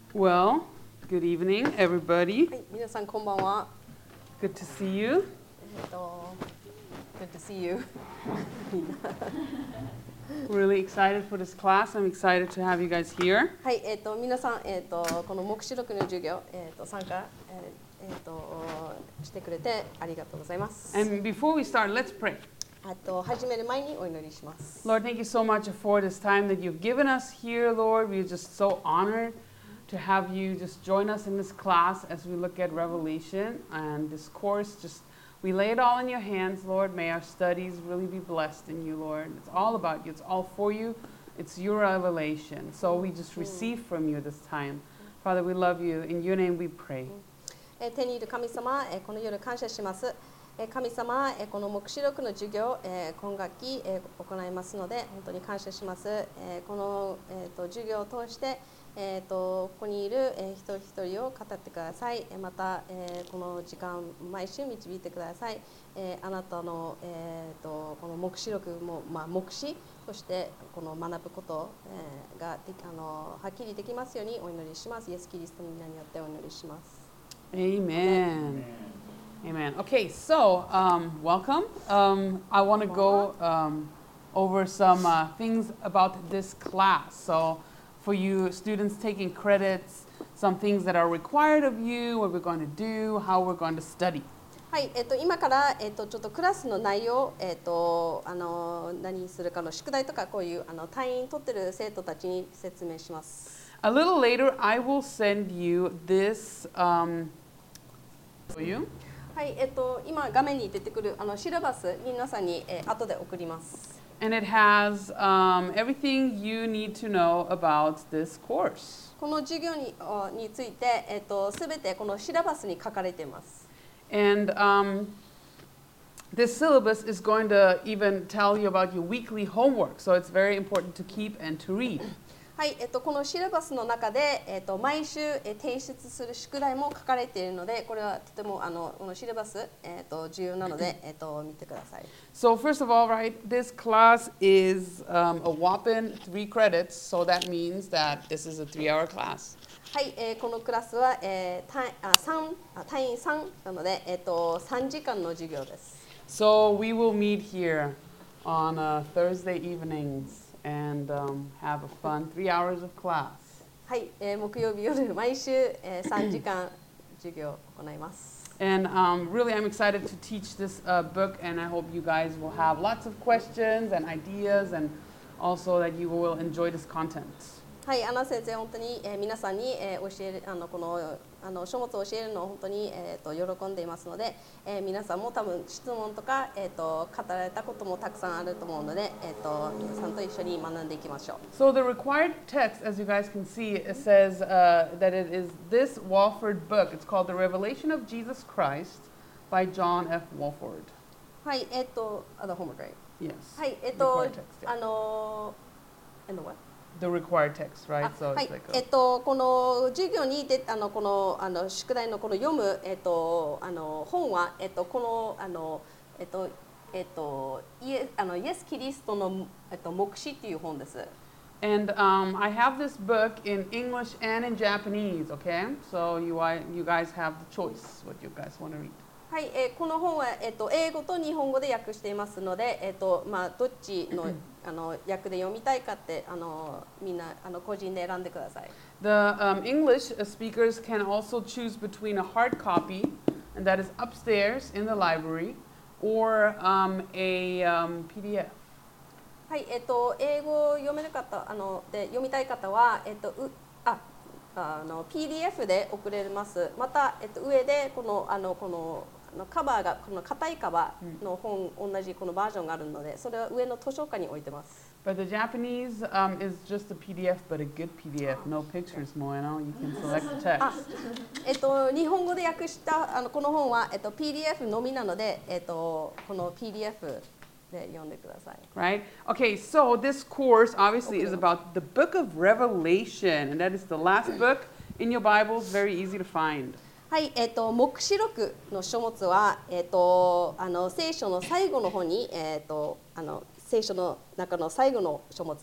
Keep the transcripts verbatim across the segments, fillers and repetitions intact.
Well, good evening, everybody. はい、皆さんこんばんは。 Good to see you. えっと、Good to see you. Really excited for this class. I'm excited to have you guys here. はい、えっと皆さんえっとこの黙示録の授業えっと参加えーえっとしてくれてありがとうございます。 And before we start, let's pray. あと始める前にお祈りします。 Lord, thank you so much for this time that you've given us here, Lord. We're just so honored to have you just join us in this class as we look at Revelation and this course. Just we lay it all in your hands, Lord. May our studies really be blessed in you, Lord. It's all about you. It's all for you. It's your revelation. So we just receive from you this time. Father, we love you. In your name we pray. えー、天にいる神様、えー、この夜感謝します。えー、神様、えー、この黙示録の授業、えー、今学期、えー、行いますので本当に感謝します。えー、この、えー、と授業を通してえー、とここにいる、えー、一人一人を語ってください。また、えー、この時間毎週導いてください。えー、あなたの、えー、とこの黙示録も、まあ、黙示そしてこの学ぶこと、えー、がであのはっきりできますようにお祈りします。イエス・キリストの皆によってお祈りします。 Amen. Amen. Okay, so um, welcome. Um, I want to go um, over some uh, things about this class. So for you students taking credits, some things that are required of you, what we're going to do, how we're going to study. はい、えっと、今から、えっと、ちょっとクラスの内容、えっと、あの何するかの宿題とかこういうあの単位取ってる生徒たちに説明します。 A little later, I will send you this um, for you. はい、えっと、今画面に出てくるあのシラバス皆さんに、えー、後で送ります。 And it has um, everything you need to know about this course. この授業にについて、えっと、すべてこのシラバスに書かれています。 And um, this syllabus is going to even tell you about your weekly homework. So it's very important to keep and to read. はい、えっと、このシラバスの中で、えっと、毎週、え提出する宿題も書かれているので、これはとてもあのこのシラバス、えっと、重要なので、えっと、見てください。 So first of all, right, this class is um, a whopping three credits. So that means that this is a three-hour class. はい、えー、このクラスは、えー、単あ三あ単位さんなので、えっと、さんじかんの授業です。 So we will meet here on uh, Thursday evenings and um, have a fun three hours of class. はい、えー、木曜日夜毎週、えー、さんじかん授業を行います。 And um, really, I'm excited to teach this uh, book, and I hope you guys will have lots of questions and ideas, and also that you will enjoy this content. はい、アナ先生本当に、えー、皆さんに、えー、教えるあのこのあの書物を教えるのを本当に、えー、と喜んでいますので、えー、皆さんも多分質問とか、えー、と語られたこともたくさんあると思うので、えー、と皆さんと一緒に学んでいきましょう。 So the required text, as you guys can see, it says uh, that it is this Walford book. It's called The Revelation of Jesus Christ by John F. Walford. はい、えっ、と、あのホームグレイ。 Yes. はい、えっ、と Required text, yeah. あの and what? The required text, right? あ So は it's い like え a, っと、この授業にであのこのあの宿題のこの読む、えっと、あの本は、えっと、このあの、えっとえっと、イエあのイエス・キリストの、えっと、黙示っていう本です。 and um, I have this book in English and in Japanese, okay? So you, I, you guys have the choice what you guys want to read. はい、えー、この本は、えっと、英語と日本語で訳していますので、えっとまあ、どっちのあの訳で読みたいかってあのみんなあの個人で選んでください。 The um, English uh, speakers can also choose between a hard copy, and that is upstairs in the library, or um, a um, P D F. はい、えっと、英語を読める方あので読みたい方は、えっと、うああの ピーディーエフ で送れます。また、えっと、上でこのあのこのあのカバーがこの硬いカバーの本、うん、同じこのバージョンがあるので、それは上の図書館に置いてます。 But the Japanese um, is just a P D F, but a good P D F. No pictures, Moeno. You can select the text. あ、えっと、日本語で訳したあのこの本は、えっと、ピーディーエフ のみなので、えっと、この ピーディーエフ で読んでください。 Right? Okay, so this course obviously is about the book of Revelation, and that is the last book in your Bibles, very easy to find. はい、えっと、黙示録の書物は、えっと、あの聖書の最後の方に、えっと、あの聖書の中の最後の書物です。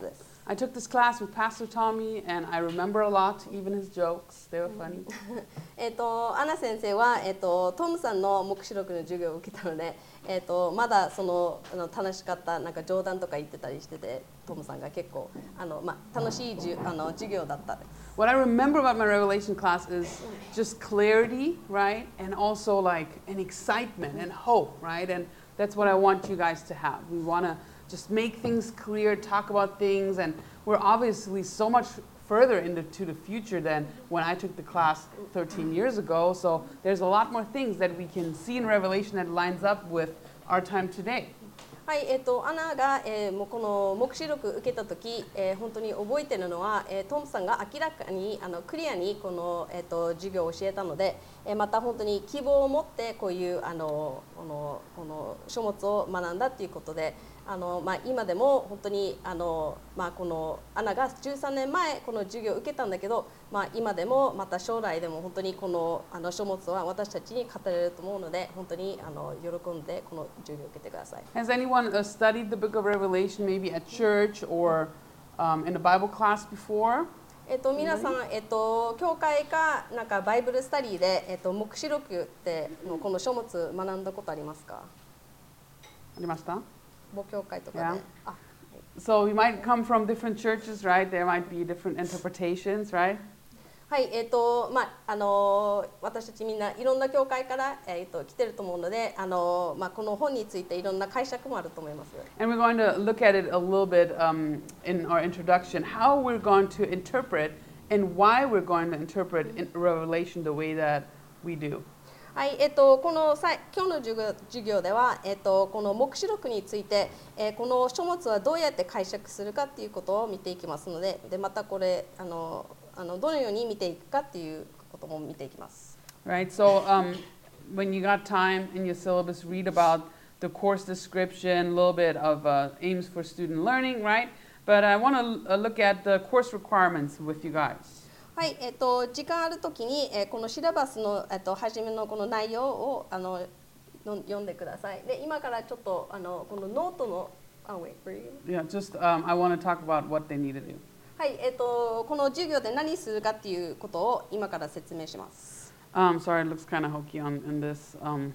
I took this class with Pastor Tommy, and I remember a lot, even his jokes. They were funny. えっとアナ先生は、えっとトムさんの黙示録の授業を受けたので、えっとまだそのあの楽しかったなんか冗談とか言ってたりしてて、トムさんが結構あのまあ楽しいじゅあの授業だったです。 What I remember about my Revelation class is just clarity, right? And also like an excitement and hope, right? And that's what I want you guys to have. We want to just make things clear, talk about things, and we're obviously so much further into the future than when I took the class thirteen years ago. So there's a lot more things that we can see in Revelation that lines up with our time today. はい、えっとアナが、えー、もうこの黙示録受けた時、えー、本当に覚えてるのは、えー、トムさんが明らかにあのクリアにこの、えー、と授業を教えたので、えー、また本当に希望を持ってこういうあのこのこの書物を学んだということで、あのまあ、今でも本当にあの、まあ、このアナがじゅうさんねんまえこの授業を受けたんだけど、まあ、今でもまた将来でも本当にこのあの書物は私たちに語れると思うので、本当にあの喜んでこの授業を受けてください。 Has anyone uh, studied the book of Revelation maybe at church or um, in a Bible class before? えっと、皆さん、えっと、教会かなんかバイブルスタディで、えっと、黙示録ってのこの書物学んだことありますか？ ありました？ 母教会とかで。 Yeah. あ、 So we might come from different churches, right? There might be different interpretations, right? はい、えっとまああの私たちみんないろんな教会からえっと来てると思うので、あのまあこの本についていろんな解釈もあると思います。 And we're going to look at it a little bit um, in our introduction, how we're going to interpret and why we're going to interpret in Revelation the way that we do. はい、えっと、このさ今日の授業授業では、えっと、この黙示録について、えー、この書物はどうやって解釈するかっていうことを見ていきますので、でまたこれあのあのどのように見ていくかっていうことも見ていきます。 Right, so um, when you got time in your syllabus, read about the course description, a little bit of uh, aims for student learning, right? But I want to uh, look at the course requirements with you guys. はい、えっと、時間あるときに、えー、このシラバスの、えっと、初めのこの内容をあのの読んでください。で、今からちょっとあのこのノートの、あ、wait, were you? Yeah, just um, I want to talk about what they need to do. はい、えっと、この授業で何するかっていうことを今から説明します。 Um, sorry, it looks kind of hokey on in this um,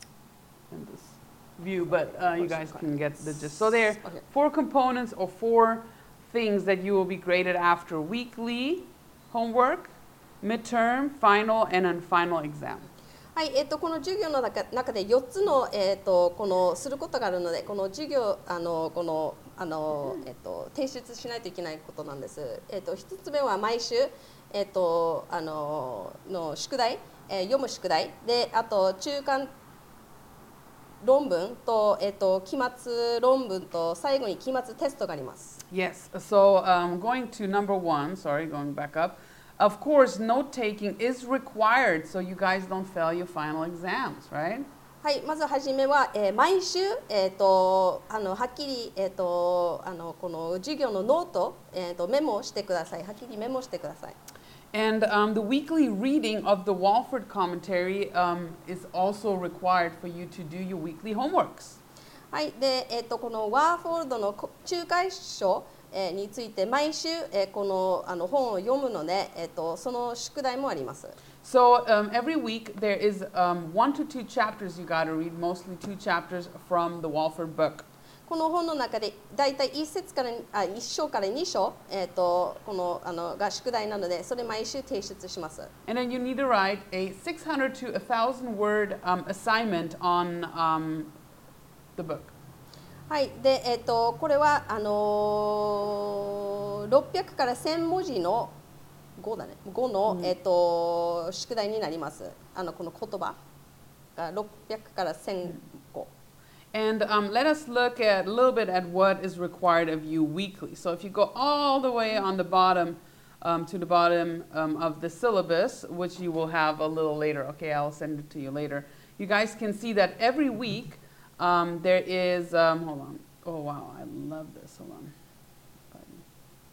in this view, but uh, you guys can get the gist. So there are four components or four things that you will be graded after: weekly homework, midterm, final, and then final exam. はい、えっと、この授業の中中でよっつの、えっと、このすることがあるので、この授業あのこのあの、えっと、提出しないといけないことなんです。えっと、ひとつめは毎週、えっと、あのの宿題、えー、読む宿題で、あと中間論文と、えっと、期末論文と最後に期末テストがあります。 Yes, so um, going to number one, sorry, going back up. Of course, note taking is required so you guys don't fail your final exams, right? はい、まずはじめは、えー、毎週、えー、とあのはっきり、えー、とあのこの授業のノート、えー、とメモしてください。はっきりメモしてください。 And um, the weekly reading of the Walford commentary um, is also required for you to do your weekly homeworks. はい、で、えー、とこのワーフォールドの仲介書えーについて毎週、えー、このあの本を読むので、えー、とその宿題もあります。 So um, every week there is um, one to two chapters you got to read, mostly two chapters from the Walford book. この本の中でだいたいいっ節からあいっ章からに章、えー、とこのあのが宿題なので、それ毎週提出します。 And then you need to write a six hundred to one thousand word um, assignment on um, the book. はい、で、えっと、これはあのー、ろっぴゃくからせん文字のごだね、ごの、うん、えっと、宿題になります。あのこの言葉がろっぴゃくからせんご。 And um, let us look at a little bit at what is required of you weekly. So if you go all the way on the bottom um, to the bottom um, of the syllabus, which you will have a little later. Okay, I'll send it to you later. You guys can see that every week um, there is, um, hold on. Oh, wow, I love this. Hold on. Let me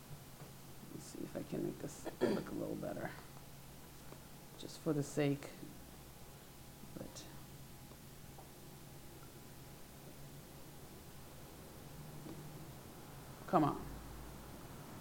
see if I can make this look a little better. Just for the sake of it. Come on.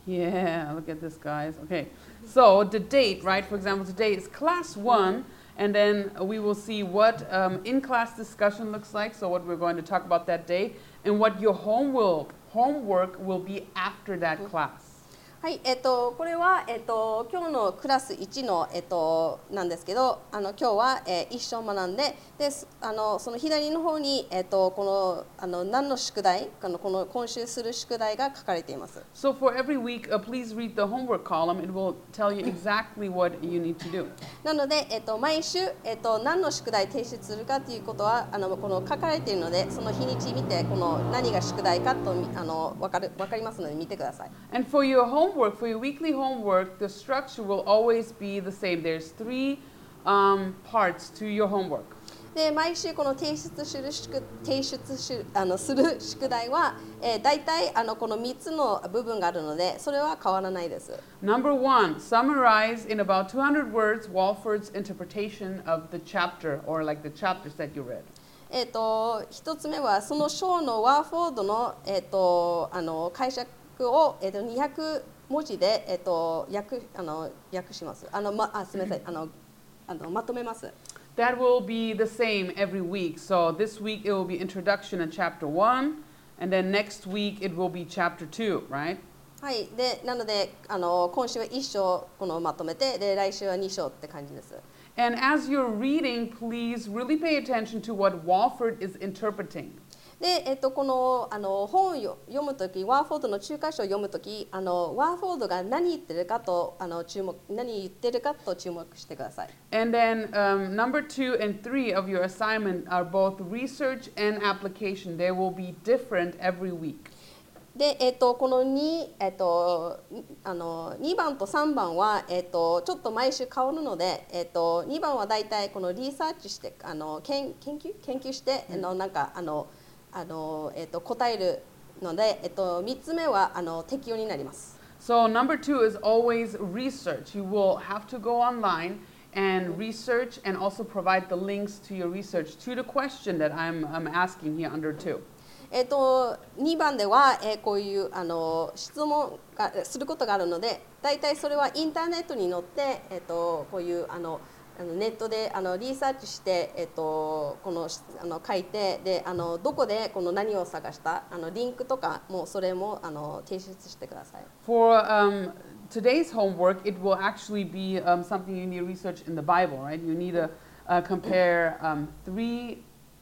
Yeah, look at this, guys. Okay, so the date, right? For example, today is class one, and then we will see what um, in-class discussion looks like. So what we're going to talk about that day, and what your home will, homework will be after that class. はい、えっと、これは、えっと、今日のクラスいちの、えっと、なんですけど、あの今日は、えー、一章学んで、であのその左の方に、えっと、このあの何の宿題あの、この今週する宿題が書かれています。 So for every week, uh, please read the homework column. It will tell you exactly what you need to do. なので、えっと、毎週、えっと、何の宿題提出するかということはあのこの書かれているので、その日にち見てこの何が宿題かとあの分かる分かりますので見てください。 And for your homework, for your weekly homework, the structure will always be the same. There's three um, parts to your homework. で毎週この提出する宿提出しあのする宿題は、えー、大体あのこのみっつの部分があるのでそれは変わらないです。 Number one, summarize in about two hundred words Walford's interpretation of the chapter or like the chapters that you read. えっと一つ目はその章のワーフォードのえっとあの解釈をえっとにひゃく文字でえっと訳あの訳します。あのまあすみませんあのあのまとめます。 That will be the same every week. So this week it will be introduction in chapter one, and then next week it will be chapter two, right? はい、でなのであの今週はいち章このまとめてで来週はに章って感じです。 And as you're reading, please really pay attention to what Walford is interpreting. で、えっと、このあの本を読むとき、ワーフォードの中華書を読むとき、あのワーフォードが何言ってるかとあの注目何言ってるかと注目してください。 And then um, number two and three of your assignment are both research and application. They will be different every week. で、えっと、この 2, えっと、あのにばんとさんばんは、えっと、ちょっと毎週変わるので、えっと、にばんはだいたいこのリサーチしてあの研研究研究して、うん、あのなんかあのあの、えっと、答えるので、えっと、みっつめはあの適用になります。 So number two is always research. You will have to go online and research and also provide the links to your research to the question that I'm, I'm asking here under two. えっと、にばんでは、えー、こういうあの質問がすることがあるので、だいたいそれはインターネットに載って、えっと、こういうあのあのネットであのリサーチして、えっと、このあの書いてであのどこでこの何を探したあのリンクとかもそれもあの提出してください。 For um, today's homework, it will actually be um, something you need to research in the Bible, right? You need to uh, compare um, three,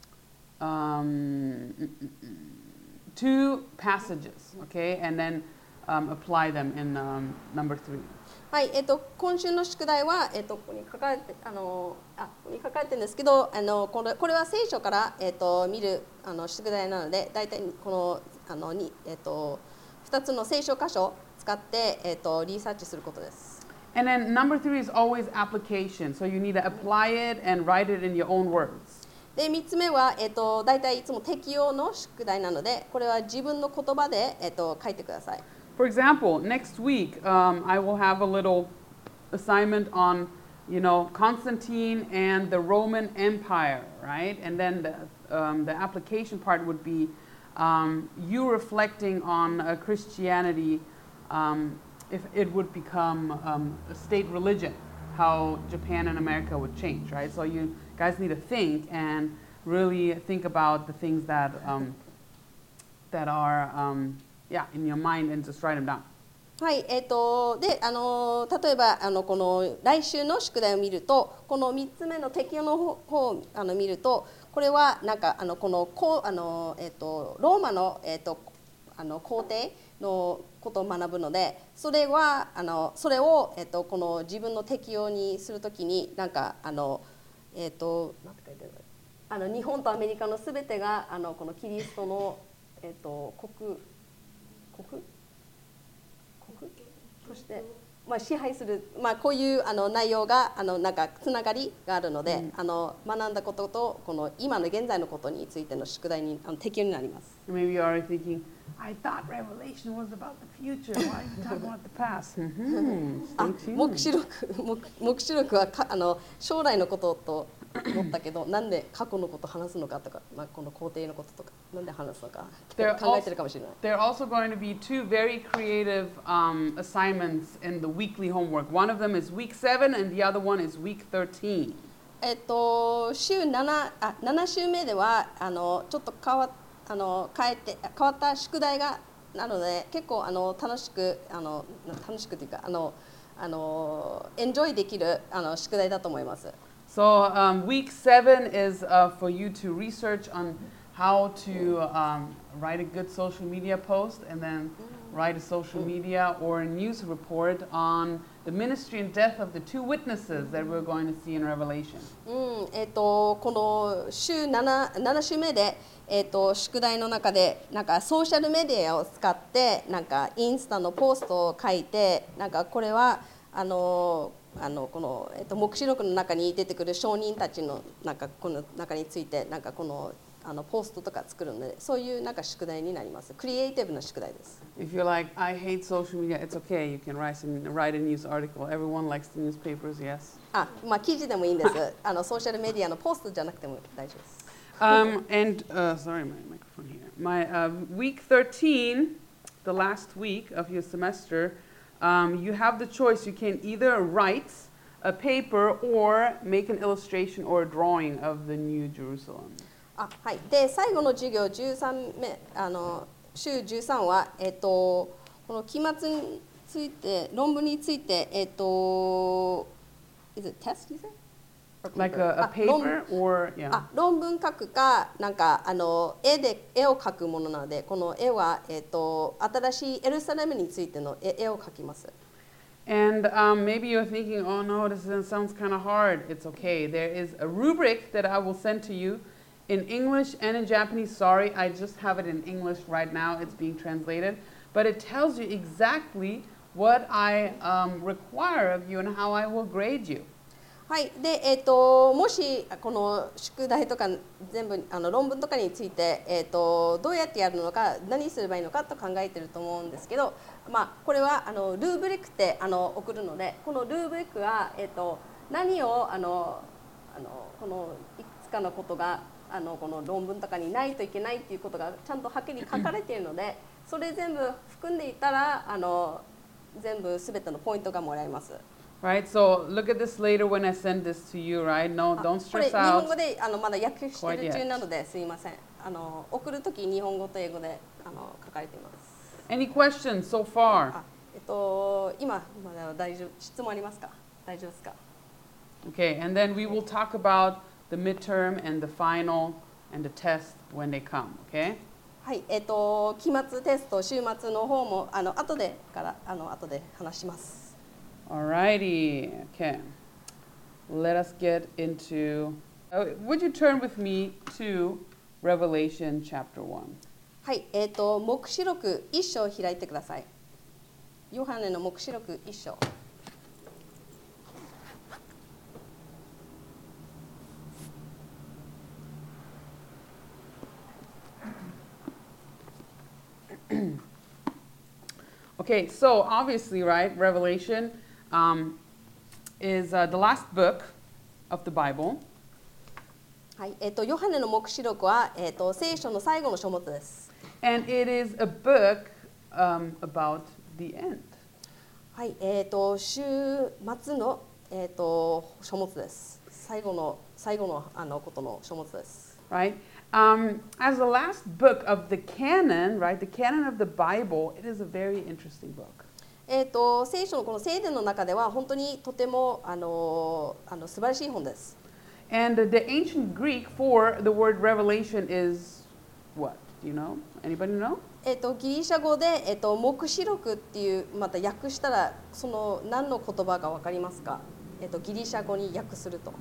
um, two passages, okay, and then um, apply them in um, number three. はい、えっと、今週の宿題は、えっと、ここに書かれてあのあここに書かれてるんですけどあのこれこれは聖書から、えっと、見るあの宿題なのでだいたいこのあのに、えっと、ふたつの聖書箇所を使って、えっと、リサーチすることです。 And then number three is always application. So you need to apply it and write it in your own words. でみっつめは、えっと、だいたいいつも適用の宿題なのでこれは自分の言葉で、えっと、書いてください。 For example, next week um, I will have a little assignment on, you know, Constantine and the Roman Empire, right? And then the, um, the application part would be um, you reflecting on uh, Christianity, um, if it would become um, a state religion, how Japan and America would change, right? So you guys need to think and really think about the things that um, that are um, yeah, in your mind and just write them down. はい、えーと、で、あの例えばあのこの来週の宿題を見ると、このみっつめの適用の方をあの見ると、これはなんかあのこのこうあのえっ、ー、とローマのえっ、ー、とあの皇帝のことを学ぶので、それはあのそれをえっ、ー、とこの自分の適用にするときになんかあのえっ、ー、となんて書いてあるあの日本とアメリカのすべてがあのこのキリストのえっ、ー、と国国国として、まあ、支配する、まあ、こういうあの内容があのなんかつながりがあるので、うん、あの学んだこととこの今の現在のことについての宿題にあの適用になります。 Maybe you are thinking, I thought Revelation was about the future. Why are you talking about the past? あ、黙示録、黙示録はかあの将来のことと思ったけどなんで過去のこと話すのかとか、まあ、この皇帝のこととかなんで話すのか There 考えてるかもしれない。 There are also going to be two very creative um, assignments in the weekly homework. One of them is week seven, and the other one is week thirteen. えっと週ななあなな週目ではあのちょっと変わあの変えて変わった宿題がなので結構あの楽しくあの楽しくというかあのあのエンジョイできるあの宿題だと思います。 So um, week seven is uh, for you to research on how to um, write a good social media post and then write a social media or a news report on the ministry and death of the two witnesses that we're going to see in Revelation. うんえっとこの週なな、なな週目で、えっと宿題の中でなんかソーシャルメディアを使ってなんかインスタのポストを書いてなんかこれはあのあのこの、えっと黙示録の中に出てくる証人たちのなんかこの中についてなんかこのあのポストとか作るのでそういうなんか宿題になります。クリエイティブな宿題です。 If you're like, I hate social media, it's okay. You can write, some, write a news article. Everyone likes the newspapers, yes. あ、まあ記事でもいいんです。あのソーシャルメディアのポストじゃなくても大丈夫です。 Um, and, uh, sorry, my microphone here. My uh, week thirteen, the last week of your semester, um, you have the choice. You can either write a paper or make an illustration or a drawing of the New Jerusalem. あ、はい。で最後の授業じゅうさんめあの週じゅうさんはえっとこの期末について論文についてえっと is it test you say? Like a, a あ論 paper or, yeah. あ論文書くかなんかあの絵で絵を描くものなのでこの絵はえっと新しいエルサレムについての絵絵を描きます。 And um, maybe you're thinking, oh no, this is- sounds kind of hard. It's okay. There is a rubric that I will send to you in English and in Japanese. Sorry, I just have it in English right now. It's being translated. But it tells you exactly what I um, require of you and how I will grade you. はい、で、えー、ともしこの宿題とか全部あの論文とかについて、えー、とどうやってやるのか何すればいいのかと考えてると思うんですけど、まあ、これはあのルーブリックってあの送るのでこのルーブリックは、えー、と何をあのあのこのいくつかのことがあのこの論文とかにないといけないっていうことがちゃんとはっきり書かれているのでそれ全部含んでいたらあの全部すべてのポイントがもらえます。 Right, so look at this later when I send this to you, right? No, あ don't これ stress 日本語 out. であのまだ訳して Quite る yet. 中なのですいません。あの送るとき日本語と英語であの書かれています。 Any questions so far? あ、えっと今まだ大丈夫質問ありますか？大丈夫ですか？ Okay, and then we will talk about the midterm and the final and the test when they come, okay? はい、えっと期末テスト週末の方もあの後でからあの後で話します。 Alrighty, okay. Let us get into. Uh, would you turn with me to Revelation chapter one? はい、えっと黙示録一章を開いてください。ヨハネの黙示録一章。 Okay, so obviously, right, Revelation um, is uh, the last book of the Bible. はい、えっとヨハネの黙示録はえっと聖書の最後の書物です。 And it is a book um, about the end. はい、えっと週末のえっと書物です。最後の最後のあのことの書物です。 Right? Um, as the last book of the canon, right, the canon of the Bible, it is a very interesting book. えっと聖書のこの聖典の中では本当にとてもあのあの素晴らしい本です。 And the ancient Greek for the word revelation is what? Do you know? Anybody know? えっとギリシャ語でえっと黙示録っていうまた訳したらその何の言葉かわかりますか？えっとギリシャ語に訳すると。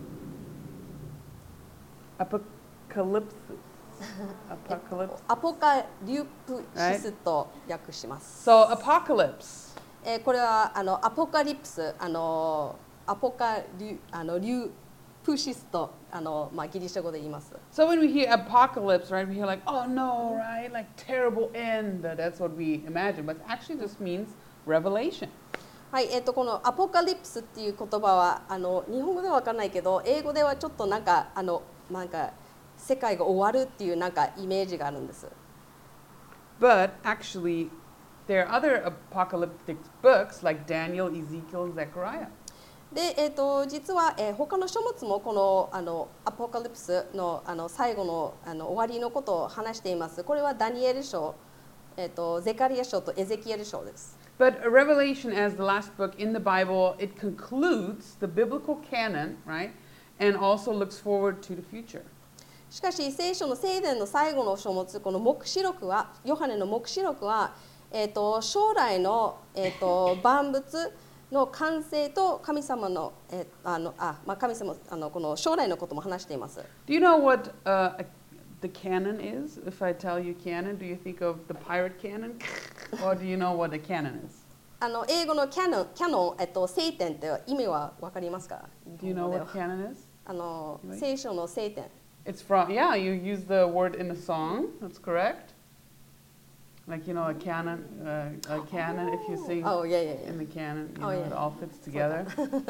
Apocalypse. Apocalypse. アポカリプシスと訳します。 So apocalypse. えーこれはあのアポカリプスあのアポカリあのリュプシスとあのまあギリシャ語で言います。 So when we hear apocalypse, right, we hear like, oh no, right, like terrible end. That's what we imagine, but it actually just means revelation. はい、えっとこのアポカリプスっていう言葉はあの日本語ではわかんないけど、英語ではちょっとなんかあのなんか世界が終わるっていうなんかイメージがあるんです。 But actually, there are other apocalyptic books like Daniel, Ezekiel, and Zechariah. で、えっと実は、えー、他の書物もこのあのアポカリプスのあの最後のあの終わりのことを話しています。これはダニエル書、えっとゼカリア書とエゼキエル書です。 But Revelation, as the last book in the Bible, it concludes the biblical canon, right? And also looks forward to the future. しかし聖書の聖典の最後の書物、この黙示録は、ヨハネの黙示録は、えー、と将来の、えー、と万物の完成と神様の、えー、あのあ、まあ、神様あのこの将来のことも話しています。 Do you know what uh, the canon is? If I tell you canon, do you think of the pirate canon? Or do you know what a canon is? あの英語のキャノン、キャノン、えっと、聖典って意味はわかりますか？ Do you know what canon is? あの聖書の聖典。 It's from, yeah, you use the word in a song, that's correct. Like, you know, a canon, uh, a canon, if you sing oh, yeah, yeah, yeah. in the canon, you oh, know, yeah. it all fits together.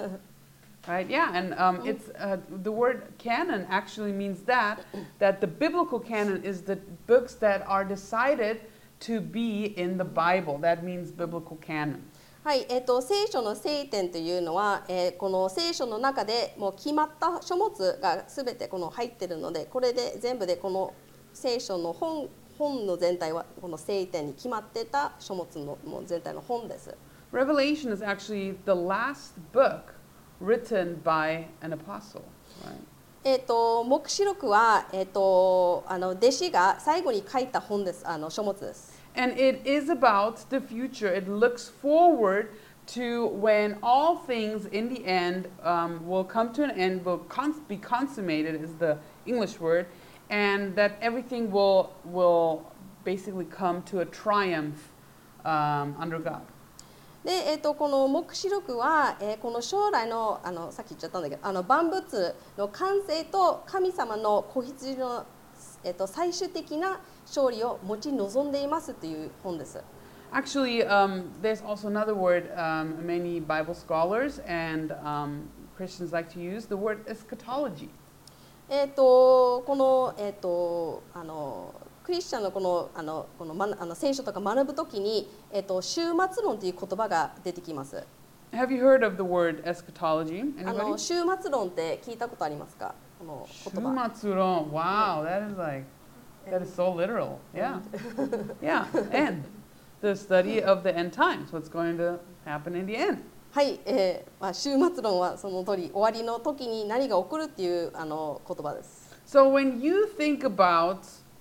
Right, yeah, and um, it's, uh, the word canon actually means that, that the biblical canon is the books that are decided to be in the Bible. That means biblical canon. はい、えー、と聖書の聖典というのは、えー、この聖書の中でもう決まった書物がすべてこの入っているので、これで全部でこの聖書の本、本の全体はこの聖典に決まってた書物のもう全体の本です。 Revelation is actually the last book written by an apostle, right? えー、と黙示録は、えー、とあの弟子が最後に書いた本です、あの書物です。 And it is about the future. It looks forward to when all things in the end um, will come to an end, will cons- be consummated is the English word, and that everything will, will basically come to a triumph um, under God. で、えー、とこの黙示録は、えー、この将来の、あのさっき言っちゃったんだけど、あの万物の完成と神様の子羊の、えー、と最終的な勝利を持ち望んでいますという本です。 Actually, um, there's also another word um, many Bible scholars and um, Christians like to use, the word eschatology. えっとこの、えー、とあのクリスチャンのこのあのこの、ま、あの聖書とか学ぶときに、えー、と終末論という言葉が出てきます。 Have you heard of the word eschatology? あの Anybody? 終末論って聞いたことありますか？この言葉。 Shumatsuron. Wow, that is like, that is so literal. Yeah. Yeah, end. The study of the end times, what's going to happen in the end. はい、えーまあ、終末論はその通り、終わりの時に何が起こるっていうあの言葉です。 So when you think about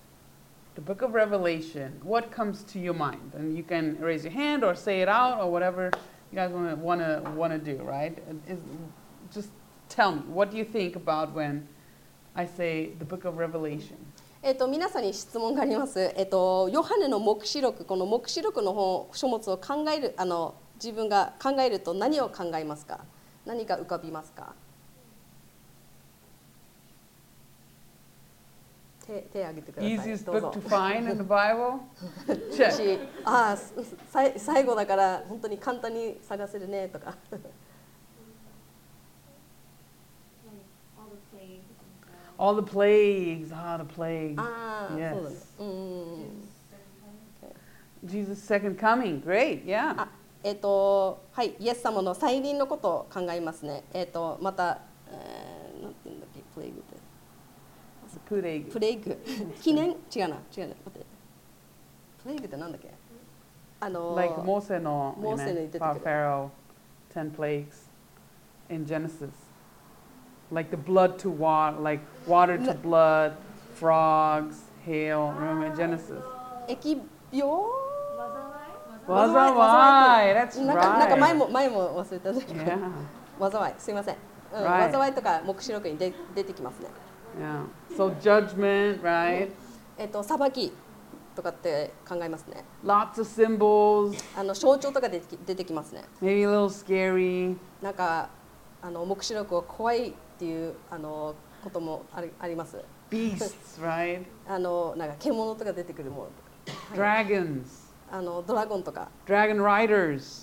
the book of Revelation, what comes to your mind? And you can raise your hand or say it out or whatever you guys want to want to want to do, right? Is, just tell me, what do you think about when I say the book of Revelation? えっと皆さんに質問があります。えっとヨハネの黙示録、この黙示録の本書物を考える、あの自分が考えると何を考えますか？何が浮かびますか？手手挙げてください。 Easiest どう book ぞ。 to find in the Bible? Check. 私ああさい最後だから本当に簡単に探せるねとか。 All the plagues, ah, the plagues. ああ、 Yes. そうだね。うんうんうん。 Jesus' second coming, great, yeah. あ、えっ、とはいイエス様の再臨のことを考えますね。えっ、とまた、えー、なんて言うんだっけ、プレイグって。 プレイグ。 プレイグ記念違うな違うな待ってプレイグってなんだっけ？あの Like モーセの、 モーセに出てくる Pharaoh, ten plagues in Genesis. Like the blood to water, like water to blood, frogs, hail. Remember in Genesis? 疫病？ 災い That's なんかなんか right. 前も前も忘れたんだけど。 Yeah. 災いすいません。うん、 Right. 災いとか黙示録にで出てきますね。 Yeah. So judgment, right? えっ、と裁きとかって考えますね。 Lots of symbols. あの象徴とか出てき出てきますね。 Maybe a little scary. なんかあの黙示録は怖いっていうあのこともありあります。 Beasts, right? あのなんか獣とか出てくるものとか、 Dragons. あのドラゴンとか、 Dragon riders.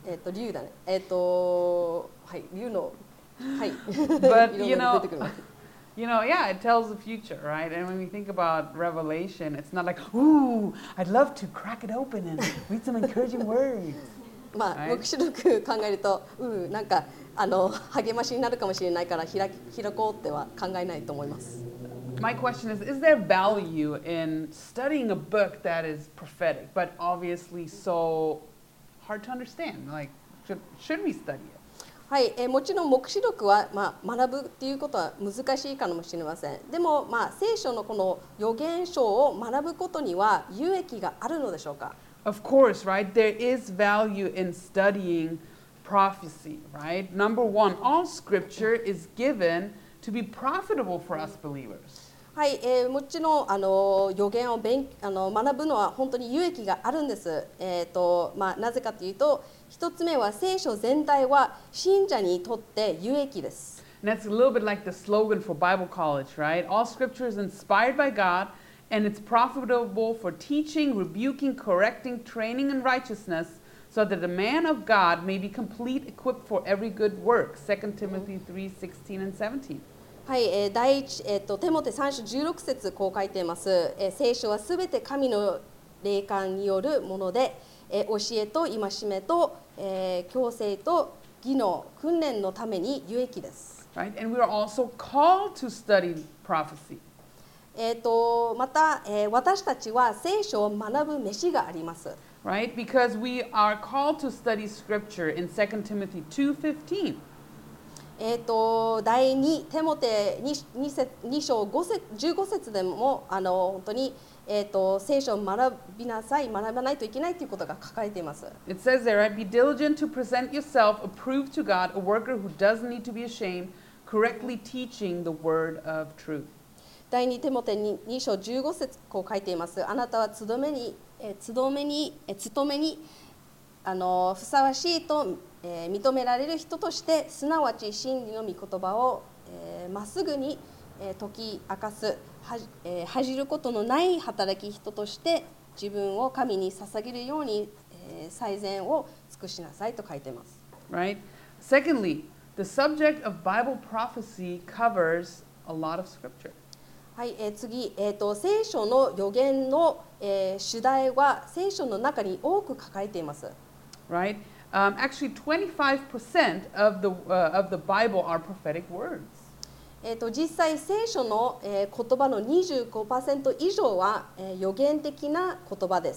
えっと竜だね。えっとはい竜のはい。 But い you ろんなの know, 出てくるわ。 you know, yeah, it tells the future, right? And when we think about Revelation, it's not like, ooh, I'd love to crack it open and read some encouraging words. まあ、 はい黙示録考えると、うん、なんかあの励ましになるかもしれないから開き開こうっては考えないと思います。 My question is, is there value in studying a book that is prophetic, but obviously so hard to understand? Like, should, should we study it? はい、えーもちろん黙示録は、まあ、学ぶっていうことは難しいかもしれません。でも、まあ、聖書のこの預言書を学ぶことには有益があるのでしょうか。 Of course, right? There is value in studying prophecy, right? Number one, all scripture is given to be profitable for us believers. はい、えーもちろんあの預言を勉あの学ぶのは本当に有益があるんです。えーとまあ、なぜかというと、一つ目は聖書全体は信者にとって有益です。 And that's a little bit like the slogan for Bible college, right? All scripture is inspired by God and it's profitable for teaching, rebuking, correcting, training in righteousness, so that the man of God may be complete, equipped for every good work. Second Timothy three sixteen and seventeen. はい、えー第一、えーとテモテさん章じゅうろく節こう書いています。えー聖書はすべて神の霊感によるもので、えー教えと戒めと、えー強制と技能、訓練のために有益です。 Right? And we are also called to study prophecy. えーとまた、えー私たちは聖書を学ぶ飯があります。 Right? Because we are called to study scripture in Second Timothy two fifteen. えーと第二テモテ 2, 2章ご節じゅうご節でもあの本当に、えーと聖書を学びなさい、学ばないといけないということが書かれています。 It says there, right? Be diligent to present yourself approved to God, a worker who doesn't need to be ashamed, correctly teaching the word of truth. 第二テモテ に, に章じゅうご節こう書いています。あなたはつどめに、えー、つどめに、えー、務めにあのふさわしいと、えー、認められる人として、すなわち真理の御言葉をえーまっすぐに、えー、解き明かす、はじ、えー、恥じることのない働き人として自分を神に捧げるように、えー、最善を尽くしなさいと書いています。 Right? Secondly, the subject of Bible prophecy covers a lot of scripture. はい、えー、次、えーと、聖書の預言の、えー、主題は聖書の中に多く書かれています。 Right? Um, actually, twenty-five percent of the, uh, of the Bible are prophetic words. えーと、実際聖書の、えー、言葉の にじゅうごパーセント 以上は、えー、予言的な言葉です。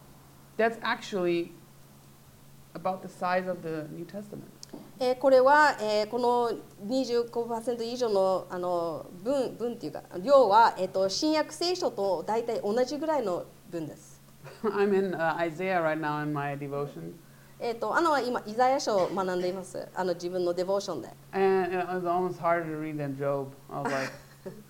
That's actually about the size of the New Testament. えー、これは、えー、この にじゅうごパーセント 以上の、あの分分っていうか量は、えー、と新約聖書と大体同じぐらいの分です。 I'm in uh, Isaiah right now in my devotion. えー、とアナは今イザヤ書を学んでいます。あの自分のデボーションで。 And it was almost harder to read than Job. I was like,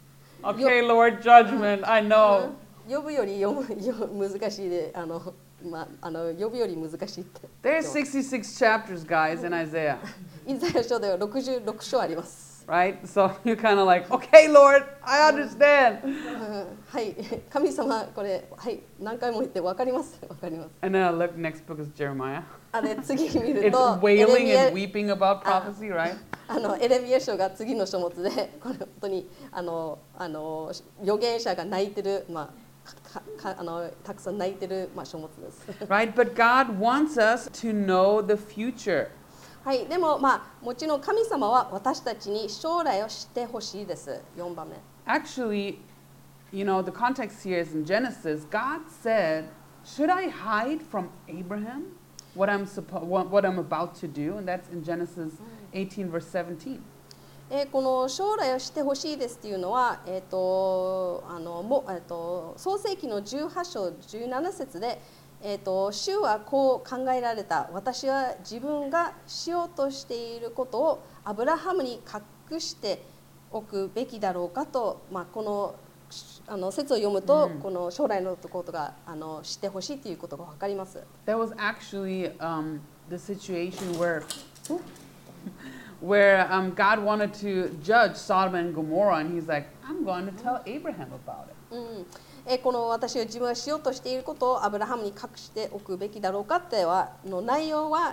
okay, Lord, judgment, I know. 呼ぶより読むよ難しいで、あのまああの呼ぶより難しいって。 There's sixty-six chapters, guys, in Isaiah, イザヤ書ではろくじゅうろく章あります。 right? So you're kind of like, okay, Lord, I understand. はい、神様これはい何回も言ってわかりますわかります。 And then I look, next book is Jeremiah. あれ次見る It's と wailing エレ and ミ weeping about prophecy, right? アあのエレミヤ書が次の書物でこれ本当にあのあの預言者が泣いてるまあかかあのたくさん泣いてるまあ書物です。 Right? But God wants us to know the future. はい、でもまあもちろん神様は私たちに将来を知ってほしいです。よんばんめ。 Actually, you know, the context here is in Genesis. God said, should I hide from Abraham what I'm, suppo- what, what I'm about to do? And that's in Genesis eighteen, verse seventeen. えーこの将来を知ってほしいですっていうのは、えーとあのもえーと創世記のじゅうはち章じゅうなな節で、えーと主はこう考えられた。私は自分がしようとしていることをアブラハムに隠しておくべきだろうかと、まあ、このあの説を読むと、 うんこの将来のことがあの知ってほしいということが分かります。 That was actually um, the situation where, where um, God wanted to judge Sodom and Gomorrah, and he's like, I'm going to tell Abraham about it. うんえーこの私は自分がしようとしていることをアブラハムに隠しておくべきだろうかってはの内容は、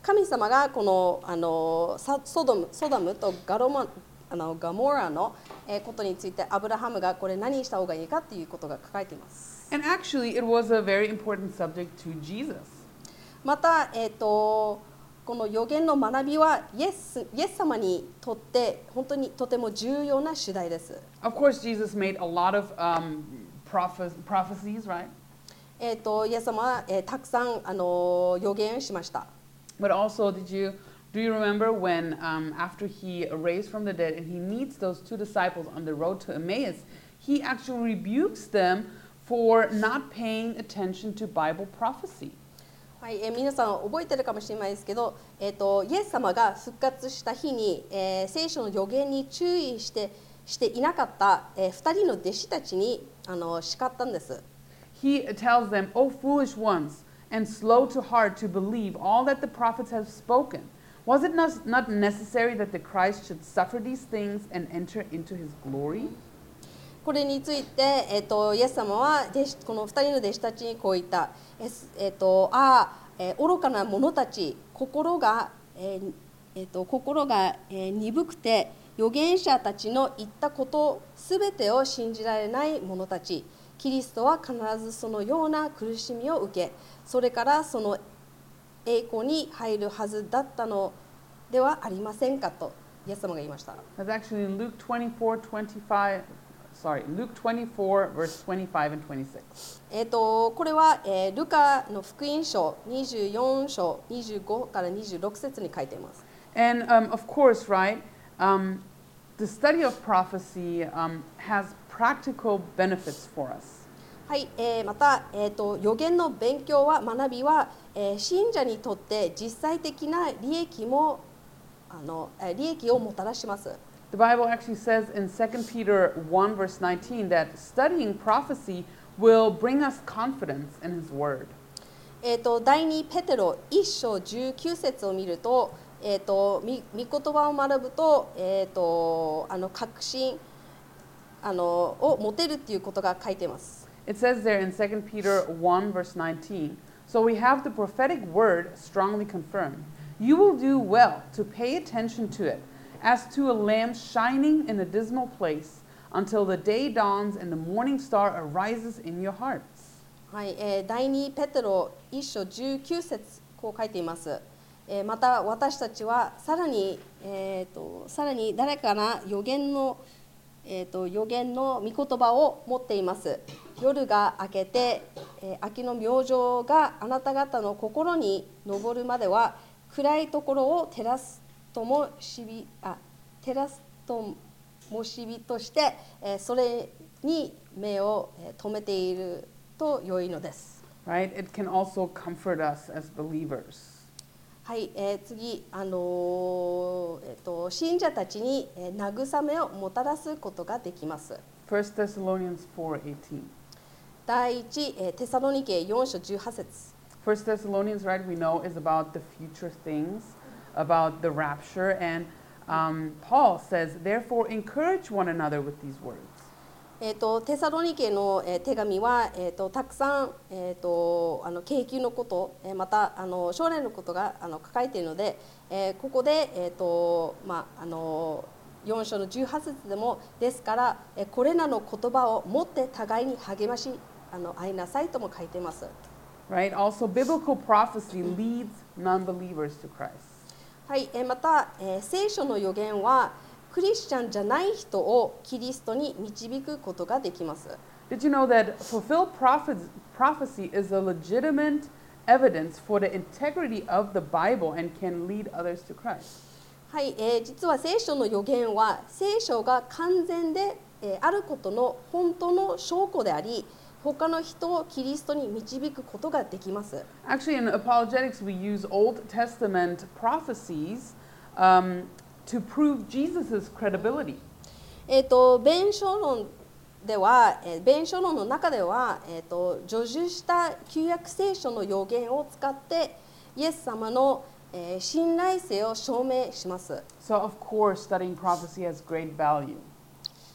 神様がこのあのサソドム、ソダムとガロマあのガモラのえーことについてアブラハムがこれ何した方がいいかということが書かれています。 And actually, it was a very important subject to Jesus. また、えー、とこの預言の学びはイエス、イエス様にとって本当にとても重要な主題です。 Of course, Jesus made a lot of um, prophe- prophecies, right? えー、とイエス様は、えーたくさんあの預言しました。 But also, did you do you remember when um, after he raised from the dead and he meets those two disciples on the road to Emmaus, he actually rebukes them for not paying attention to Bible prophecy. はい、えー皆さん覚えてるかもしれないですけど、えー、とイエス様が復活した日に、えー聖書の預言に注意してしていなかった、えー、ふたりの弟子たちにあの叱ったんです。 He tells them, "O foolish ones, and slow to heart to believe all that the prophets have spoken. Was it not, not necessary that the Christ should suffer these things and enter into his glory?" これについて、えー、とイエス様は弟子このふたりの弟子たちにこう言った。えーえー、とああ、えー愚かな者たち、心が、えーえー、と心が、えー鈍くて、預言者たちの言ったことすべてを信じられない者たち。キリストは必ずそのような苦しみを受け、それからその栄光に入るはずだったのではありませんかとイエス様が言いました。 That's actually in Luke twenty-four, twenty-five, sorry, Luke twenty-four, verse twenty-five and twenty-six. えー、とこれは、えールカの福音書にじゅうよん章にじゅうごからにじゅうろく節に書いています。 And um, of course, right, um, the study of prophecy um, has practical benefits for us. はい、えーまた、えー、と預言の勉強は学びは、えー信者にとって実際的な利益もあのえー利益をもたらします。 The Bible actually says in Second Peter one, verse nineteen, that studying prophecy will bring us confidence in his word. えー、と第二ペテロいっ章じゅうきゅう節を見ると、えー、とみ御言葉を学ぶと、えー、とあの確信あのを持てるっていうことが書いています。 It says there in Second Peter one, verse nineteen, "So we have the prophetic word strongly confirmed. You will do well to pay attention to it, as to a lamp shining in a dismal place, until the day dawns and the morning star arises in your hearts." はい、えー、第二ペテロいっ章じゅうきゅう節こう書いています。えーまた私たちはさらに、えー、とさらに誰かな預言の、えー、と預言の御言葉を持っています。夜が明けて、えー秋の明星があなた方の心に昇るまでは暗いところを照らすともしびあ照らすともしびとして、えーそれに目をえー留めていると良いのです。 Right? It can also comfort us as believers. はい、えー次、あのーえーと信者たちに、えー慰めをもたらすことができます。 First Thessalonians four eighteen. 第一、えーテサロニケよん章じゅうはち節。 First Thessalonians, right, we know is about the future things, about the rapture, and um, Paul says, "Therefore, encourage one another with these words." えー、とテサロニケの、えー手紙は、えー、とたくさん、えー、とあの景気のこと、えーまたあの将来のことがあの書かれているので、えーここで、えーとまあ、あのよん章のじゅうはち節でもですから、えーこれらの言葉を持って互いに励ましあの会いなさいとも書いています。 Right? Also, biblical prophecy leads non-believers to Christ. はい、えーまた、えー聖書の預言はクリスチャンじゃない人をキリストに導くことができます。 Did you know that fulfilled prophes- prophecy is a legitimate evidence for the integrity of the Bible and can lead others to Christ? はい、えー実は聖書の預言は聖書が完全で、えーあることの本当の証拠であり、他の人をキリストに導くことができます。 Actually, in apologetics, we use Old Testament prophecies um, to prove Jesus' credibility. えー、と弁証論では、えー弁証論の中では、えー、と叙述した旧約聖書の預言を使ってイエス様の、えー信頼性を証明します。 So, of course, studying prophecy has great value.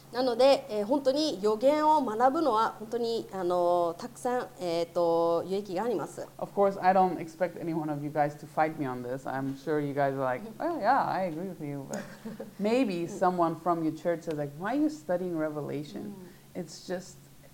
なので、えー本当に予言を学ぶのは本当にあのたくさん、えー、と有益があります。 Of course, I don't expect any one of you guys to fight me on this. I'm sure you guys are like, oh yeah, I agree with you. But maybe someone from your church says like, why are you studying Revelation? It's just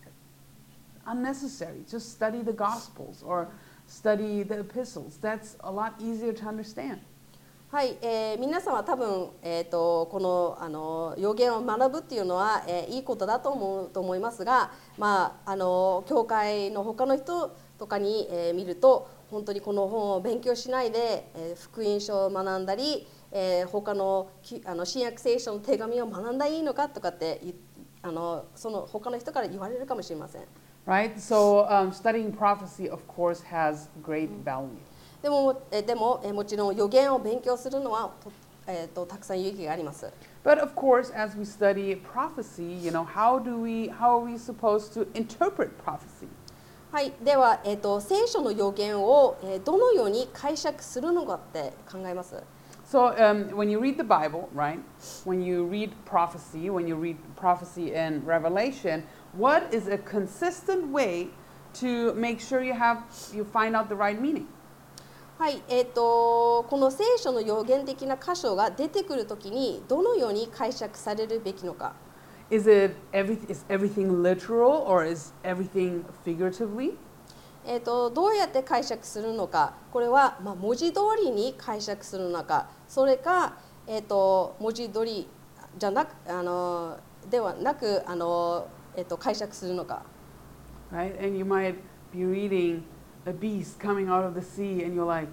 unnecessary. Just study the Gospels or study the epistles. That's a lot easier to understand. はい、えー皆さんは多分、えー、とこのあの予言を学ぶっていうのは、えーいいことだと思うと思いますが、まあ、あの教会の他の人とかに、えー見ると本当にこの本を勉強しないで、えー福音書を学んだり、えー他のきあの新約聖書の手紙を学んだらいいのかとかって言あのその他の人から言われるかもしれません。 Right? So um, studying prophecy, of course, has great value. でも、えでも、えもちろん予言を勉強するのはと、えー、とたくさん有益があります。 But of course, as we study prophecy, you know, how do we, how are we supposed to interpret prophecy? はい、では、えー、と聖書の予言を、えーどのように解釈するのかって考えます。 So um, when you read the Bible, right? When you read prophecy, when you read prophecy in Revelation, what is a consistent way to make sure you have you find out the right meaning? はい、えー、とこの聖書の予言的な箇所が出てくるときにどのように解釈されるべきのか。 Is it every, is everything literal or is everything figuratively? えー、とどうやって解釈するのか、これは、まあ、文字通りに解釈するのか、それか、えー、と文字通りじゃなくあのではなくあの、えー、と解釈するのか。 Right? And you might be reading a beast coming out of the sea and you're like,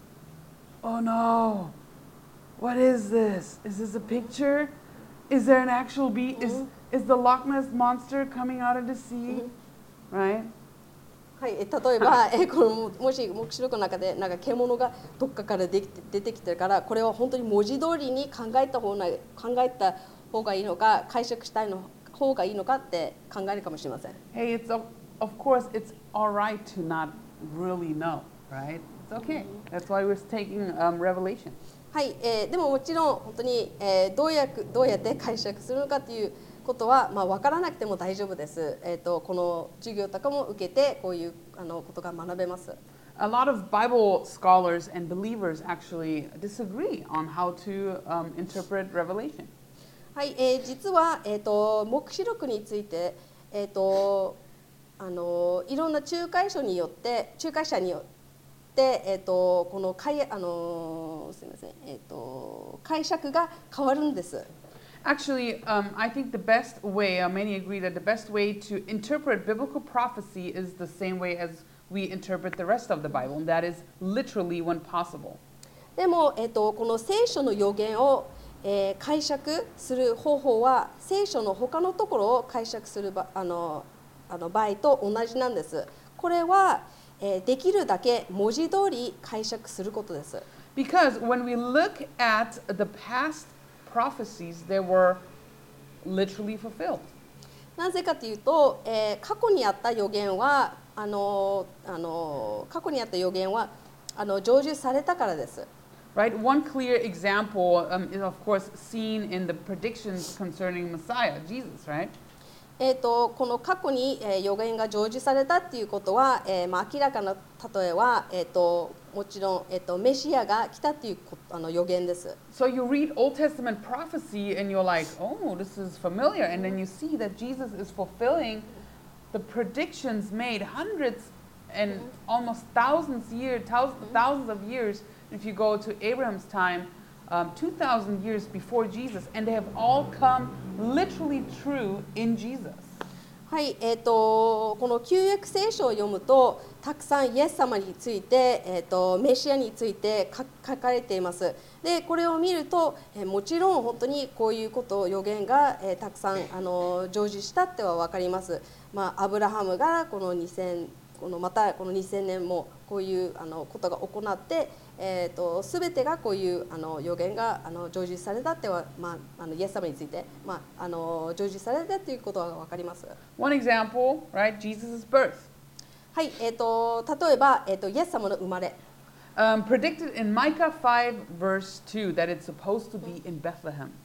oh no, what is this? Is this a picture? Is there an actual beast? Is, is the Loch Ness monster coming out of the sea? Right? はい、え例えば、えこのもし黙示録の中でなんか獣がどっかからできて出てきてるから、これは本当に文字通りに考えた方が考えた方がいいのか、解釈したいの方がいいのかって考えるかもしれません。 Hey, it's of, of course it's all right to not really know, right? It's okay. That's why we're taking um, Revelation. はい、えーでももちろん本当に、えーどうやくどうやって解釈するのかということは、まあ、分からなくても大丈夫です。えー、とこの授業とかも受けてこういうあのことが学べます。 A lot of Bible scholars and believers actually disagree on how to um, interpret Revelation. はい、えー実は、えー、と黙示録について、えー、とあのいろんな仲介書によって仲介者によって、えー、とこの解あのすみません、えー、と解釈が変わるんです。 Actually, um, I think the best way, uh, many agree that the best way to interpret biblical prophecy is the same way as we interpret the rest of the Bible, and that is literally when possible. でも、えー、とこの聖書の予言を、えー解釈する方法は聖書の他のところを解釈するばあのあの場合と同じなんです。これは、えーできるだけ文字通り解釈することです。 Because when we look at the past prophecies, they were literally fulfilled. なぜかというと、えー過去にあった予言はあのあの過去にあった予言はあの成就されたからです。 Right? One clear example um, is, of course, seen in the predictions concerning Messiah, Jesus, right? えー、とこの過去に、えー予言が成就されたっていうことは、えーまあ、明らかな例えは、えー、ともちろん、えー、とメシアが来たっていうこあの予言です。 So you read Old Testament prophecy and you're like, oh, this is familiar. And then you see that Jesus is fulfilling the predictions made hundreds and almost thousands years, thousands, thousands of years. If you go to Abraham's time, um, two thousand years before Jesus, and they have all come literally true in Jesus. はい、えー、とこの旧約聖書を読むとたくさんイエス様について、えー、とメシアについて書書かれています。でこれを見ると、えーもちろん本当にこういうこと予言が、えーたくさんあの成就したっては分かります。まあ、アブラハムがこのにせんこのまたこのにせんねんもこういうあのことが行って、えー、と全てがこういうあの予言があの成就されたっては、まあ、あのイエス様について、まあ、あの成就されたということが分かります。 One example, right? Jesus' birth. はい、えー、と例えば、えー、とイエス様の生まれ、 Um, predicted in Micah five, verse two, that it's supposed to be in Bethlehem.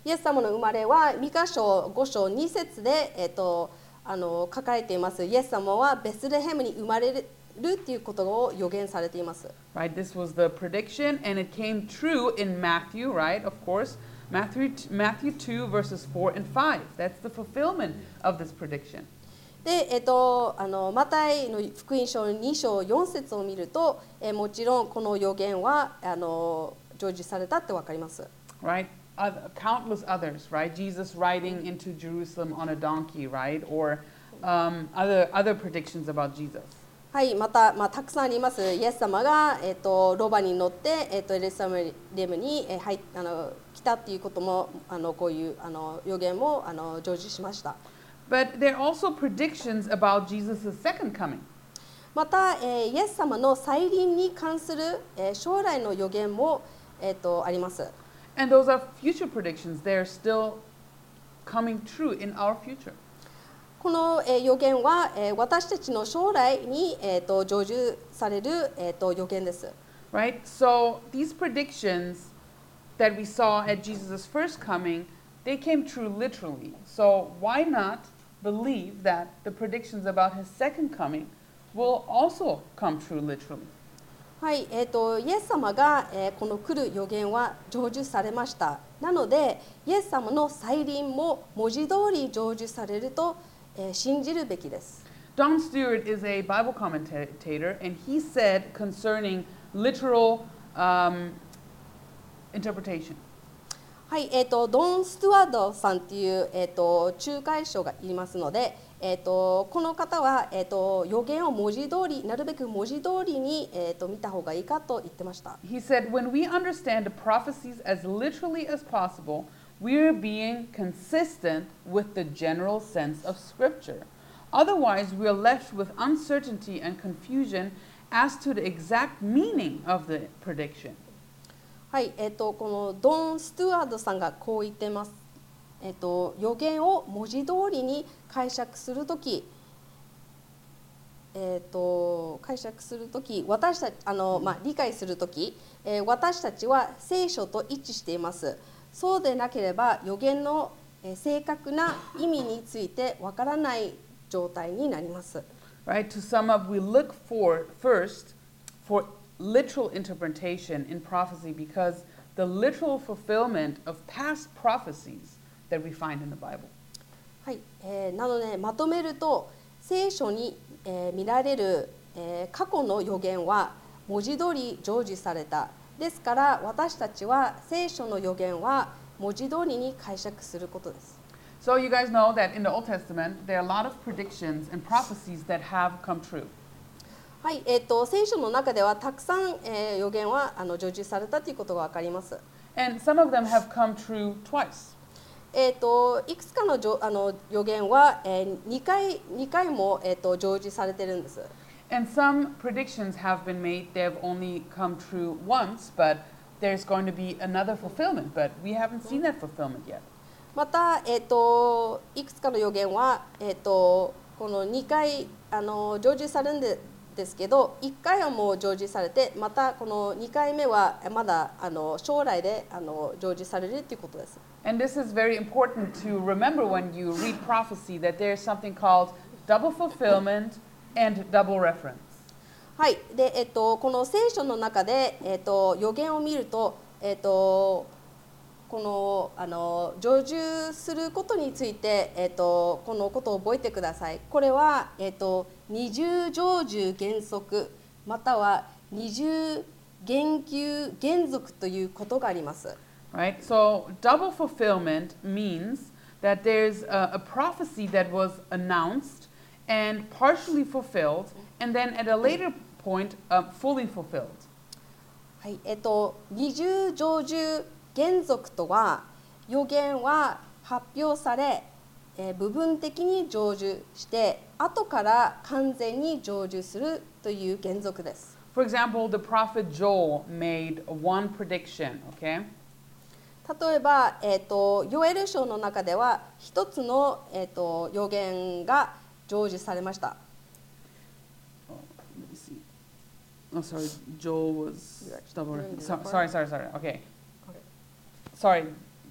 イエス様の生まれはミカ書ご章に節で、えー、とあの書かれています。イエス様はベスレヘムに生まれるっていうことを予言されています。 Right, this was the prediction, and it came true in Matthew, right? Of course, Matthew Matthew two verses four and five. That's the fulfillment of this prediction. で、えっと、あのマタイの福音書に章よん節を見ると、えもちろんこの予言はあの成就されたってわかります。 Right? Other, countless others, right? Jesus riding into Jerusalem on a donkey, right? Or um, other other predictions about Jesus. はい、また、まあ、たくさんあります。イエス様が、えっと、ロバに乗って、えっと、エルサレムに、えはいあの来たっていうことも、あのこういうあの予言もあの成就しました。 But there are also predictions about Jesus' second coming. また、えー、イエス様の再臨に関する、えー、将来の予言も、えー、とあります。 And those are future predictions. They're still coming true in our future. この、えー、予言は、えー、私たちの将来に、えー、と成就される、えー、と予言です。 Right? So these predictions that we saw at Jesus' first coming, they came true literally. So why not believe that the predictions about his second coming will also come true literally? はい、えー、とイエス様が、えー、この来る予言は成就されました。なので、イエス様の再臨も文字通り成就されると、えー、信じるべきです。 Don Stewart is a Bible commentator, and he said concerning literal um, interpretation. はい、えー、とドン・ストゥワードさんという、えー、と仲介者がいますので、えー、とこの方は、えー、と予言を文字通り、なるべく文字通りに、えー、と見た方がいいかと言ってました。 He said, when we understand the prophecies as literally as possible, we're being consistent with the general sense of Scripture. Otherwise, we're left with uncertainty and confusion as to the exact meaning of the prediction. はい、えー、とこのドン・ストゥワードさんがこう言ってます。えー、と予言を文字通りに解釈するとき、えー、と解釈するとき、私たちあの、まあ、理解するとき、えー、私たちは聖書と一致しています。そうでなければ予言の、えー、正確な意味についてわからない状態になります。 Right? To sum up, we look for first for literal interpretation in prophecy because the literal fulfillment of past prophecies that we find in the Bible. はい、えー、なのでまとめると、聖書に、えー、見られる、えー、過去の予言は文字通り成就された。ですから私たちは聖書の予言は文字通りに解釈することです。 So you guys know that in the Old Testament, there are a lot of predictions and prophecies that have come true. はい、えー、と聖書の中ではたくさん、えー、予言はあの成就されたということがわかります。 And some of them have come true twice. えー、といくつかのじょあの予言は、えー、2, 回2回も、えー、と成就されてるんです。 And some predictions have been made, they have only come true once, but there's going to be another fulfillment, but we haven't seen that fulfillment yet. また、えー、といくつかの予言は、えー、とこのにかいあの成就されるんでですけど、いっかいはもう成就されて、またこのにかいめはまだあの将来であの成就されるということです。 And this is very important to remember when you read prophecy that there's something called double fulfillment and double reference. はい、で、えっと、この聖書の中で、えっと、予言を見ると、えっと、このあの成就することについて、えっと、このことを覚えてください。これは、えっと、二重成就原則または二重言及原則ということがあります。 Right? So double fulfillment means that there's a, a prophecy that was announced and partially fulfilled, and then at a later point, uh, fully fulfilled. はい、えっと、二重成就原則とは、予言は発表され、えー、部分的に成就して後から完全に成就するという原則です。 For example, the prophet Joel made one prediction, okay? 例えば、えー、とヨエル書の中では一つの、えー、と予言が成就されました。 Oh, let me see. Oh, sorry, Joel was double. So, sorry, sorry, sorry. Okay. Sorry,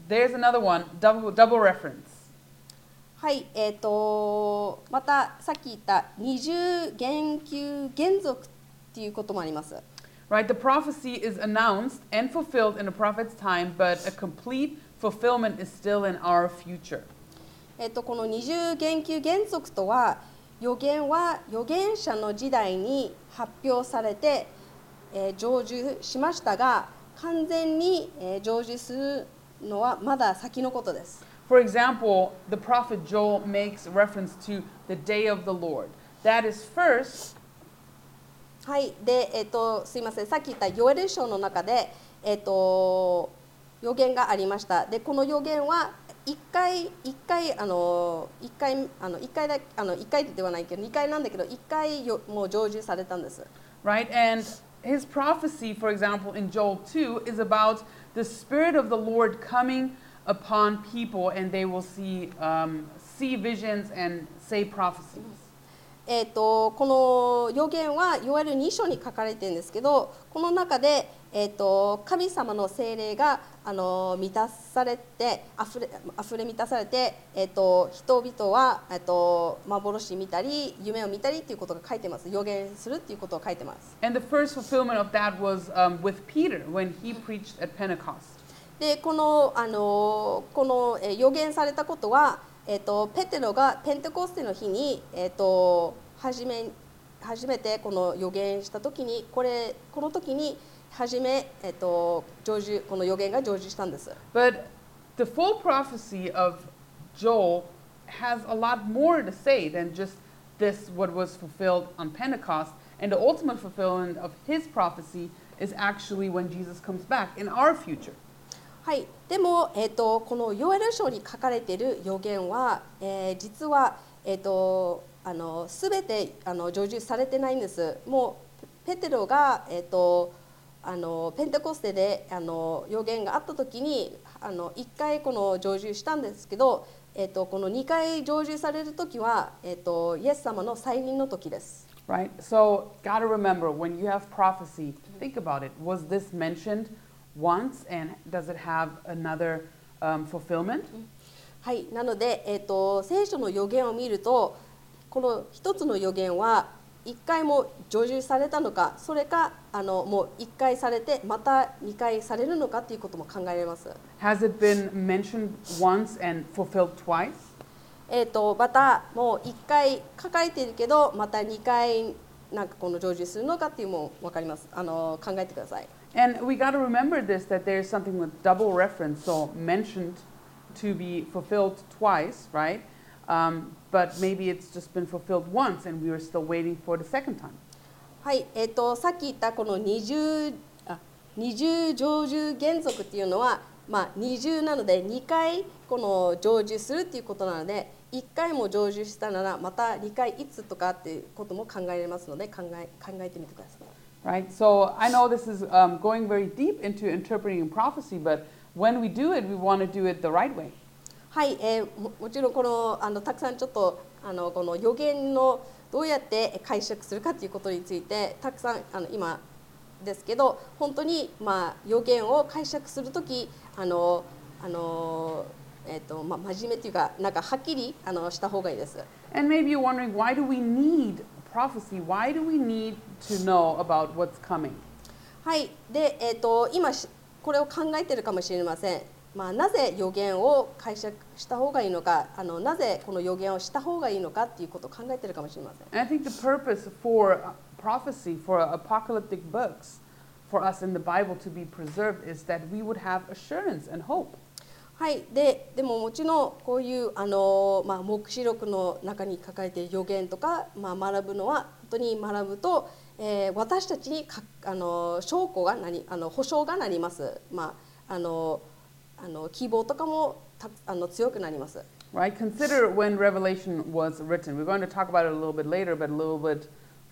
there's another one, double, double reference. はい、えー、とまたさっき言った二重言及原則っていうこともあります。 Right? The prophecy is announced and fulfilled in the prophet's time, but a complete fulfillment is still in our future. えー、とこの二重言及原則とは、預言は預言者の時代に発表されて、えー、成就しましたが、完全に、えー、成就するのはまだ先のことです。 For example, the prophet Joel makes reference to the day of the Lord. That is first. はい、で、えっと、すいません、さっき言ったヨエル書の中で、えっと、予言がありました。で、この予言は一回一回あの一回あの一回だあの一回ではないけど二回なんだけど一回よもう成就されたんです。 Right, and his prophecy, for example, in Joel two, is about the Spirit of the Lord coming upon people, and they will see um, see visions and say prophecies. えー、とこの予言はいわゆるに章に書かれてるんですけど、この中で、えー、と神様の聖霊があの満たされてあふれあふれ満たされて、えー、と人々は、えー、と幻見たり夢を見たりということが書いてます。予言するということを書いてます。 And the first fulfillment of that was um, with Peter when he preached at Pentecost. でこのあのこの、えー、予言されたことは、えー、とペテロがペンテコステの日に、えー、と初め初めてこの予言した時にこれこの時に初め、えー、と成就この予言が成就したんです。 But the full prophecy of Joel has a lot more to say than just this what was fulfilled on Pentecost, and the ultimate fulfillment of his prophecy is actually when Jesus comes back in our future. はい、でも、えー、とこのヨエル書に書かれている予言は、えー、実は、えー、とあの全てあの成就されてないんです。もうペテロが、えー、とあのペンテコステであの予言があった時にあのいっかいこの成就したんですけど、えー、とこのにかい成就される時は、えー、とイエス様の再臨の時です。 Right? So, gotta remember when you have prophecy, think about it. Was this mentioned once, and does it have another um, fulfillment? はい、なので、えー、と聖書の予言を見ると、この一つの予言はいっかいも成就されたのか、それかあのもういっかいされてまたにかいされるのかということも考えられます。 Has it been mentioned once and fulfilled twice? えー、とまたもういっかい書かれているけどまたにかいなんかこの成就するのかっていうのも分かります。あの考えてください。 And we got to remember this, that there's something with double reference, so mentioned to be fulfilled twice, right? Um, but maybe it's just been fulfilled once and we were still waiting for the second time. はい、えー、とさっき言ったこの二重あ二重成就原則っていうのは、まあ、二重なのでにかいこの成就するっていうことなので、いっかいも成就したならまたにかいいつとかっていうことも考えられますので考え考えてみてください。 Right? So I know this is um, going very deep into interpreting prophecy, but when we do it, we want to do it the right way. はい、えー、も, もちろんこのあのたくさんちょっとあのこの予言のどうやって解釈するかということについてたくさんあの今ですけど、本当にまあ予言を解釈するときあのあのえっ、ー、とまあ真面目というかなんかはっきりあのした方がいいです。 And maybe you're wondering, why do we need prophecy? Why do we need to know about what's coming? はい、で、えー、と今これを考えているかもしれません。まあ、なぜ予言を解釈した方がいいのか、あのなぜこの予言をした方がいいのかということを考えているかもしれません。 And I think the purpose for prophecy, for apocalyptic books, for us in the Bible to be preserved is that we would have assurance and hope. はい、で, でももちろんこういうあの、まあ、黙示録の中に書かれている予言とか、まあ、学ぶのは本当に学ぶと、えー、私たちにかあの証拠がなりあの保証がなります。まああのあの希望とかもたあの強くなります。 Right? Consider when Revelation was written. We're going to talk about it a little bit later, but a little bit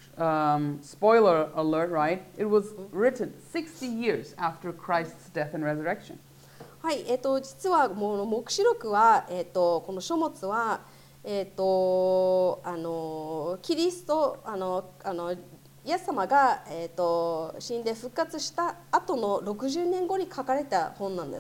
um, spoiler alert, right? It was written sixty years after Christ's death and resurrection. はい、えー、と実はもう黙示録は、えー、とこの書物は、えー、とあのキリストあのあのイエス様が、えー、と死んで復活した後のろくじゅうねんごに書かれた本なんです。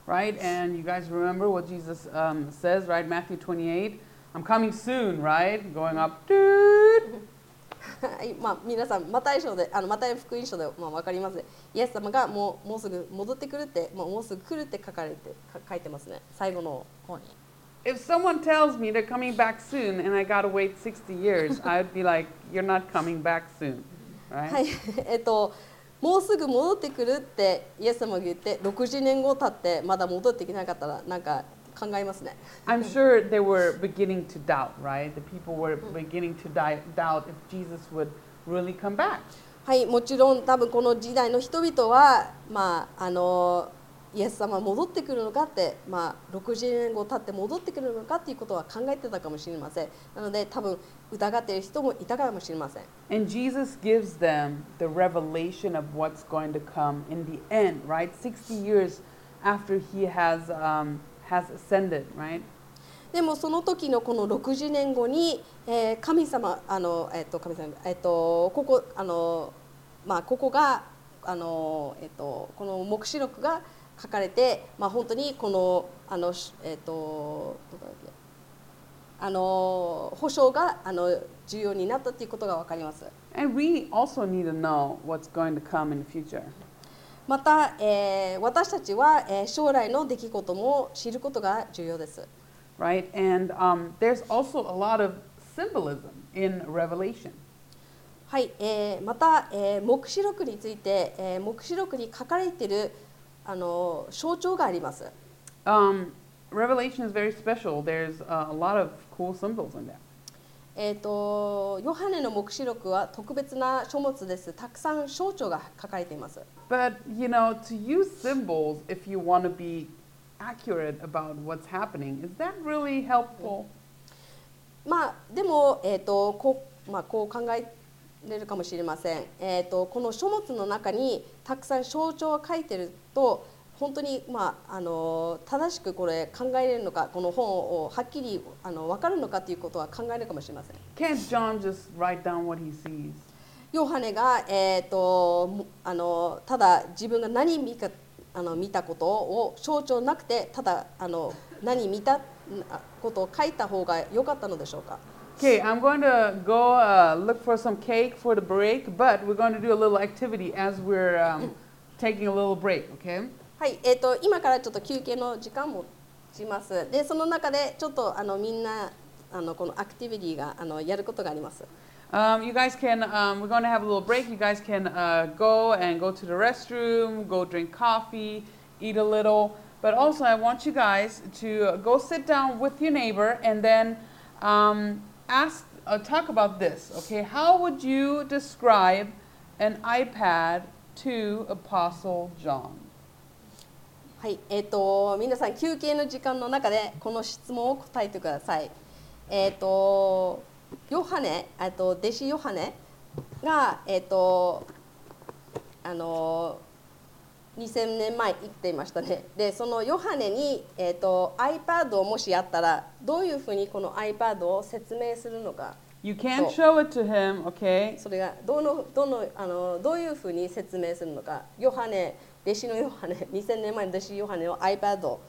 right? And you guys remember what Jesus um, says, right? Matthew twenty-eight, I'm coming soon, right? Going up. Doot. はいまあ、皆さん、マタイ書で、あのマタイ福音書で、まあ、分かりますね。イエス様がもうもうすぐ戻ってくるって、もうもうすぐ来るって書かれてか書いてますね。最後の方に。 If someone tells me they're coming back soon and I gotta wait sixty years, I'd be like, you're not coming back soon, は right? い、えっと、もうすぐ戻ってくるってイエス様が言って、ろくじゅうねんご経ってまだ戻ってきなかったら、なんか考えますね。 I'm sure they were beginning to doubt, right? The people were beginning to di- doubt if Jesus would really come back. はい、もちろん多分この時代の人々は、まあ、あのイエス様戻ってくるのかって、まあ、ろくじゅうねんご経って戻ってくるのかっていうことは考えてたかもしれません。なので多分疑っている人もいたかもしれません。 And Jesus gives them the revelation of what's going to come in the end, right? sixty years after he has, um, has ascended, right? でもその時のこのろくじゅうねんごに、えー、神様あの、えっと、神様、えっと、ここあの、まあ、ここがあの、えっと、この黙示録が書かれて、まあ、本当にこのあの、えっと、どこだっけあの保証があの重要になったということが分かります。 And we also need to know what's going to come in the future. また、えー、私たちは、えー、将来の出来事も知ることが重要です。 Right? And um, there's also a lot of symbolism in Revelation. はい、えー、また、えー、黙示録について、えー、黙示録に書かれているあの象徴があります。 Um, Revelation is very special. There's uh, a lot of cool symbols in there. えっと、ヨハネの黙示録は特別な書物です。たくさん象徴が書かれています。 But, you know, to use symbols if you want to be accurate about what's happening, is that really helpful? まあ、でも、えーとこうまあ、こう考えれるかもしれません。えーと、この書物の中にたくさん象徴を書いてると、本当に、まあ、あの正しくこれ考えれるのか、この本をはっきりあの分かるのかということは考えるかもしれません。 Can't John just write down what he sees? ヨハネが、えーと、あのただ自分が何見かあの見たことを象徴なくて、ただあの何見たことを書いた方が良かったのでしょうか。 Okay, I'm going to go uh, look for some cake for the break, but we're going to do a little activity as we're um, taking a little break, okay? はい、えーと、今からちょっと休憩の時間もします。で、その中でちょっとあのみんなあのこのアクティビティがあのやることがあります。 Um, you guys can, um, we're going to have a little break. You guys can uh, go and go to the restroom, go drink coffee, eat a little. But also, I want you guys to go sit down with your neighbor and then um, ask, uh, talk about this, okay? How would you describe an iPad to Apostle John? はい、えーと、皆さん休憩の時間の中でこの質問を答えてください。えーと、ヨハネ、えーと、弟子ヨハネが、えーと、あのにせんねんまえ生きていましたね。で、そのヨハネに、えーと、iPad をもしやったら、どういうふうにこの iPad を説明するのか。 You can't show it to him, okay? それがどのどのあのどういうふうに説明するのか。ヨハネ、弟子のヨハネ、にせんねんまえの弟子ヨハネの iPad を。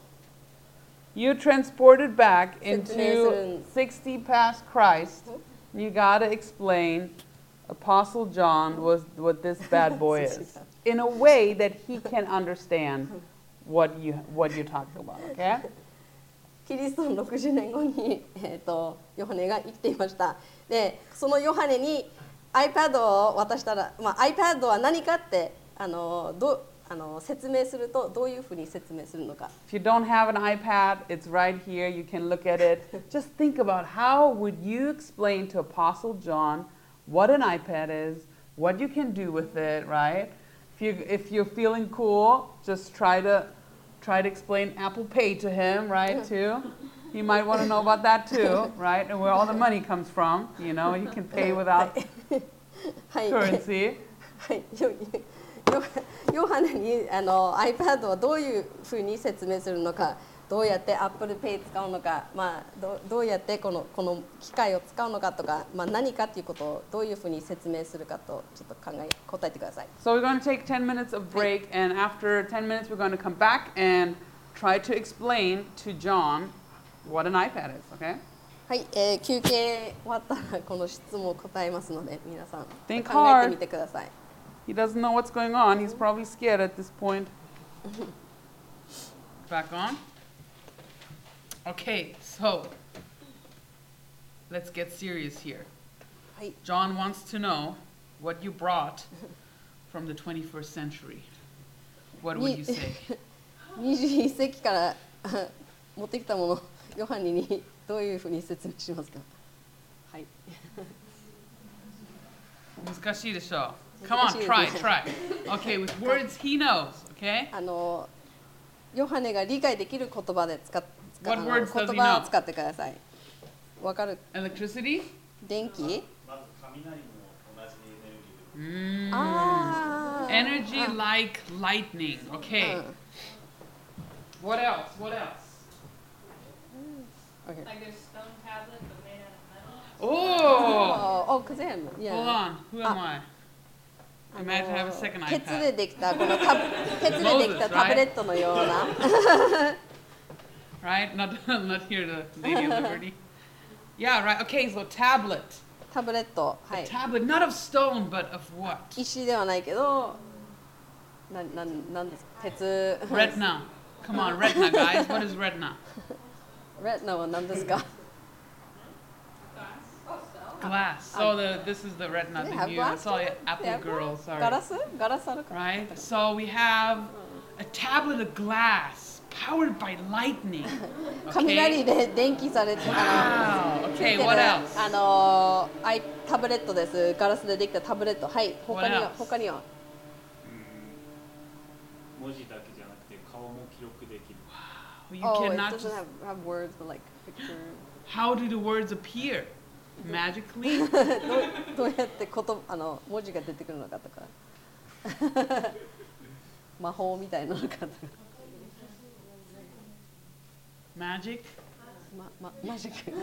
You're transported back into sixty past Christ. You got to explain Apostle John was what this bad boy is in a way that he can understand what you what you're talking about, okay? キリストのろくじゅうねんごに、えー、とヨハネが生きていました。で、そのヨハネに iPad を渡したら、まあ、iPad は何かってあのどあの説明するとどういうふうに説明するのか。 If you don't have an iPad, it's right here. You can look at it. Just think about how would you explain to Apostle John what an iPad is, what you can do with it, right? If you if you're feeling cool, just try to try to explain Apple Pay to him, right? Too. You might want to know about that too, right? And where all the money comes from. You know, you can pay without currency. はい。ヨハネにあの iPad をどういうふうに説明するのか、どうやって Apple Pay 使うのか、まあ、ど, どうやってこのこの機械を使うのかとか、まあ、何かということをどういうふうに説明するかとちょっと考え答えてください。 So we're going to take ten minutes of break, and after ten minutes we're going to come back and try to explain to John what an iPad is, okay? はい、えー、休憩終わったらこの質問を答えますので皆さん Think 考えてみてください。 He doesn't know what's going on. He's probably scared at this point. Back on. Okay, so let's get serious here. はい、 John wants to know what you brought from the twenty-first century. What would you say? にじゅういっ世紀から持ってきたものヨハネにどういうふうに説明しますか。はい。 難しいでしょ。Come on, try, try. Okay, with words he knows, okay? あのヨハネが理解できる言葉で使っ使 What あの words does he 言葉を know? 使ってください。わかる？ Electricity? 電気？ まず雷も同じエネルギーで Mm. ああ。 Energy あ like lightning. Okay. うん What else? What else? Okay. Like there's stone tablet but made out of metal. Oh! Oh, oh, Kazan. Yeah. Hold on. Who am Ah. I? Imagine have a second 鉄で iPad. できたこのタブ鉄でできたタブレットのような Right? Not, not here, the Lady of Liberty. Yeah, right. Okay, so tablet. タブレット、は A い、 tablet, not of stone, but of what? 石ではないけどなななんですか鉄 Retina. Come on, retina, guys. What is retina? レテナは何ですか Glass. So the this is the retina They that have you glass saw too? it, Apple They have Girl. glass? Sorry. ガラスガラスあるか Right. So we have a tablet of glass powered by lightning. 雷 Okay. で電気されてあ Wow. の Okay. ついてる What else? あのアイタブレットですガラスでできたタブレットはい他に What は else? 他にはうん文字だけじゃなくて顔も記録できる You Oh, it cannot doesn't just. have, have words but like picture How do the words appear? Magically? どうどうやってことあの文字が出てくるのかとか魔法みたいなのかとか Magic? ままマジック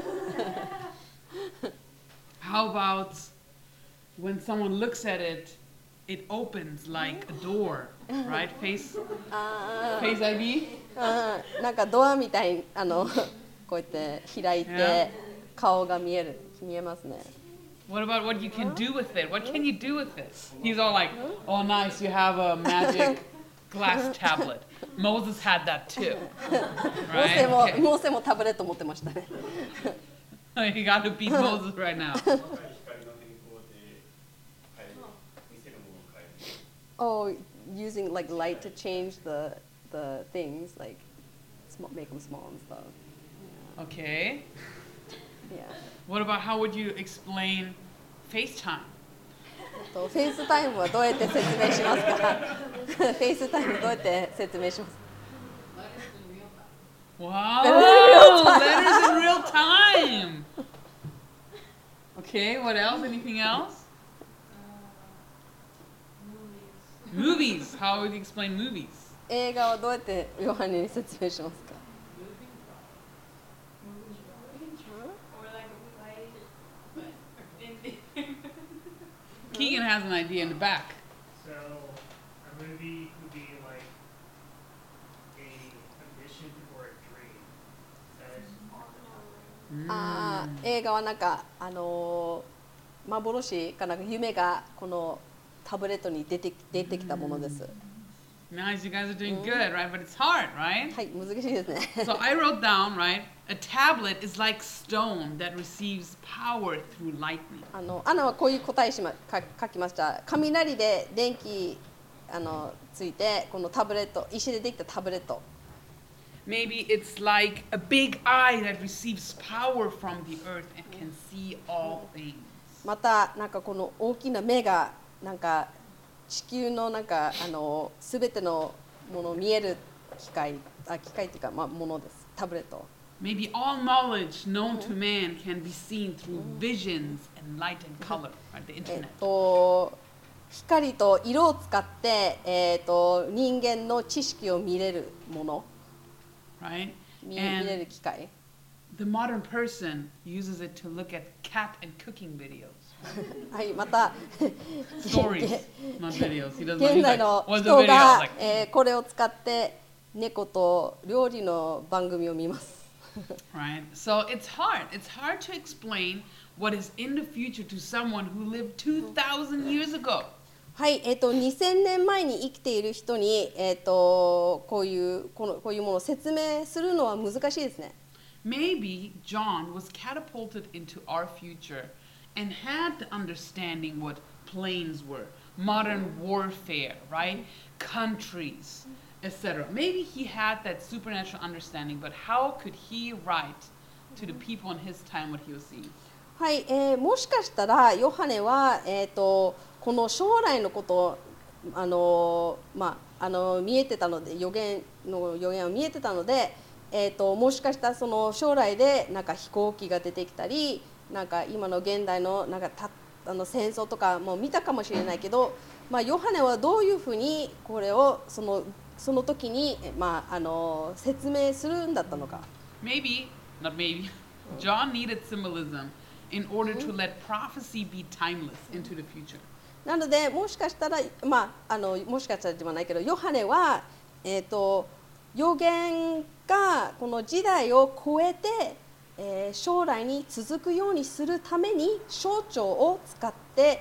How about when someone looks at it, it opens like a door, right? Face あ Face アイディー? ーあーなんかドアみたいにあのこうやって開いて Yeah. 顔が見える見えますね What about what you can do with it? What can you do with it? He's all like, oh, nice, you have a magic glass tablet. Moses had that too. モーセ Right? も Okay. モーセもタブレット持ってましたね You got to beat Moses right now. 光の変更で変える見せるものを変える Oh using like light to change the the things like sm- make them small and stuff Okay. yeah What about how would you explain FaceTime? とフェイスタイムはどうやって説明しますかフェイスタイムどうやって説明します Wow, letters in real time. Okay, what else? Anything else? Movies. How would you explain movies? 映画はどうやってヨハネに説明しますか Or like a play, but in Keegan has an idea in the back. So a movie would be like a, a mission or a dream that is on the tablet. あー映画はなんかあのー幻かなんか夢がこのタブレットに出て出てきたものです。 Nice, you guys are doing good, right? But it's hard, right? はい、難しいですね。 So I wrote down, right? A tablet is like stone that receives power through lightning. あのアナはこういう答えしまか書きました。雷で電気あのついてこのタブレット石でできたタブレット。 Maybe it's like a big eye that receives power from the earth and can see all things. またなんかこの大きな目がなんか地球のなんかあのすべてのものを見える機械あ機械っていうかまあものですタブレット。 Maybe all knowledge known to man can be seen through visions and light and color, right? The えっ internet. と光と色を使ってえっと人間の知識を見れるもの Right? 見見れ And る機械。 the modern person uses it to look at cat and cooking videos. はいまた Stories, not videos. He doesn't know. 現 He's 代 like, の what's the 人 video? I was が like, えーこれを使って猫と料理の番組を見ます。 Right? So it's hard. It's hard to explain what is in the future to someone who lived two thousand years ago. はい、えっと、にせんねんまえに生きている人に、えっと、こういうこのこういうものを説明するのは難しいですね。 Maybe John was catapulted into our future and had the understanding what planes were, modern warfare, right? Countries, et cetera. Maybe he had that supernatural understanding, but how could he write to the people in his time what he was seeing? はい、えー、もしかしたらヨハネは、えっと、この将来のことをあの、まあ、あの見えてたので予言の予言を見えてたので、えー、ともしかしたらその将来でなんか飛行機が出てきたりなんか今の現代のなんかたあの戦争とかも見たかもしれないけど、まあ、ヨハネはどういうふうにこれをそのその時に、まあ、あの説明するんだったのか。 Maybe, not maybe, John needed symbolism in order to let prophecy be timeless into the future. なのでもしかしたら、まあ、あのもしかしたらではないけどヨハネは、えー、と予言がこの時代を超えて、えー、将来に続くようにするために象徴を使って、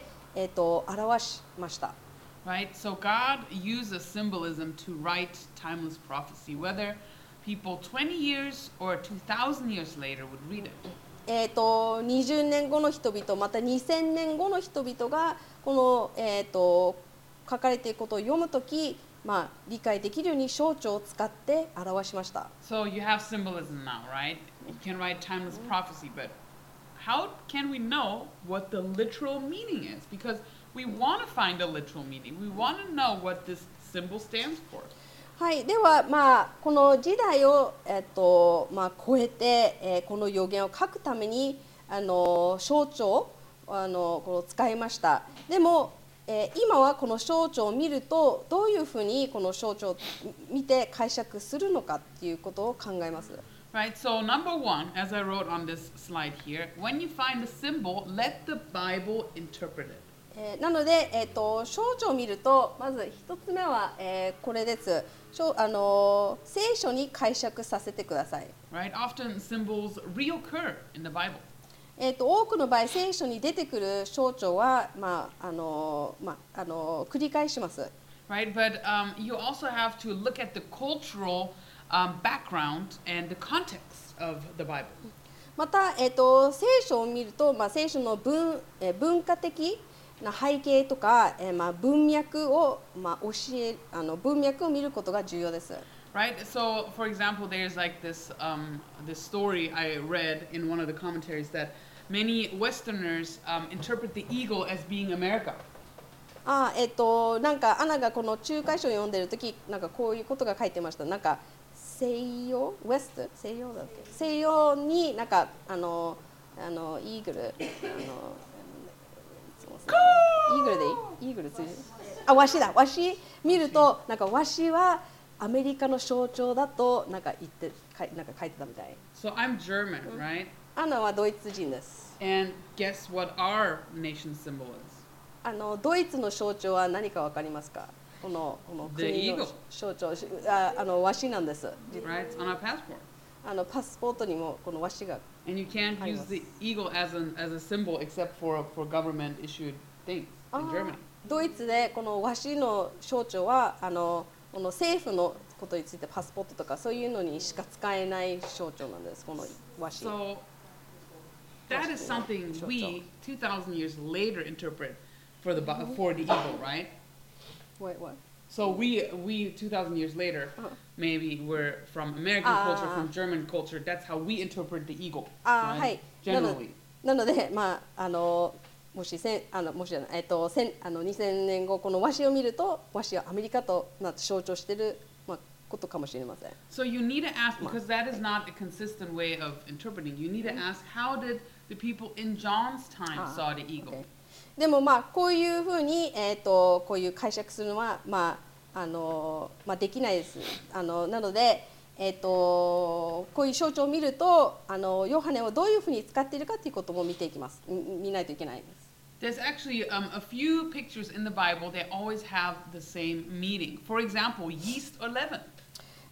えー、と表しました。 Right? So God uses symbolism to write timeless prophecy, whether people twenty years or two thousand years later would read it. えー、とにじゅうねんごの人々またにせんねんごの人々がこの、えー、と書かれていることを読むとき、まあ、理解できるように象徴を使って表しました。 So you have symbolism now, right? You can write timeless prophecy, but how can we know what the literal meaning is? Because we want to find a literal meaning. We want to know what this symbol stands for. はい、では、まあ、この時代を、えっとまあ、超えて、えー、この予言を書くためにあの象徴あのこの使いました。でも、えー、今はこの象徴を見るとどういうふうにこの象徴を見て解釈するのかっていうことを考えます。 Right, so number one, as I wrote on this slide here, when you find a symbol, let the Bible interpret it. えー、なので、えー、と象徴を見るとまず一つ目は、えー、これです。あの聖書に解釈させてください。 Right, often symbols reoccur in the Bible. えー、と多くの場合聖書に出てくる象徴は、まああのまあ、あの繰り返します。 Right, but um, you also have to look at the cultural um, background and the context of the Bible. また、えー、と聖書を見ると、まあ、聖書の 文,、えー、文化的な背景とか、えーまあ、文脈を、まあ、教えあの文脈を見ることが重要です。 Right, so for example, there's like this um, this story I read in one of the commentaries that many Westerners um, interpret the eagle as being America. あえっ、ー、となんかアナがこの仲介書を読んでるときなんかこういうことが書いてました。なんか西洋ウエスト西洋だっけ西洋になんかあのあのイーグルあのイーグルでいいイーグルついてあワシだワシ見るとなんかワシはアメリカの象徴だとなんか言ってかなんか書いてたみたい。 So I'm German, right? アナはドイツ人です。 And guess what our nation's symbol is? あのドイツの象徴は何かわかりますか？このこの国の象徴ああのワシなんです。 Right, it's on our passport. あのパスポートにもこのワシが。 And you can't use the eagle as an as a symbol except for for government issued things in Germany. ドイツでこのワシの象徴はあのこの政府のことについてパスポートとかそういうのにしか使えない象徴なんです。このワシ。 So that is something we two thousand years later interpret for the for the eagle, right? Wait, what? So we we two thousand years later, uh-huh. maybe we're from American uh, culture, from German culture. That's how we interpret the eagle, uh, right? Generally. なので、まああのもしせんあのもしじゃないえっと千あのにせんねんごこの和紙を見ると和紙はアメリカとなって象徴しているまあことかもしれません。 So you need to ask because that is not a consistent way of interpreting. You need to ask how did the people in John's time saw the eagle? Okay. でもまあこういうふうにえっとこういう解釈するのはまああのまあできないです。あのなので。えー、とこういう象徴を見るとあのヨハネをどういうふうに使っているかということも見ていきます。見ないといけないです。 There's actually um, a few pictures in the Bible that always have the same meaning. For example, yeast or leaven.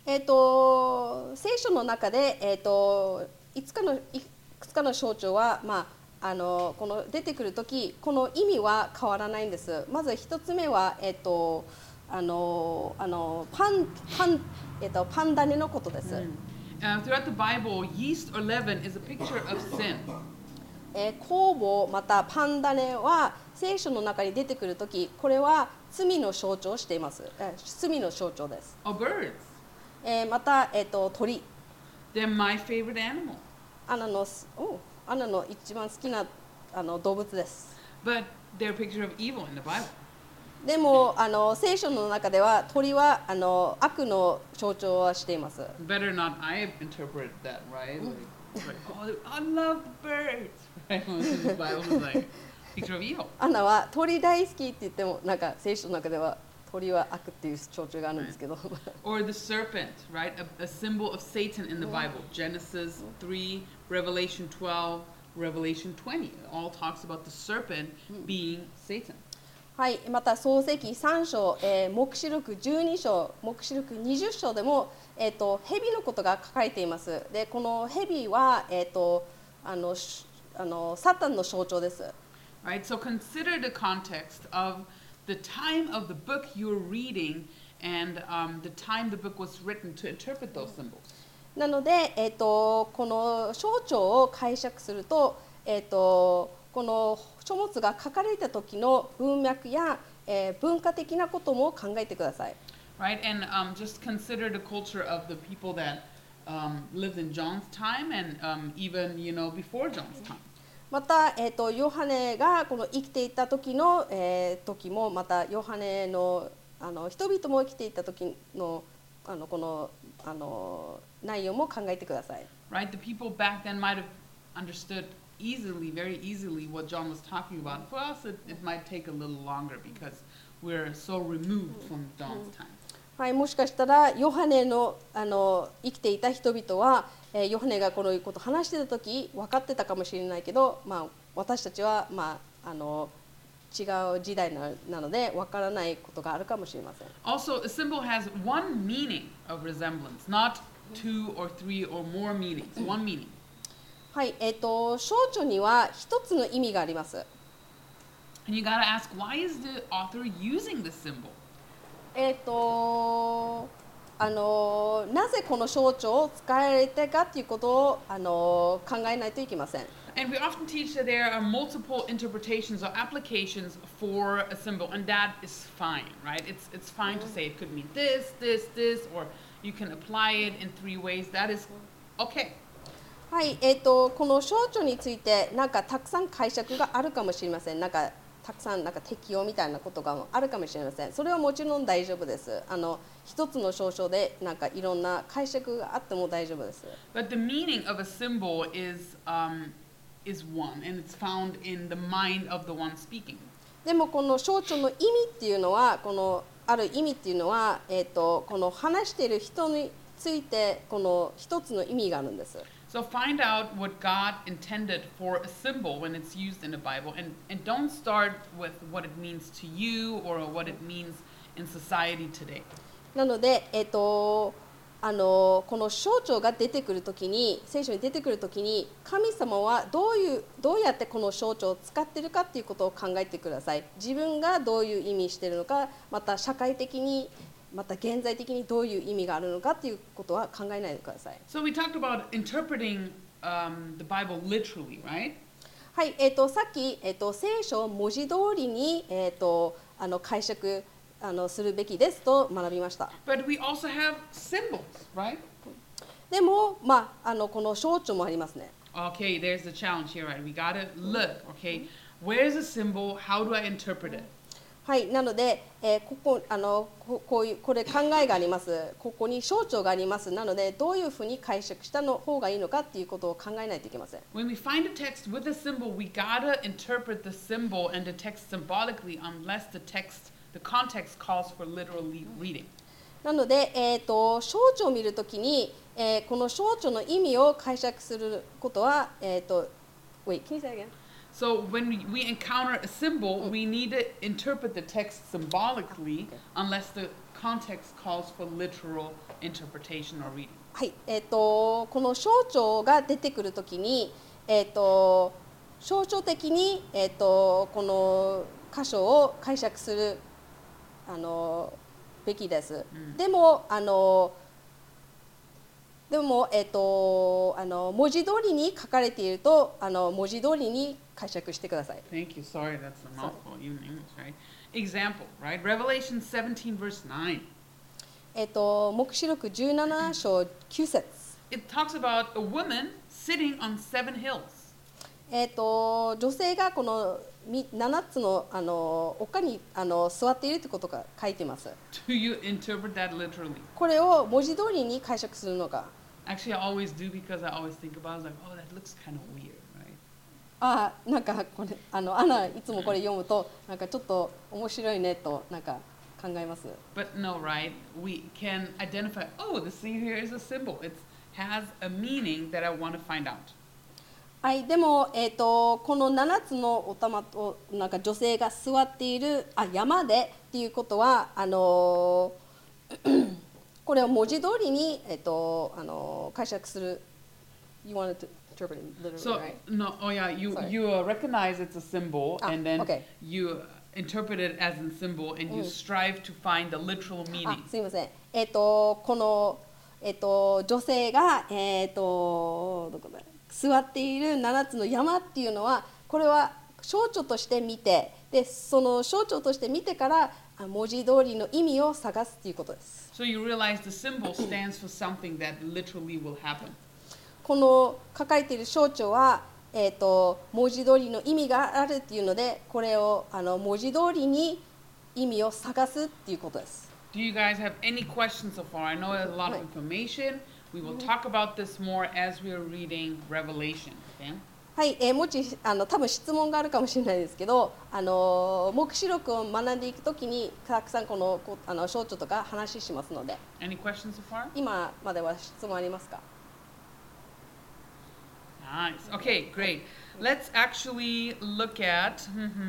えっと聖書の中で、えっといつかのいくつかの象徴は、まあ、あのこの出てくるとき、この意味は変わらないんです。まず一つ目は、えっとあのあのパンパンえっとパン種のことです。 Uh, throughout the Bible, yeast or leaven is a picture of sin. えー、酵母またパン種は聖書の中に出てくるとき、これは罪の象徴をしています。えー、罪の象徴です。 Or birds. えー、また、えー、と鳥。 They're my favorite animal. アナのおアナの一番好きなあの動物です。 But they're a picture of evil in the Bible. でもあの聖書の中では鳥はあの悪の象徴はしています。 Better not I interpret that, right? Like, like oh, I love birds. Right? The Bible is like picture of evil. アナは鳥大好きって言ってもなんか聖書の中では鳥は悪っていう象徴があるんですけど。 Or the serpent, right? A, a symbol of Satan in the Bible. Genesis three, Revelation twelve, Revelation twenty. It all talks about the serpent being Satan. はい、また創世記さん章、えー、黙示録じゅうに章、黙示録にじゅっ章でも、えー、と蛇のことが書かれています。で、この蛇は、えー、とあのあのサタンの象徴です。 Right? So consider the context of the time of the book you're reading and um, the time the book was written to interpret those symbols. なので、えー、とこの象徴を解釈すると、えー、とこの書物が書かれた時の文脈や、えー、文化的なことも考えてください。 Right? And um, just consider the culture of the people that um, lived in John's time and um, even, you know, before John's time. また、えー、とヨハネがこの生きていた時の、えー、時もまたヨハネの、あの人々も生きていた時の、あのこの、あの内容も考えてください。 Right? The people back then might have understood easily, very easily what John was talking about. For us, it, it might take a little longer because we're so removed from John's time. はい、もしかしたらヨハネの、あの生きていた人々は、えー、ヨハネがこのことを話していた時分かってたかもしれないけど、まあ、私たちは、まあ、あの違う時代 な, なので分からないことがあるかもしれません。 Also, a symbol has one meaning of resemblance, not two or three or more meanings. One meaning. はい、えーと、象徴には一つの意味があります。 And you gotta ask, why is the author using this symbol? えっと、あのなぜこの象徴を使われたかということをあの考えないといけません。 And we often teach that there are multiple interpretations or applications for a symbol, and that is fine, right? It's it's fine to say it could mean this, this, this, or you can apply it in three ways. That is okay. はい、えっと、この象徴についてなんかたくさん解釈があるかもしれません。なんかたくさんなんか適用みたいなことがあるかもしれません。それはもちろん大丈夫です。あの一つの象徴でなんかいろんな解釈があっても大丈夫です。 But the meaning of a symbol is um, is one, and it's found in the mind of the one speaking. でもこの象徴の意味っていうのは、このある意味っていうのは、えっと、この話している人についてこの一つの意味があるんです。 So find out what God intended for a symbol when it's used in the Bible, and, and don't start with what it means to you or what it means in society today. なので、えっと、あのこの象徴が出てくるときに、聖書に出てくるときに、神様はどういうどうやってこの象徴を使っているかっていうことを考えてください。自分がどういう意味しているのか、また社会的にまた現在的にどういう意味があるのかっていうことは考えないでください。 So we talked about interpreting um, the Bible literally, right? はい、えっとさっき、えっと聖書を文字通りに、えっとあの解釈あのするべきですと学びました。 But we also have symbols, right? でも、まあ、あのこの象徴もありますね。 Okay, there's the challenge here, right? We gotta look, okay? Where's the symbol? How do I interpret it? はい、なので、えー、ここあのここういうこれ考えがあります。ここに象徴があります。なのでどういうふうに解釈したの方がいいのかっていうことを考えないといけません。 When we find a text with a symbol, we gotta interpret the symbol and the text symbolically, unless the text, the context calls for literal reading. なので、えー、と象徴を見るときに、えー、この象徴の意味を解釈することは、えー、と Wait, can you say again? So when we, we encounter a symbol, we need to interpret the text symbolically, unless the context calls for literal interpretation or reading. はい、えっ、とこの象徴が出てくるときに、えっ、と象徴的にえっ、とこの箇所を解釈するあのべきです。 うんでもあのでもえっ、とあの文字通りに書かれているとあの文字通りに解釈してください。 Thank you. Sorry, that's a mouthful, even in English, right? Example, right? Revelation seventeen, verse nine. えっ、と黙示録じゅうなな章きゅう節。 It talks about a woman sitting on seven hills. えっ、と女性がこのみななつのあの丘にあの座っているということが書いています。 Do you interpret that literally? これを文字通りに解釈するのか。 Actually, I always do because I always think about it, like, oh, that looks kind of weird, right? ああ、なんかこれあのアナいつもこれ読むとなんかちょっと面白いねとなんか考えます。 But no, right? We can identify, oh, the sea here is a symbol. It has a meaning that I want to find out. はい、でもえっ、とこのななつのお玉となんか女性が座っているあ山でっていうことはあのこれを文字通りにえっ、とあの解釈する。You wanted to interpret it literally, So, right? no, oh yeah, you, Sorry. you uh, recognize it's a symbol, Ah, and then okay. you interpret it as a symbol, and you Mm. strive to find the literal あ meaning. すみません。えっ、とこのえっ、と女性がえっ、とどこだ座っているななつの山っていうのはこれは象徴として見てでその象徴として見てからあ文字通りの意味を探すっていうことです。 So you realize the symbol stands for something that literally will happen. この書かれている象徴はえっ、と文字通りの意味があるっていうのでこれをあの文字通りに意味を探すっていうことです。 Do you guys have any questions so far? I know there's a lot of information. We will talk about this more as we are reading Revelation. Okay? はい、えー、もちあの多分質問があるかもしれないですけど、あのー黙示録を学んでいくときにたくさんこのこあの象徴とか話しますので、 Any questions so far? 今までは質問ありますか？ Nice. Okay, great. Let's actually look at.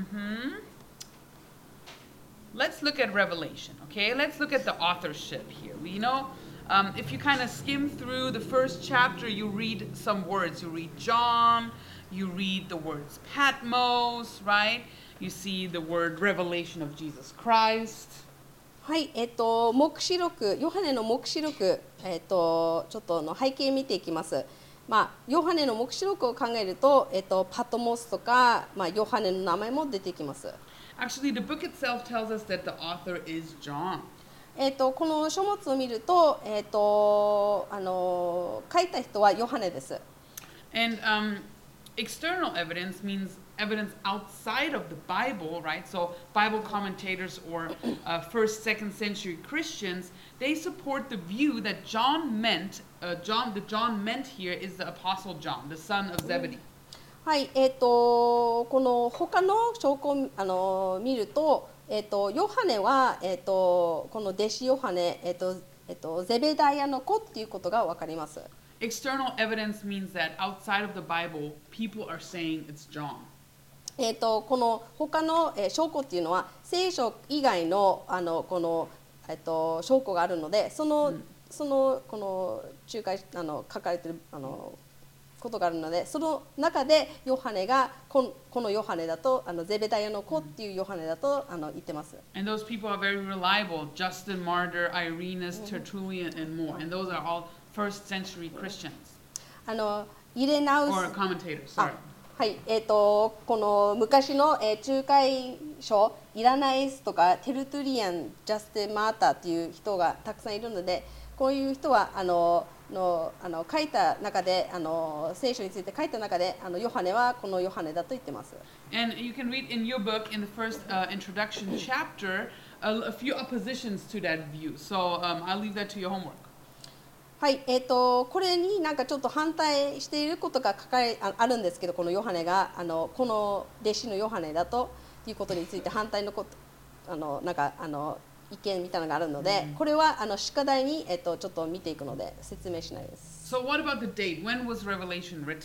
Let's look at Revelation. Okay, let's look at the authorship here. We know um, if you kind of skim through the first chapter, you read some words. You read John. You read the words Patmos, right? You see the word revelation of Jesus Christ. はい、えっ、と黙示録、ヨハネの黙示録、えっ、とちょっとの背景見ていきます。まあヨハネの黙示録を考えると、えっ、とパトモスとか、まあヨハネの名前も出てきます。 Actually, the book itself tells us that the author is John. えっ、とこの書物を見ると、えっ、とあの書いた人はヨハネです。 And um, external evidence means evidence outside of the Bible, right? So Bible commentators or uh, first, second century Christians, they support the view that John meant, uh, John, the John meant here is the Apostle John, the son of Zebedee. はい、えっ、とこの他の証拠をあの見ると、えっ、とヨハネはえっ、とこの弟子ヨハネ、えっ、とえっ、とゼベダイヤの子っていうことがわかります。 External evidence means that outside of the Bible, people are saying it's John. えっ、とこの他の、えー証拠っていうのは聖書以外のあのこのえっ、と証拠があるので、その、そのこの仲介あの書かれてるあのことがあるので、その中でヨハネがこのこのヨハネだとあのゼベダイヤの子っていうヨハネだとあの言ってます。 And those people are very reliable. Justin Martyr, Irenaeus, Tertullian, and more. And those are all first century Christians あのイレナウ or ス commentators. あ Sorry. はいえー、とこの昔の、えー、仲介書イラナイスとかテルトゥリアン、ジャスティン・マーターっていう人がたくさんいるので、こういう人はあののあの書いた中であの聖書について書いた中であのヨハネはこのヨハネだと言ってます。 And you can read in your book, in the first uh, introduction chapter, a, a few oppositions to that view. So um, I'll leave that to your homework. はいえー、とこれになんかちょっと反対していることが書かれ あ, あるんですけど、このヨハネがあのこの弟子のヨハネだということについて反対のことあのなんかあの意見みたいなのがあるので、これはあの宿題に、えー、とちょっと見ていくので説明しないです。 So what about the date? When was Revelation written?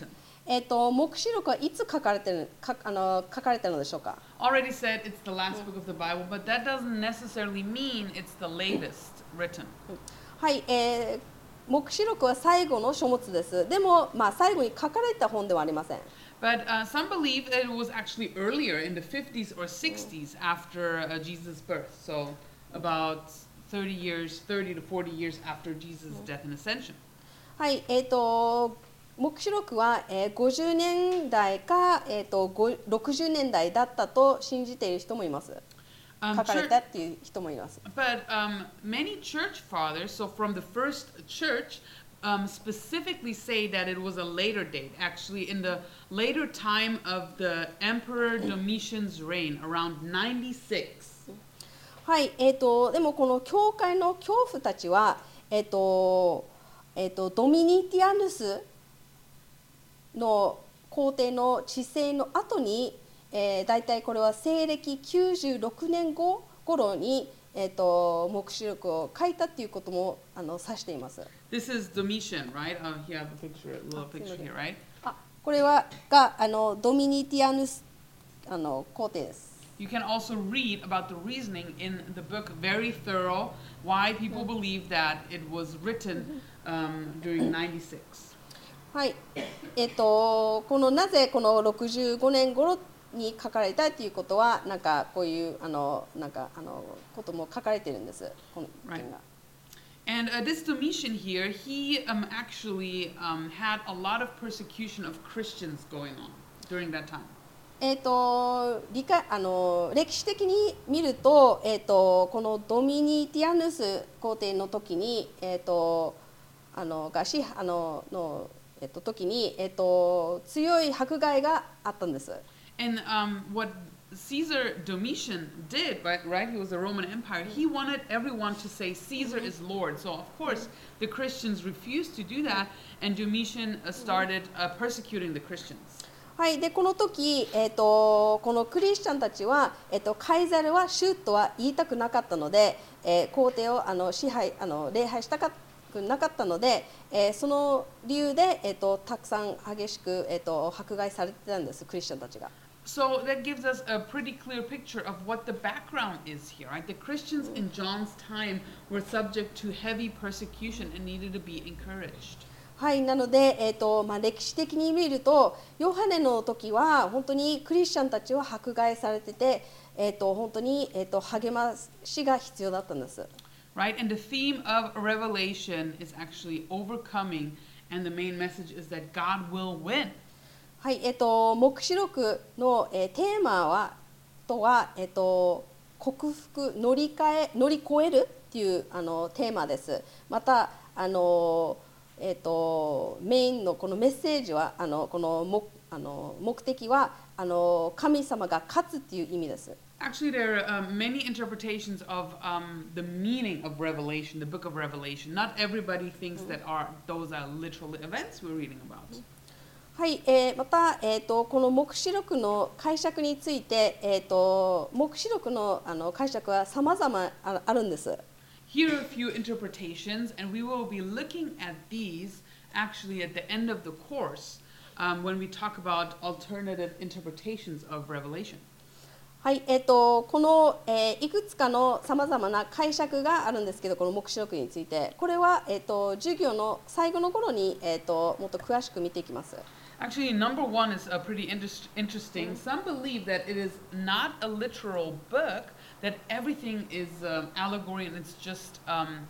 えっと、黙示録はいつ書かれてる、かあの書かれたのでしょうか。 Already said it's the last book of the Bible, but that doesn't necessarily mean it's the latest written. はい、えー、黙示録は最後の書物です。でも、まあ、最後に書かれた本ではありません。 But uh, some believe that it was actually earlier in the fifties or sixties after uh, Jesus' birth. So about thirty years, thirty to forty years after Jesus' death and ascension. はい、えっと、黙示録は、えー、ごじゅうねんだいか、えー、とろくじゅうねんだいだったと信じている人もいます。 Um, 書かれ chur- たっていう人もいます。 but um, many church fathers, so from the first church, um, specifically say that it was a later date, actually in the later time of the Emperor Domitian's reign, around ninety-six. はい、えー、とでもこの教会の教父たちは、えーとえー、とドミニティアヌスの皇帝の治世の後に、えー、大体これは西暦きゅうじゅうろくねんご頃に、えー、と黙示録を書いたっていうこともあの指しています。 This is Domitian, right? Uh, you have a picture, a little picture here, right? あ、これはがあのドミニティアヌスあの皇帝です。 You can also read about the reasoning in the book, very thorough, why people believe that it was written um, during ninety-six. はい、えっとこのなぜこのろくじゅうごねん頃に書かれたということはなんかこういうあのなんかあのことも書かれているんです。この件が。 And uh, this Domitian here, he um, actually um, had a lot of persecution of Christians going on during that time. えっと理解あの歴史的に見ると、えっとこのドミニティアヌス皇帝の時に、えっとあのがしあののえっと時にえっと強い迫害があったんです。 And um, what Caesar Domitian did, right, right? He was a Roman Empire. He wanted everyone to say Caesar is Lord. So of course the Christians refused to do that, and Domitian uh, started uh, persecuting the Christians. はい、でこの時、えー、とこのクリスチャンたちは、えー、とカイザルは主とは言いたくなかったので、えー、皇帝をあの支配あの礼拝したくなかったので、えー、その理由で、えー、とたくさん激しく、えー、と迫害されてたんです、クリスチャンたちが。 So that gives us a pretty clear picture of what the background is here, right? The Christians in John's time were subject to heavy persecution and needed to be encouraged. はい、なので、えーとまあ、歴史的に見るとヨハネの時は本当にクリスチャンたちは迫害されてて、えー、と本当に、えー、と励ましが必要だったんです。 Right? And the theme of Revelation is actually overcoming, and the main message is that God will win. はい、えっと黙示録の、えー、テーマはとはえっと克服乗り換え乗り越えるっていうあのテーマです。またあのえっとメインのこのメッセージはあのこの目あの目的はあの神様が勝つっていう意味です。 Actually, there are um, many interpretations of um, the meaning of Revelation, the book of Revelation. Not everybody thinks that are those are literal events we're reading about. はい、えー、また、えー、とこの黙示録の解釈について、えー、と黙示録のあの解釈は様々ああるんです。 Here are a few interpretations, and we will be looking at these actually at the end of the course um, when we talk about alternative interpretations of Revelation. はい、えー、とこの、えー、いくつかのさまざまな解釈があるんですけど、この黙示録について、これは、えー、と授業の最後の頃に、えー、ともっと詳しく見ていきます。 Actually, number one is uh, pretty inter- interesting. Some believe that it is not a literal book, that everything is um, allegory and it's just, um,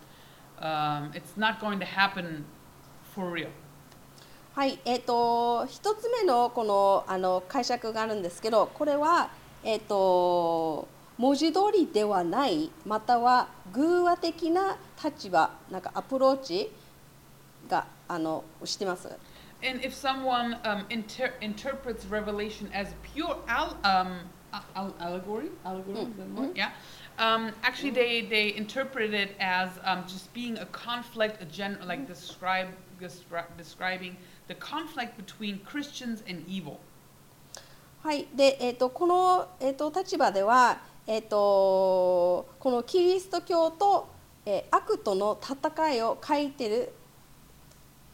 um, it's not going to happen for real. はい、えー、と一つ目のこのあの解釈があるんですけど、これは、えー、と文字通りではない、または偶話的な立場、なんかアプローチがあのしてます。 And if someone um, inter- interprets Revelation as pure al- um, al- allegory, allegory, is that the word? Yeah. Um, actually, they, they interpret it as um, just being a conflict, a gen- like describe, descri- describing the conflict between Christians and evil. はい、で、えー、とこの、えー、と立場では、えー、とこのキリスト教と、えー、悪との戦いを書いてる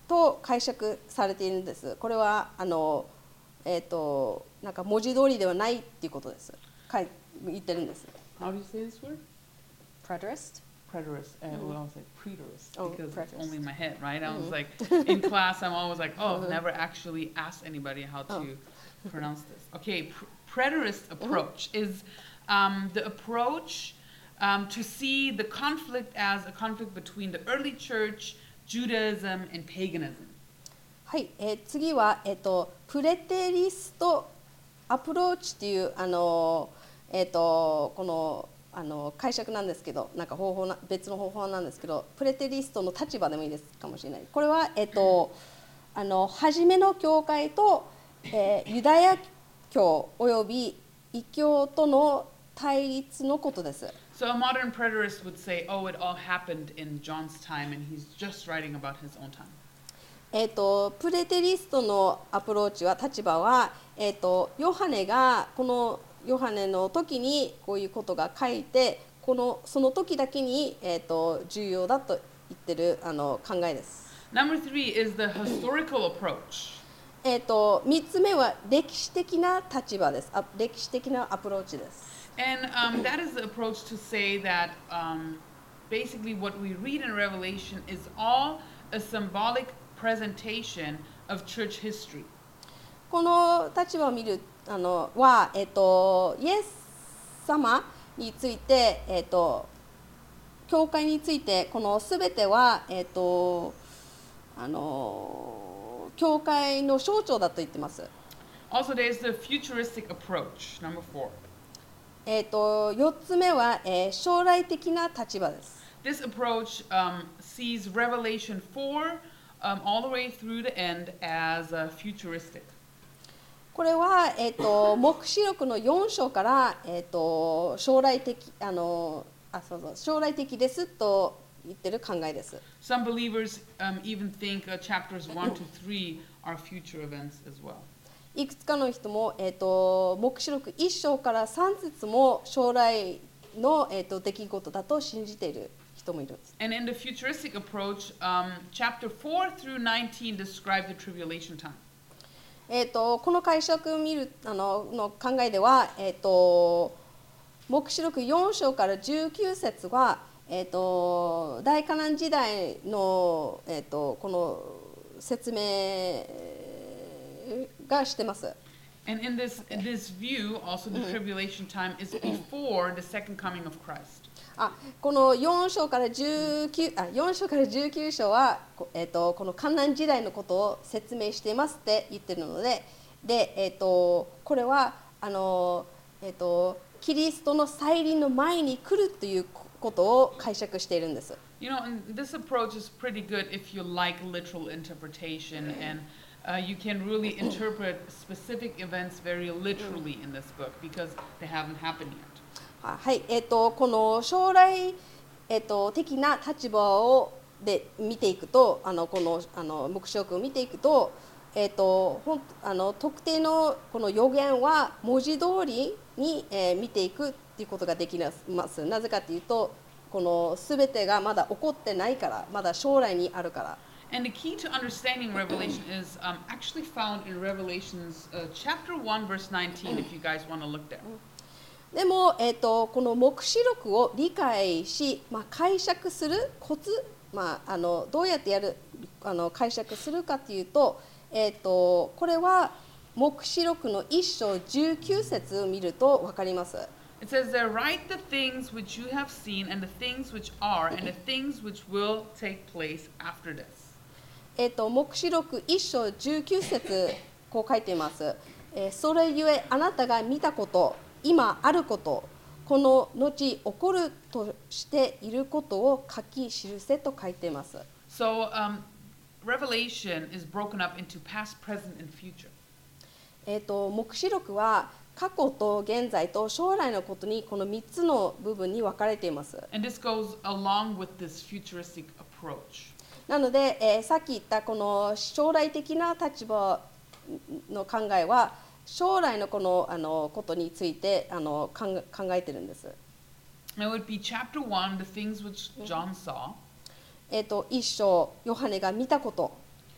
と解釈されているんです。これはあの、えー、となんか文字通りではないっていうことです。かい言ってるんです。 How do you say this word? Preterist? Preterist. Uh, well, I was like preterist Oh, because preterist. it's only in my head, right? I was Mhm. like, in class, I'm always like, oh, I've never actually asked anybody how to Oh. pronounce this. Okay, pr- preterist approach is um, the approach um, to see the conflict as a conflict between the early church, Judaism, and paganism. はい、えー次は、えー、とプレテリストアプローチというあの、えー、とこのあの解釈なんですけど、なんか方法な別の方法なんですけど、プレテリストの立場でもいいですかもしれない。これは、えー、とあの初めの教会と、えーユダヤ教および異教との対立のことです。 So a modern preterist would say, oh, it all happened in John's time, and he's just writing about his own time. えー、とプレテリストのアプローチは立場は、えー、とヨハネがこのヨハネの時にこういうことが書いて、このその時だけに、えー、と重要だと言ってるあの考えです。 Number three is the historical approach. えー、とみっつめは歴史的な立場です。あ歴史的なアプローチです。 And um, that is the approach to say that um, basically what we read in Revelation is all a symbolic presentation of church history. この立場を見るあのは、えー、とイエス様について、えー、と教会についてこのすべては、えー、とあの教会の象徴だと言ってます。 Also, there's the futuristic approach, number four. えー、とよっつめは、えー将来的な立場です。 This approach um, sees Revelation four um, all the way through the end as uh, futuristic. これは、えー、と黙示録のよん章から、えー、と将来的あのあそうそう将来的ですと言ってる考えです。 Some believers um, even think uh, chapters one to three are future events as well. いくつかの人も、えー、と黙示録いっ章からさん節も将来の、えー、と出来事だと信じている人もいるんです。 And in the futuristic approach, um, chapter four through nineteen describe the tribulation time. えー、とこの解釈を見るあのの考えでは、えー、と黙示録よん章からじゅうきゅう節は、えー、と大カナン時代の、えー、とこの説明がしてます。 And in this, in this view, also the tribulation time is before the second coming of Christ. あこのよん章からじゅうきゅうあよん章からじゅうきゅう章は、こえー、とこの観覧時代のことを説明していますって言ってるので、で、えー、とこれはあの、えー、とキリストの再臨の前に来るということを解釈しているんです。 You know, and this approach is pretty good if you like literal interpretation and uh, you can really interpret specific events very literally in this book because they haven't happened yet. はい、えー、とこの将来、えー、と的な立場をで見ていくと、あのこのあの黙示録を見ていくと、えー、とほんあの特定のこの予言は文字通りに、えー見ていくっていうことができます。なぜかというと、このすべてがまだ起こってないから、まだ将来にあるから。 And the key to understanding Revelation is um, actually found in Revelations uh, chapter one, verse nineteen, if you guys want to look there. でも、えー、とこの黙示録を理解し、まあ、解釈するコツ、まあ、あのどうやってやるあの解釈するかというと、えー、とこれは黙示録のいっ章じゅうきゅう節を見ると分かります。 It says there, write the things which you have seen, and the things which are, and the things which will take place after this. えー、と黙示録いっ章じゅうきゅう節こう書いています。えーそれゆえあなたが見たこと、今あること、この後起こるとしていることを書き記せと書いています。 So um, Revelation is broken up into past, present, and future. えー、と黙示録は過去と現在と将来のことにこのみっつの部分に分かれています。 And this goes along with this futuristic approach. なので、えーさっき言ったこの将来的な立場の考えは将来のこのあのことについてあの考え考えてるんです。 It would be chapter one, the things which John saw. えー、と一章ヨハネが見たこと。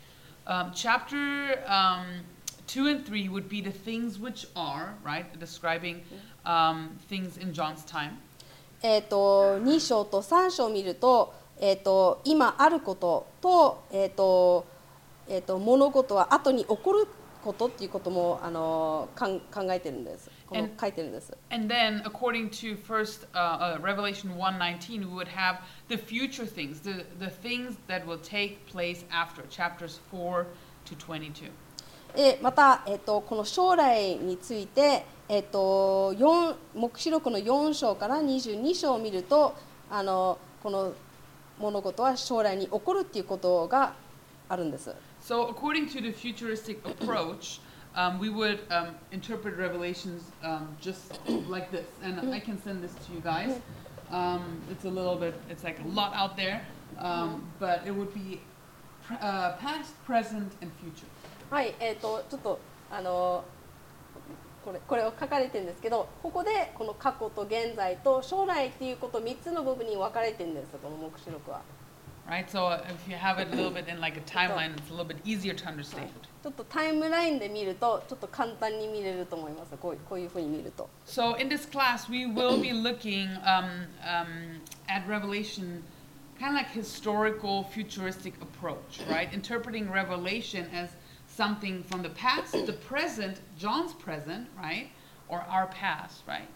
Um, chapter um, two and three would be the things which are, right? Describing um, things in John's time. えー、とに章とさん章を見ると、えー、と今あることと、えーとえー、と物事は後に起こることっていうこともあのかん考えてるんです。この And- 書いてるんです。 And then, according to first uh, uh, Revelation one nineteen, we would have the future things, the, the things that will take place after, chapters four to twenty-two. でまた、えー、とこの将来について、えー、とよん黙示録のよん章からにじゅうに章を見ると、あのこの物事は将来に起こるっていうことがあるんです。 So, according to the futuristic approach, um, we would um, interpret Revelations um, just like this. And I can send this to you guys. Um, it's a little bit, it's like a lot out there, um, but it would be pr- uh, past, present, and future. はい、えー、とちょっとあのこれこれを書かれてるんですけど、ここでこの過去と現在と将来っていうことみっつの部分に分かれてるんです、この黙示録は。 Right, so if you have it a little bit in like a timeline, it's a little bit easier to understand. ちょっとタイムラインで見るとちょっと簡単に見れると思います。こうこういうふうに見ると。 So in this class, we will be looking um, um, at Revelation, kind of like historical, futuristic approach, right? Interpreting Revelation as something from the past, the present, John's present, right, or our past, right,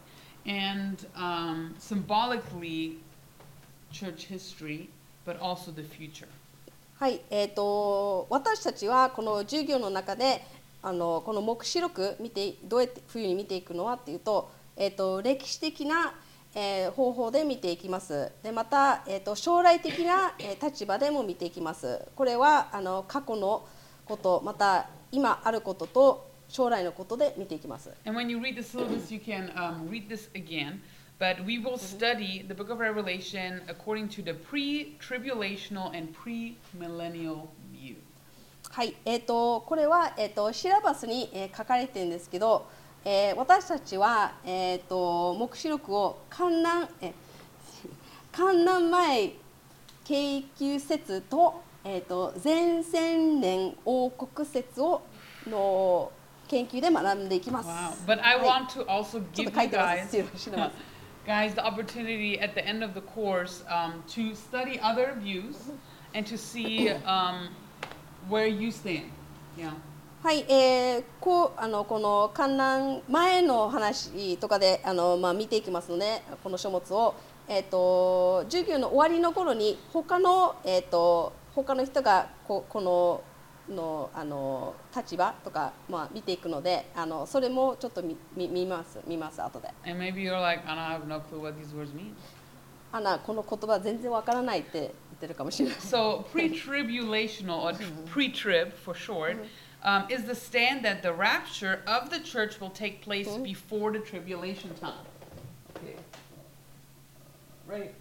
and um, symbolically, church history, but also the future. はい、えー、と私たちはこの授業の中であのこの黙示録見てどうやって冬に見ていくのはっていうと、えー、と歴史的な、えー、方法で見ていきます。でまた、えー、と将来的な、えー、立場でも見ていきます。これはあの過去のことまた今あることと将来のことで見ていきます。 And when you read the syllabus, you can um, read this again. But we will study the book of Revelation according to the pre-tribulational and pre-millennial view. はい、えー、とこれは、えー、とシラバスに、えー書かれてるんですけど、えー私たちは、えー、と黙示録を観覧、えー観覧前京急説と,、えー、と前千年王国説をの研究で学んでいきます。 Wow. But I はい want to also ちょ give っと書 you いてま guys す。知らます guys the opportunity at the end of the course um, to study other views and to see um, where you stand. Yeah. はい、えー、こうあのこの観覧前の話とかであの、まあ、見ていきますので、この書物を、えー、と授業の終わりの頃に他の、えー、と他の人がここののあの立場とか、まあ、見ていくので、あのそれもちょっと見見見ます見ます後で。 And maybe you're like, Anna, I have no clue what these words mean. アナこの言葉全然わからないって言ってるかもしれない。 So pre-tribulational or pre-trib for short um, is the stand that the rapture of the church will take place before the tribulation time. Okay. Right.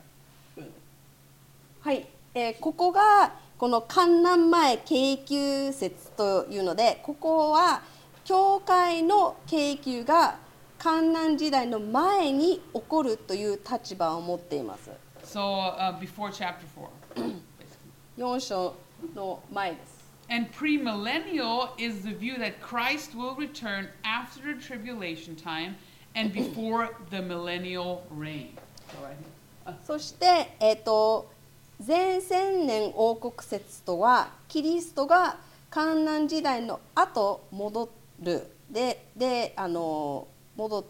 はい、えーここがこの観覧前京急説というので、ここは教会の京急が観覧時代の前に起こるという立場を持っています。 So uh, before chapter four, basically. よん章の前です。 And premillennial is the view that Christ will return after the tribulation time and before the millennial reign. So right here. そして、えー、と前千年王国説とはキリストが観覧時代の後戻るでであの戻って、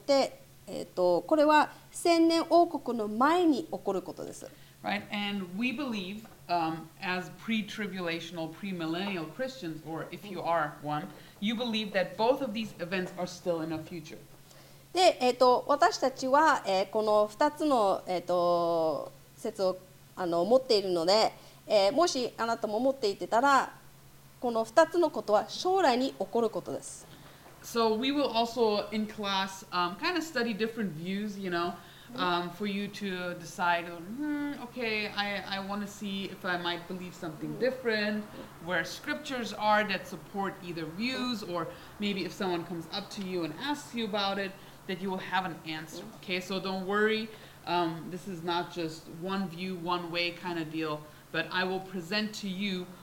えー、とこれは千年王国の前に起こることです。 Right? And we believe, um, as pre-tribulational, premillennial Christians, or if you are one, you believe that both of these events are still in our future. で、えー、と私たちは、えーこのふたつの、えー、と説をあの持っているので、えーもしあなたも持っていてたらこのふたつのことは将来に起こることです。 So we will also, in class, um, kind of study different views, you know, um, for you to decide, hmm, okay, I, I want to see if I might believe something different, where scriptures are that support either views, or maybe if someone comes up to you and asks you about it, that you will have an answer. Okay, so don't worry. Um, this is not just one view, one way kind of deal, but I will present to you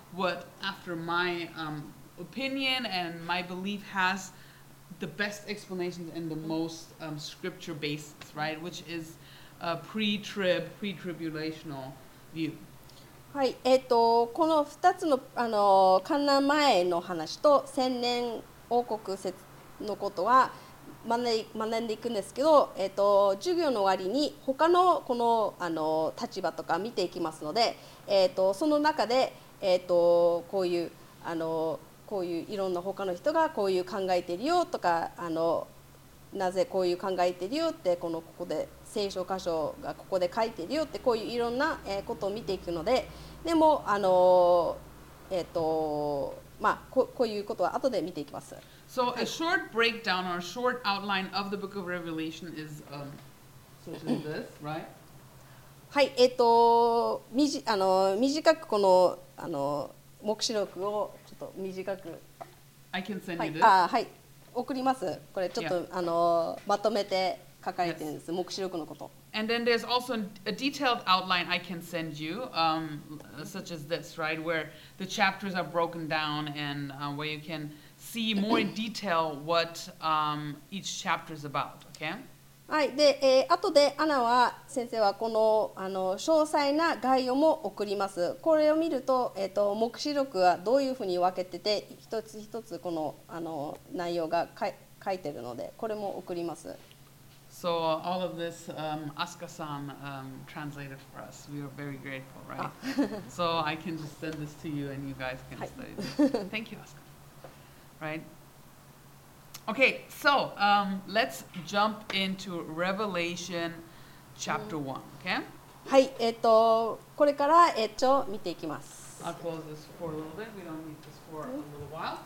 what, after my um, opinion and my belief, has the best explanations and the most um, scripture basis, right? Which is a pre-trib, pre-tribulational view. はい、えっとこのふたつのあの観覧前の話と千年王国説のことは学んで学んでいくんですけど、えっと授業の終わりに他のこのあの立場とか見ていきますので、えっとその中でえっとこういうあのこういういろんな他の人がこういう考えてるよとか、あのなぜこういう考えてるよってこのここで聖書箇所がここで書いてるよってこういういろんなことを見ていくので、でもあのえっとまあここういうことは後で見ていきます。 So a short breakdown or a short outline of the book of Revelation is um, such as this, right? はい、えっとみじあの短くこのあの黙示録をちょっと短く、 I can send は you い、 this. あはい送ります。これちょっと Yeah. あのまとめて書かれてるんです。黙示録のこと。 And then there's also a detailed outline I can send you, um, such as this, right? Where the chapters are broken down and uh, where you can see more in detail what um, each chapter is about, okay? はい、で、えー、後でアナは先生はこのあの詳細な概要も送ります。これを見ると、えっと黙示録はどういうふうに分けてて、一つ一つこのあの内容がかい書いてるので、これも送ります。 So uh, all of this, um, Asuka-san um, translated for us. We are very grateful, right? So I can just send this to you and you guys can study this. Thank you, Asuka. Right? Okay, so um, let's jump into Revelation chapter one, okay? はい、えっとこれからえっと見ていきます。 I'll close this for a little bit. We don't need this for a little while.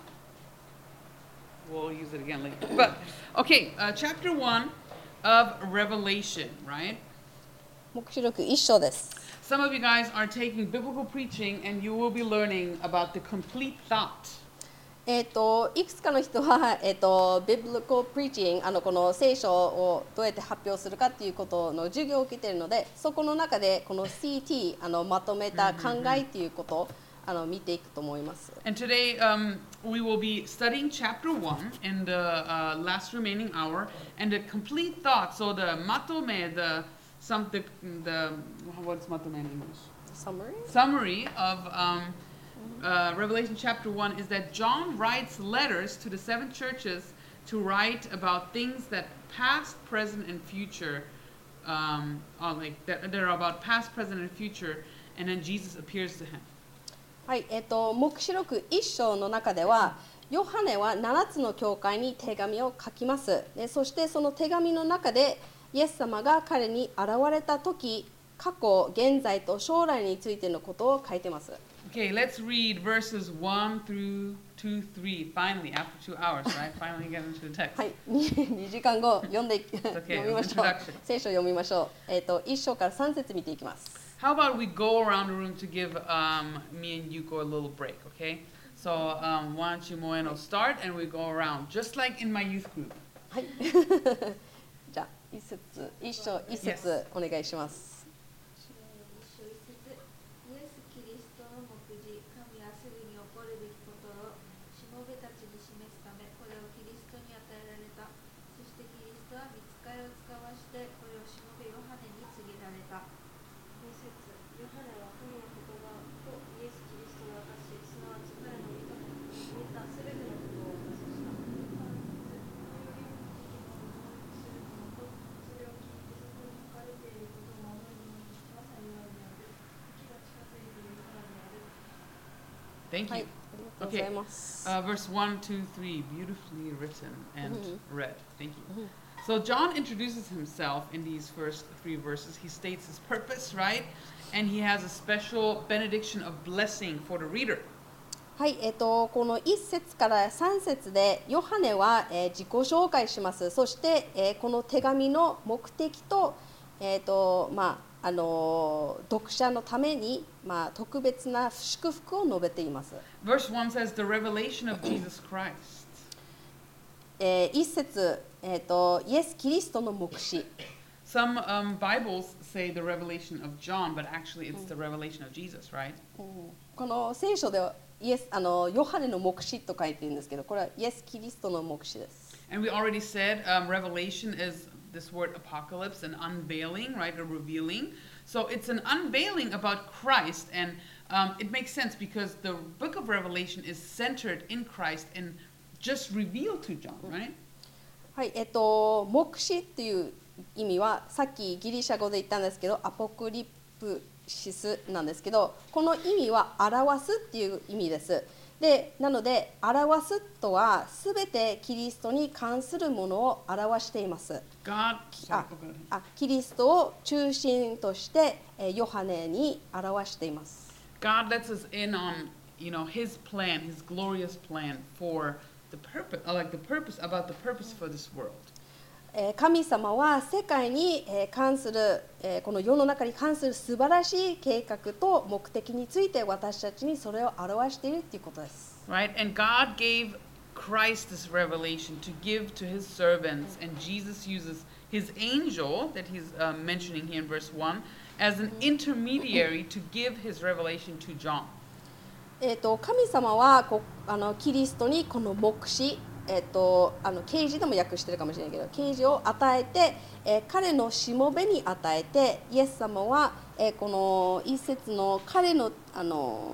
We'll use it again later. But, okay, uh, chapter one of Revelation, right? 黙示録一章です。 Some of you guys are taking biblical preaching and you will be learning about the complete thought. えっといくつかの人はえっと Biblical Preaching あのこの聖書をどうやって発表するかっていうことの授業を受けているので、そこの中でこの シーティー あのまとめた考えっていうことをあの見ていくと思います。 And today um, we will be studying chapter one in the uh, last remaining hour and the complete thought. So the matome, the some the, the what's matome in English? Summary? Summary of um, uh, Revelation chapter one is that John writes letters to the seven churches to write about things that past, present, and future, um, are like that they're about past, present, and future, and then Jesus appears to him. はい、えっと黙示録一章の中では、ヨハネはななつの教会に手紙を書きます。で、そしてその手紙の中でイエス様が彼に現れた時、過去、現在と将来についてのことを書いてます。 Okay, let's read verses one through two, three. Finally, after two hours, right? Finally get into the text. はい、にじかんご読んで Okay, 読みましょう introduction.。 聖書を読みましょう。えっと一章から三節見ていきます。 How about we go around the room to give um, me and Yuko a little break, okay? So um, why don't you, Moeno, start and we go around, just like in my youth group. はい。じゃあ一節一章一節お願いします。 イエス・キリストの目次、神はすぐに起こるべきことをしもべたちに示すため、これをキリストに与えられた。そしてキリストは御使いを使わして、これをしもべヨハネに告げられた。に節、ヨハネは神の言葉とイエス・キリストを明かし、すなわち彼の見た見たすべてのことを明かしした。さん節、このよりも聞き物をする者と、それを聞いてそこに書かれていることを守る者には幸いである。 Thank you. はい、ありがとうございます。 Uh, verse one, two, three, beautifully written and Mhm. read. Thank you. So John introduces himself in these first three verses. He states his purpose, right? And he has a special benediction of blessing for the reader. はい、えっとこのいっ節からさん節でヨハネは、えー自己紹介します。そして、えーこの手紙の目的と、えっとまああのー読者のために、まあ、特別な祝福を述べています。 Verse one says, the revelation of Jesus Christ. えー、いっ節、えーと、イエス・キリストの目視。 some um, Bibles say the revelation of John, but actually it's the revelation of Jesus, right? この聖書ではイエスあのヨハネの黙示と書いてるんですけど、これはイエス・キリストの黙示です。 And we already said um, revelation is this word apocalypse, an unveiling, right, a revealing. So it's an unveiling about Christ, and um, it makes sense because the book of Revelation is centered in Christ and just revealed to John, right? はい、えっと黙示っていう意味はさっきギリシャ語で言ったんですけど、アポクリプシスなんですけど、この意味は表すっていう意味です。で、なので表すとはすべてキリストに関するものを表しています。 God, あ sorry, oh, go ahead. あキリストを中心としてえーヨハネに表しています。 God lets us in on, you know, His plan, His glorious plan for the purpose, uh, like the purpose about the purpose for this world. えー神様は世界にえー関する、えーこの世の中に関する素晴らしい計画と目的について私たちにそれを表しているということです。 Right? And God gave Christ this revelation to give to his servants, and Jesus uses his angel that he's uh, mentioning here in verse one as an intermediary to give his revelation to John. えーと神様はこあのキリストにこの黙示、えーとあの啓示でも訳してるかもしれないけど、啓示を与えて、えー彼のしもべに与えて、イエス様は、えーこの一節の彼のあの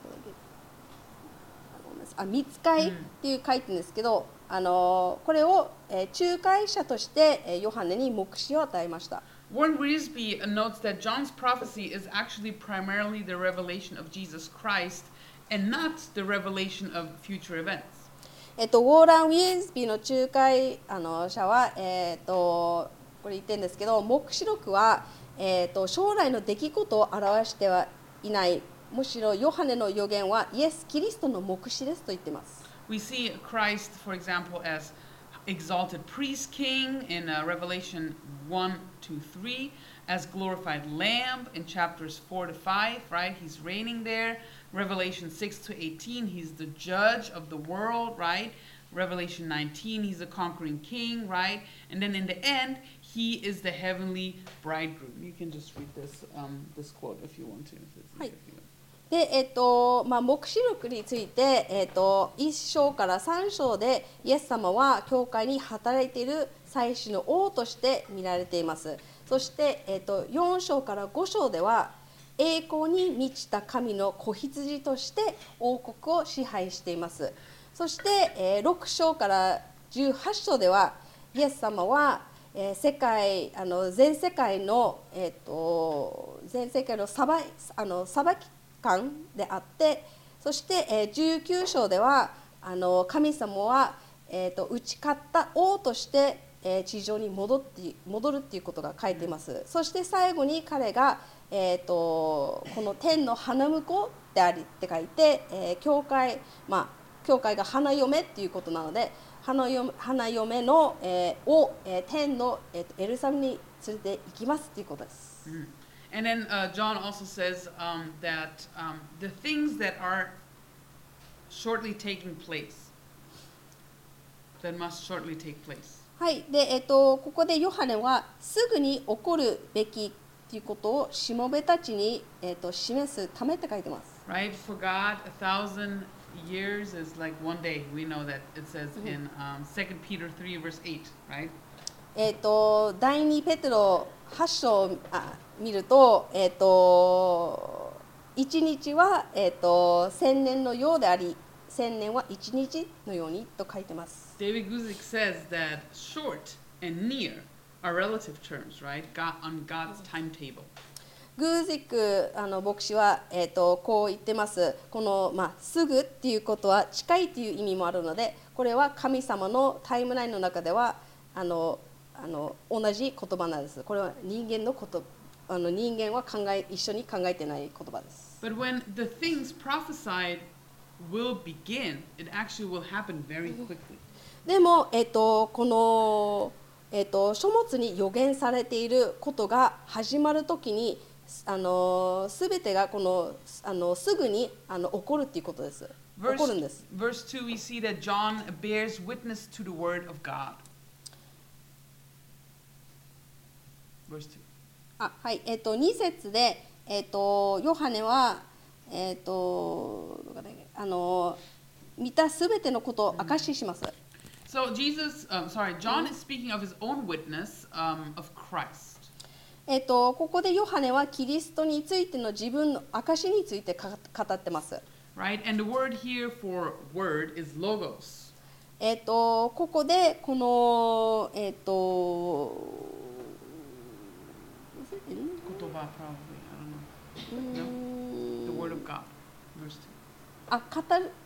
あ見つかいっていう書いてるんですけど、あのこれを、えー仲介者として、えーヨハネに黙示を与えました。 Warren Wiersbe notes that John's prophecy is actually primarily the revelation of Jesus Christ and not the revelation of future events. えっと、ウォーラン・ウィズビーの仲介あの者は、えっと、これ言ってるんですけど、黙示録は、えっと、将来の出来事を表してはいない。むしろヨハネの予言はイエス・キリストの黙示ですと言っています。 We see Christ, for example, as exalted priest king in uh, Revelation one, two, three, as glorified lamb in chapters four to five, right? He's reigning there. Revelation six to eighteen, he's the judge of the world, right? Revelation nineteen, he's a conquering king, right? And then in the end, he is the heavenly bridegroom. You can just read this um, this quote if you want to. If it's easier for you. でえっとまあ、黙示録について、えっと、いっ章からさん章でイエス様は教会に働いている祭司の王として見られています。そして、えっと、よん章からご章では栄光に満ちた神の子羊として王国を支配しています。そして、えー、ろく章からじゅうはち章ではイエス様は、えー、世界あの全世界の、えっと、全世界の裁あの裁き官であって、そして、えー、じゅうきゅう章ではあの神様は、えー、と打ち勝った王として、えー、地上に戻って戻るっていうことが書いています。そして最後に彼が、えー、とこの天の花婿でありって書いて、えー、教会まあ教会が花嫁っていうことなので、花嫁、花嫁の、えー、を、えー、天の、えー、とエルサレムに連れて行きますっていうことです。 Mm. And then uh, John also says um, that um, the things that are shortly taking place, that must shortly take place. はい、で、えっと、ここでヨハネはすぐに起こるべきということをしもべたちに、えっと、示すためって書いてます。 Right? For God, a thousand years is like one day. We know that it says in um, Second Peter three, verse eight, right? えっと、第二ペテロはち章をあ見ると、えっと、一日は、えっと、千年のようであり、千年は一日のようにと書いてます。 David Guzik says that short and near are relative terms, right? God, on God's timetable. グージックあの牧師は、えー、とこう言ってます。この、まあ、すぐっていうことは近いという意味もあるので、これは神様のタイムラインの中ではあのあの同じ言葉なんです。これは人間のことあの人間は考え一緒に考えてない言葉です。 But when the things prophesied will begin, it actually will happen very quickly. でも、えー、とこの、えー、と書物に予言されていることが始まるときにあのすべてがこのあのすぐにあの起こるっていうことです。起こるんです。 Verse two, we see that John bears witness to the word of God. verse two. あ、はい、えっ、とに節で、えっ、とヨハネはえっ、とどこだっけ、あの見たすべてのことを証しします。 So Jesus, um, sorry, John is speaking of his own witness um, of Christ. えっ、とここでヨハネはキリストについての自分の証についてか語ってます。 Right? And the word here for word is logos. えっ、とここでこのえっ、と Kotoba probably, I don't know. No? The word of God, verse two. あ、語る。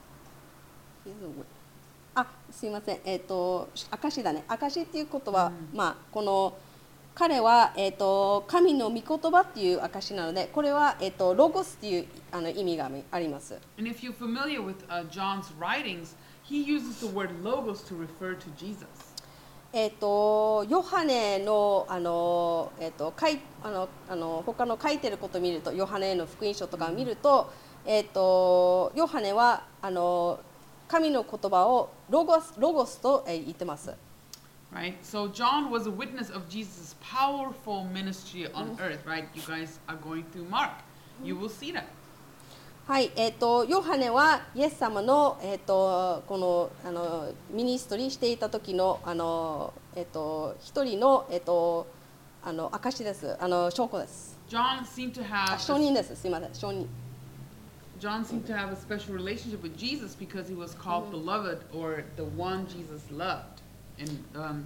あ、すいません。えっ、と証だね。証っていうことは、 うんまあこの彼はえっ、と神の御言葉っていう証なので、これはえっ、とロゴスっていうあの意味があります。 And if you're familiar with uh, John's writings, he uses the word logos to refer to Jesus. えっ、とヨハネのあのえっ、と書いあのあの他の書いてることを見ると、ヨハネの福音書とかを見ると、えっ、とヨハネはあの神の言葉をロゴスロゴスと言ってます。 Right? So John was a witness of Jesus' powerful ministry on earth, right? You guys are going through Mark. You will see that. はい、えっ、とヨハネはイエス様のえっ、とこのあのミニストリーしていた時のあのえっ、と一人のえっ、とあの証です。あの証拠です。 John seemed to あ、 have 証人です。すみません、証人。 John seemed to have a special relationship with Jesus because he was called beloved, or the one Jesus loved. In, um,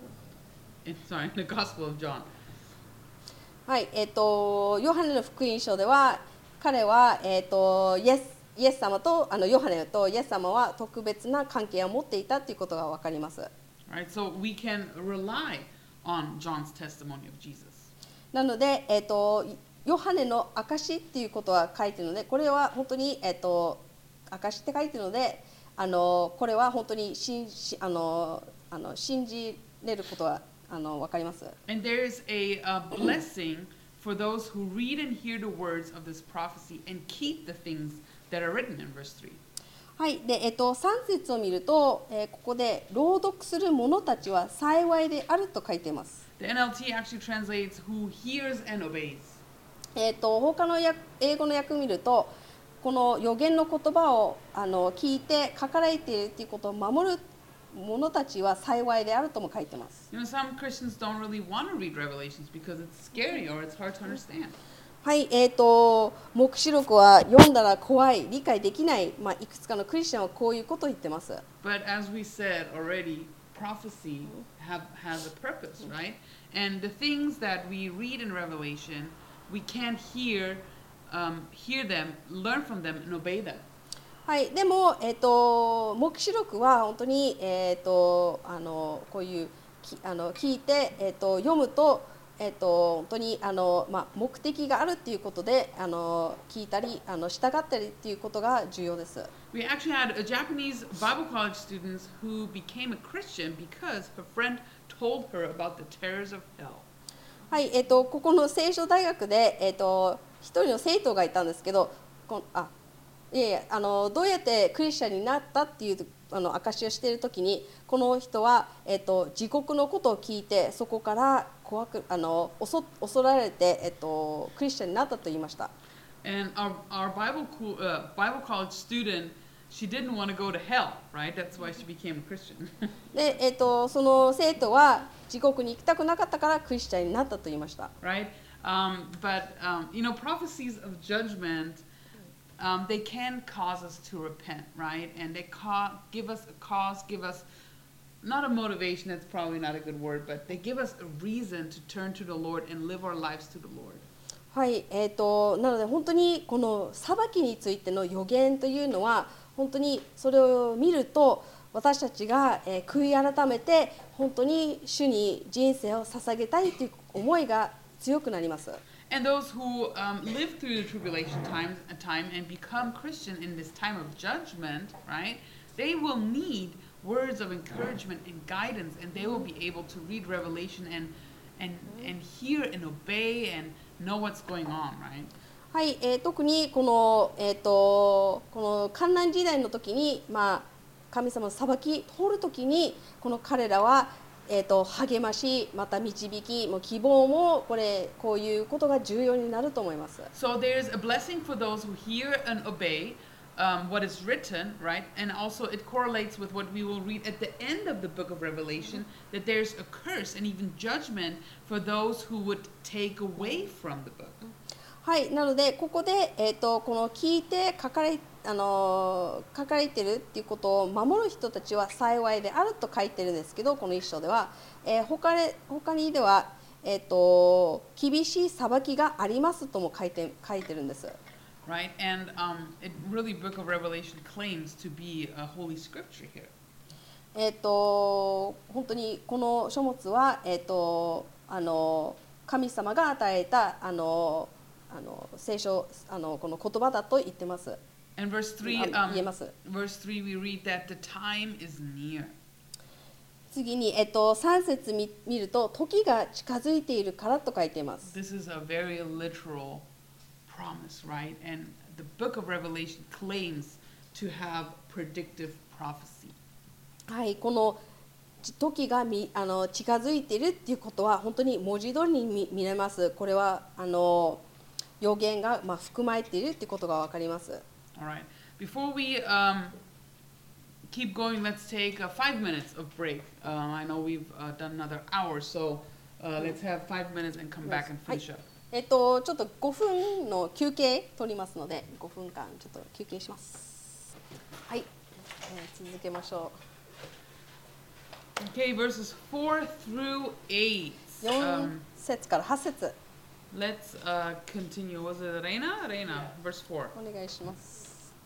in sorry, in the Gospel of John. はい、えっ、とヨハネの福音書では彼はえっ、とイエスイエス様とあのヨハネとイエス様は特別な関係を持っていたということがわかります。 Right? So we can rely on John's testimony of Jesus. なので、えっ、とヨハネの証っていうことは書いてるので、これは本当にえっ、と証って書いてるので、あのこれは本当に信じあのあの信じれることはあのわかります。 And there is a, uh blessing for those who read and hear the words of this prophecy and keep the things that are written in verse three. はい、で、えっと、さん節を見ると、えーここで朗読する者たちは幸いであると書いています。 The N L T actually translates who hears and obeys. えっと、他の訳英語の訳を見ると、この予言の言葉をあの聞いて書かれているということを守る者たちは幸いであるとも書いています。 You know, some Christians don't really want to read Revelations because it's scary or it's hard to understand. はい、えーと、黙示録は読んだら怖い、理解できない、まあ、いくつかのクリスチャンはこういうことを言ってます。 But as we said already, prophecy have, has a purpose, right? And the things that we read in Revelation, we can't hear, um, hear them, learn from them, and obey them. はい、でも、えーと、黙示録は本当に、えーと、あのこういうきあの聞いて、えーと、読むと、えーと、本当にあの、まあ、目的があるということであの聞いたりあの従ったりということが重要です。 We actually had a Japanese Bible college student who became a Christian because her friend told her about the terrors of hell. はい、えーと、ここの聖書大学で、えーと、一人の生徒がいたんですけど、こあいやいやあのどうやってクリスチャンになったっていうあの証しをしているときに、この人は、えーと、地獄のことを聞いて、そこから怖くあの恐恐られて、えーと、クリスチャンになったと言いました。 And our, our Bible, co- uh, Bible college student, she didn't want to go to hell, right? That's why she became a Christian. で、えーと、その生徒は地獄に行きたくなかったからクリスチャンになったと言いました。 Right? Um, but, um, you know, prophecies of judgment, um, they can cause us to repent, right? And they ca- give us a cause, give us, not a motivation, that's probably not a good word, but they give us a reason to turn to the Lord and live our lives to the Lord. はい、えーと、なので本当にこの裁きについての予言というのは、本当にそれを見ると、私たちが、えー、悔い改めて本当に主に人生を捧げたいという思いが強くなります。 And those who um, live through the tribulation time, time and become Christian in this time of judgment, right? They will need words of encouragement and guidance, and they will be able to read Revelation and and and hear and obey and know what's going on, right? はい、えー、特にこの、えー、とこの観覧時代の時に、まあ、神様の裁き通る時にこの彼らは、 えー、と励まし、また導き、もう希望もこれこういうことが重要になると思います。 So there's a blessing for those who hear and obey um, what is written, right? And also it correlates with what we will read at the end of the book of Revelation, that there's a curse and even judgment for those who would take away from the book. はい、なのでここで、えー、とこの聞いて書かれあの書かれてるっていうことを守る人たちは幸いであると書いてるんですけど、この一章では、えー、他で他にでは、えー、と厳しい裁きがありますとも書いて書いてるんです。 Right, and um, it really, Book of Revelation claims to be a holy scripture here. えー、と本当にこの書物は、えー、とあの神様が与えたあのあの聖書あのこの言葉だと言ってます。 And verse three, あ um, 言えます。 verse three, we read that the time is near. 次に、えっと、さん節見見ると時が近づいているからと書いています。 This is a very literal promise, right? And the book of Revelation claims to have predictive prophecy. はい、この時がみあの近づいているっていうことは本当に文字通りに見見れます。これはあの予言が、まあ、含まれているっていうことがわかります。 All right. Before we um, keep going, let's take uh, five minutes of break. Uh, I know we've uh, done another hour, so uh, let's have five minutes and come back and finish up. えっと、ちょっとごふんの休憩取りますので、ごふんかんちょっと休憩します。はい、えー、続けましょう。 Okay, verses four through eight. よん Um, 節からはち節 let's uh, continue. Was it Reina? Reina, verse four. お願いします。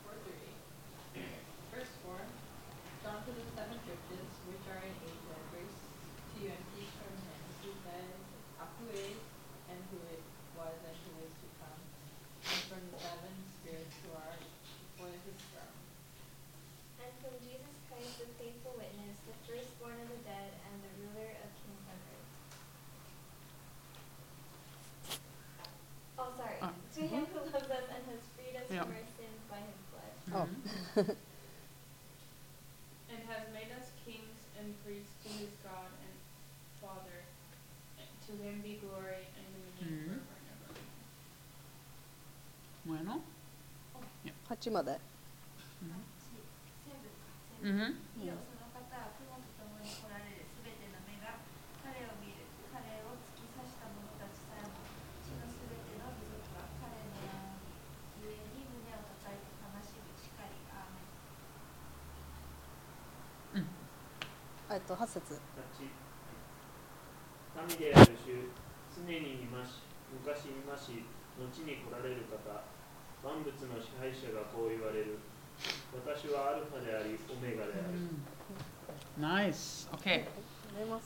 Verse four. John to the seven churches which are in Asia, grace to you and peace from him who says, who is, and who it was, and who is to come, and from the seven spirits who are before his throne. And from Jesus Christ, the faithful witness, the firstborn of the dead, and the ruler of kings on earth. Oh, sorry. Ah. To him who loves us and has freed us Yeah. from our sins by his blood. Oh. And has made us kings and priests to his God and Father. And to him be glory and dominion Mhm. forever and ever. Bueno. はちまで。 セブンかセブン Mm-hmm. いいよその方は雲と共に来られるすべての目が彼を見る彼を突き刺した者たちさえも地のすべての部族が彼の名を見ゆえに胸を叩いて悲しむしかりアーメンえっとはち節。 神である主、常にいまし、昔いまし、後に来られる方、万物の支配者がこう言われる。私はアルファであり、オメガである。 Nice. Okay. ありがとうございます。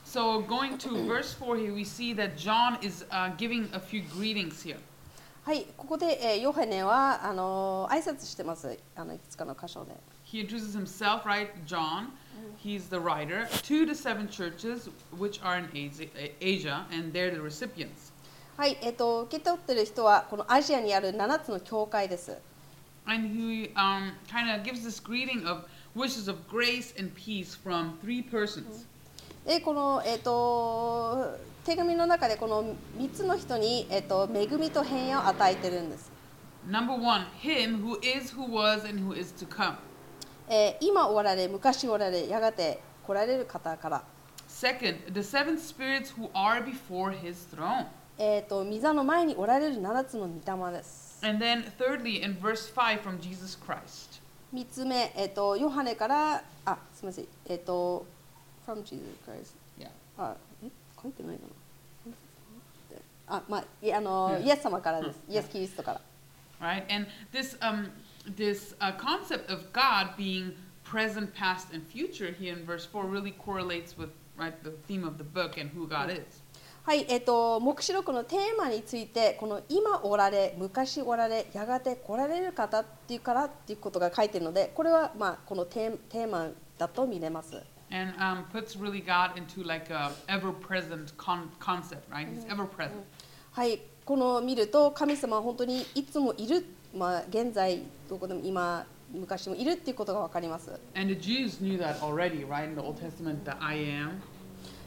So going to verse four here, we see that John is uh, giving a few greetings here. はい、ここで、えー、ヨハネはあのー、挨拶してます。あのいくつかの箇所で。 He introduces himself, right? John. He's the writer to the seven churches which are in Asia, Asia and they're the recipients. はい、えっと受け取ってる人はこのアジアにあるななつの教会です。 And he um, kind of gives this greeting of wishes of grace and peace from three persons. でこの、えっと手紙の中でこのみっつの人に、えっと恵みと平安を与えてるんです。 Number one, him who is, who was, and who is to come. えー、今おられ、昔おられ、やがて来られる方から。 Second, the seven spirits who are before his throne. えっと御座の前におられるななつの御霊です。 And then thirdly, in verse five from Jesus Christ. みっつめ、えっとヨハネから、あ、すみません、えっと from Jesus Christ。 Yeah. あ、え、書いてないかな。あ、まあ、いあの、 Yeah. イエス様からです。イエス・キリストから。 Right? And this um this uh, concept of God being present, past, and future here in verse four really correlates with right the theme of the book and who God is. はい、えっと黙示録のテーマについてこの今おられ、昔おられ、やがて来られる方っていうからっていうことが書いてるので、これはまあこのテーテーマだと見れます。 And um, puts really God into like a ever-present con- concept, right? He's ever-present. はい、この見ると神様は本当にいつもいる、まあ現在どこでも今昔もいるっていうことがわかります。 And the Jews knew that already, right? In the Old Testament, the I am.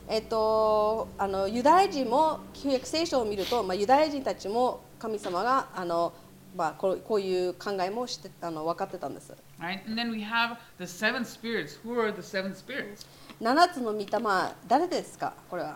えっと、あのユダヤ人も旧約聖書を見ると、まあ、ユダヤ人たちも神様があの、まあ、こう、こういう考えもしてあの分かってたんです。 Right? And then we have the seven spirits. Who are the seven spirits? 七つの御霊、誰ですかこれは。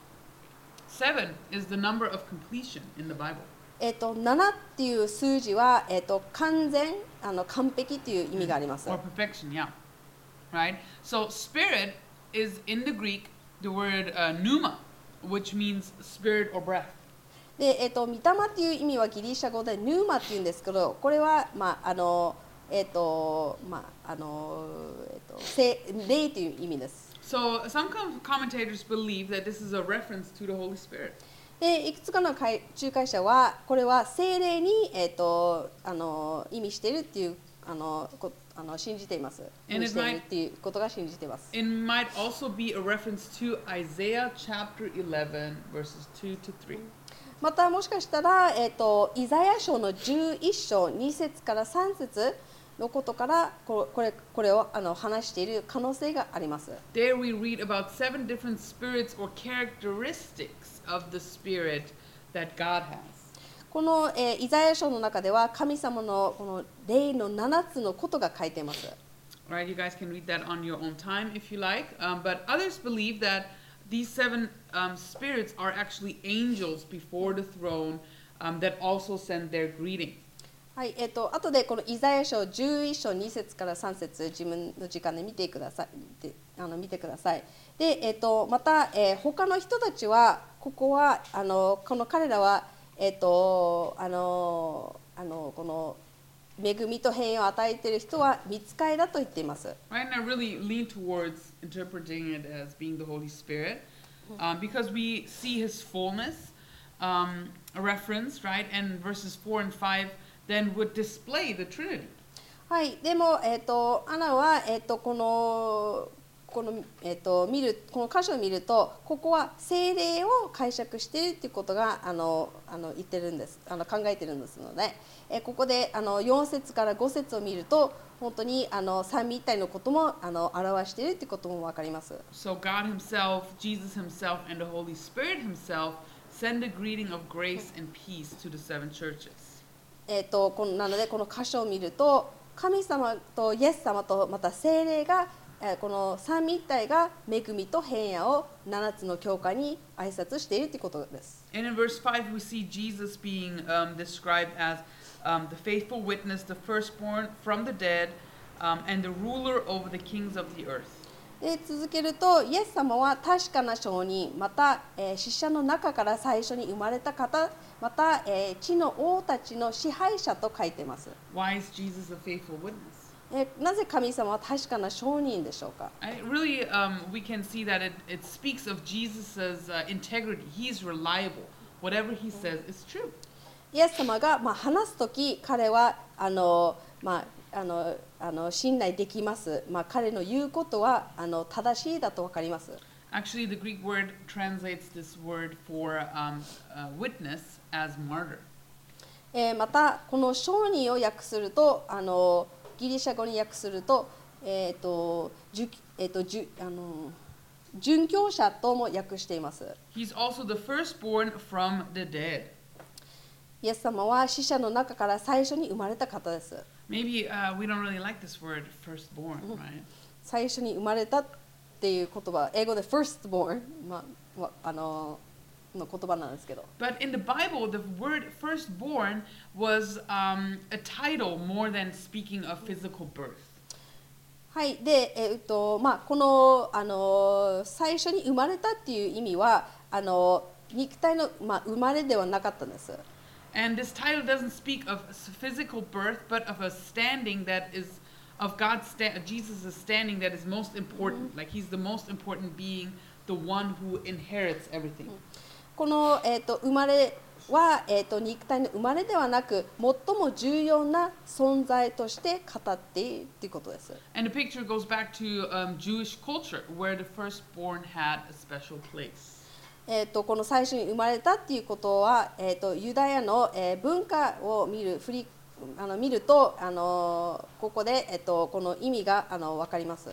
Seven is the number of completion in the Bible. えっと、ななっていう数字は、えっと、完全、あの完璧という意味があります。 Or perfection, yeah. Right? So spirit is in the Greek the word uh, pneuma, which means spirit or breath. で、えっと、御霊っていう意味はギリシャ語でヌーマっていうんですけど、これは、まあ、あの、えっと、まあ、あの、えっと、聖霊という意味です。 So some com- commentators believe that this is a reference to the Holy Spirit. で、いくつかの解仲介者は、これは聖霊に、えっと、あの、意味しているっていう、あの、こあの信じています。意 And 味 it している might- っていうことが信じています。 It might also be a reference to Isaiah chapter eleven, verses two to three. またもしかしたら、えっと、イザヤ書のじゅういっ章に節からさん節のことからここれこれをあの話している可能性があります。 There we read about seven different spirits or characteristics of the Spirit that God has. この、えーイザヤ書の中では神様のこの霊のななつのことが書いています。 Right, you guys can read that on your own time if you like. Um, but others believe that these seven um, spirits are actually angels before the throne um, that also send their greeting. はい、えっと後でこのイザヤ書じゅういっ章に節からさん節自分の時間で見てください。であの見てください。で、えっとまた、えー他の人たちはここはあのこの彼らはえっとあのあのこの恵みと平安を与えている人は御使いだと言っています。 Right, and I really lean towards interpreting it as being the Holy Spirit um, because we see his fullness, um, a reference, right? And verses four and five then would display the Trinity. はい、でも、えっとアナは、えっとこのこの、えっと見るこの箇所を見るとここは聖霊を解釈しているということがあのあの言ってるんですあの考えてるんですので、えここであのよん節からご節を見ると本当にあの三位一体のこともあの表しているということも分かります。 So God himself, Jesus himself, and the Holy Spirit himself send a greeting of grace and peace to the seven churches. えっとこのなのでこの箇所を見ると神様とイエス様とまた聖霊がえーこの三位一体が恵みと平安をななつの教会に挨拶しているということです。 And in verse five, we see Jesus being um, described as um, the faithful witness, the firstborn from the dead, um, and the ruler over the kings of the earth. で続けると、イエス様は確かな証人、また、えー死者の中から最初に生まれた方、また、えー地の王たちの支配者と書いています。 Why is Jesus a faithful witness? えーなぜ神様は確かな証人でしょうか。 I really, um, we can see that it, it speaks of Jesus' uh, integrity. He's reliable. Whatever he says is true. イエス様が、まあ、話すとき、彼はあの、まあ、あのあの信頼できます。まあ、彼の言うことはあの正しいだと分かります。 Actually, the Greek word translates this word for um, uh, witness as martyr. えーまた、この証人を訳すると、あのギリシャ語に訳すると、えっ、と、じゅえっ、と、じゅあの殉教者とも訳しています。 He's also the firstborn from the dead. イエス様は死者の中から最初に生まれた方です。 Maybe uh, we don't really like this word, firstborn, right? 最初に生まれたっていう言葉、英語で firstborn、まあ、わあのの言葉なんですけど。 But in the Bible, the word firstborn was um, a title more than speaking of physical birth. はい、で、えっとまあ、この、あの最初に生まれたっていう意味はあの肉体の、まあ、生まれではなかったんです。 And this title doesn't speak of s- physical birth, but of a standing that is of God's sta- Jesus' standing that is most important. Like he's the most important being, the one who inherits everything. この、えっと生まれは、えっと肉体の生まれではなく最も重要な存在として語っているということです。 And the picture goes back to um, Jewish culture, where the firstborn had a special place. えっとこの最初に生まれたっていうことは、えっとユダヤの、えー文化を見る振りあの見ると、あのここで、えっとこの意味があの分かります。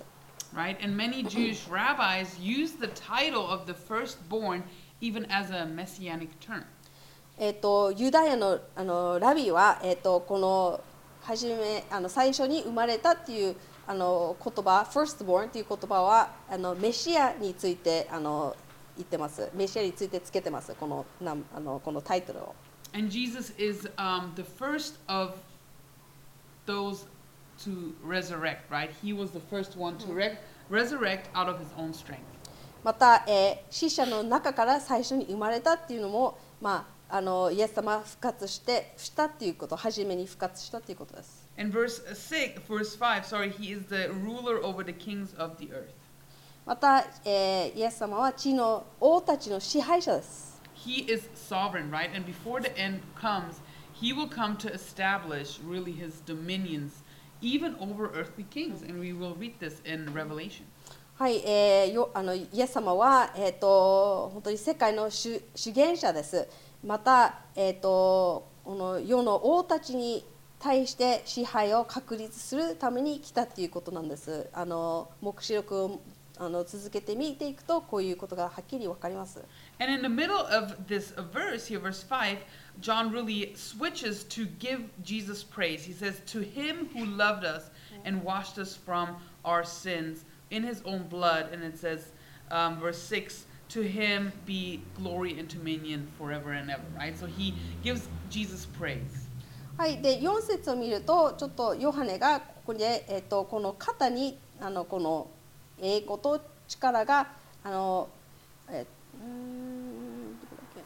right? And many Jewish rabbis use the title of the firstborn even as a messianic term. えっとユダヤのあのラビはえっとこの初めあの最初に生まれたっていうあの言葉 firstborn っていう言葉はあのメシアについてあの言ってます。メシアについてつけてますこのなあのこのタイトルを。 And Jesus is um, the first of those to resurrect, right? He was the first one to re- resurrect out of his own strength. また、えー、死者の中から最初に生まれたっていうのも、まあ、あのイエス様が復活してしたっていうこと、初めに復活したっていうことです。 In verse six, verse five, sorry, he is the ruler over the kings of the earth. また、えー、イエス様は地の王たちの支配者です。 He is sovereign, right? And before the end comes, he will come to establish really his dominions even over earthly kings. And we will read this in Revelation. はい、えー、よあのイエス様は、えー、と本当に世界の主主権者です。また、えー、とこの世の王たちに対して支配を確立するために来たということなんです。あの黙示録をあの続けて見ていくとこういうことがはっきりわかります。 And in the middle of this verse here, verse five, John really switches to give Jesus praise. He says, "To him who loved us and washed us from our sins in his own blood," and it says, um, verse six, "To him be glory and dominion forever and ever." Right? So he gives Jesus praise. はい、でよん節を見るとちょっとヨハネがここで、えー、とこの肩にあのこの栄光と力があのえうーんどこだっけ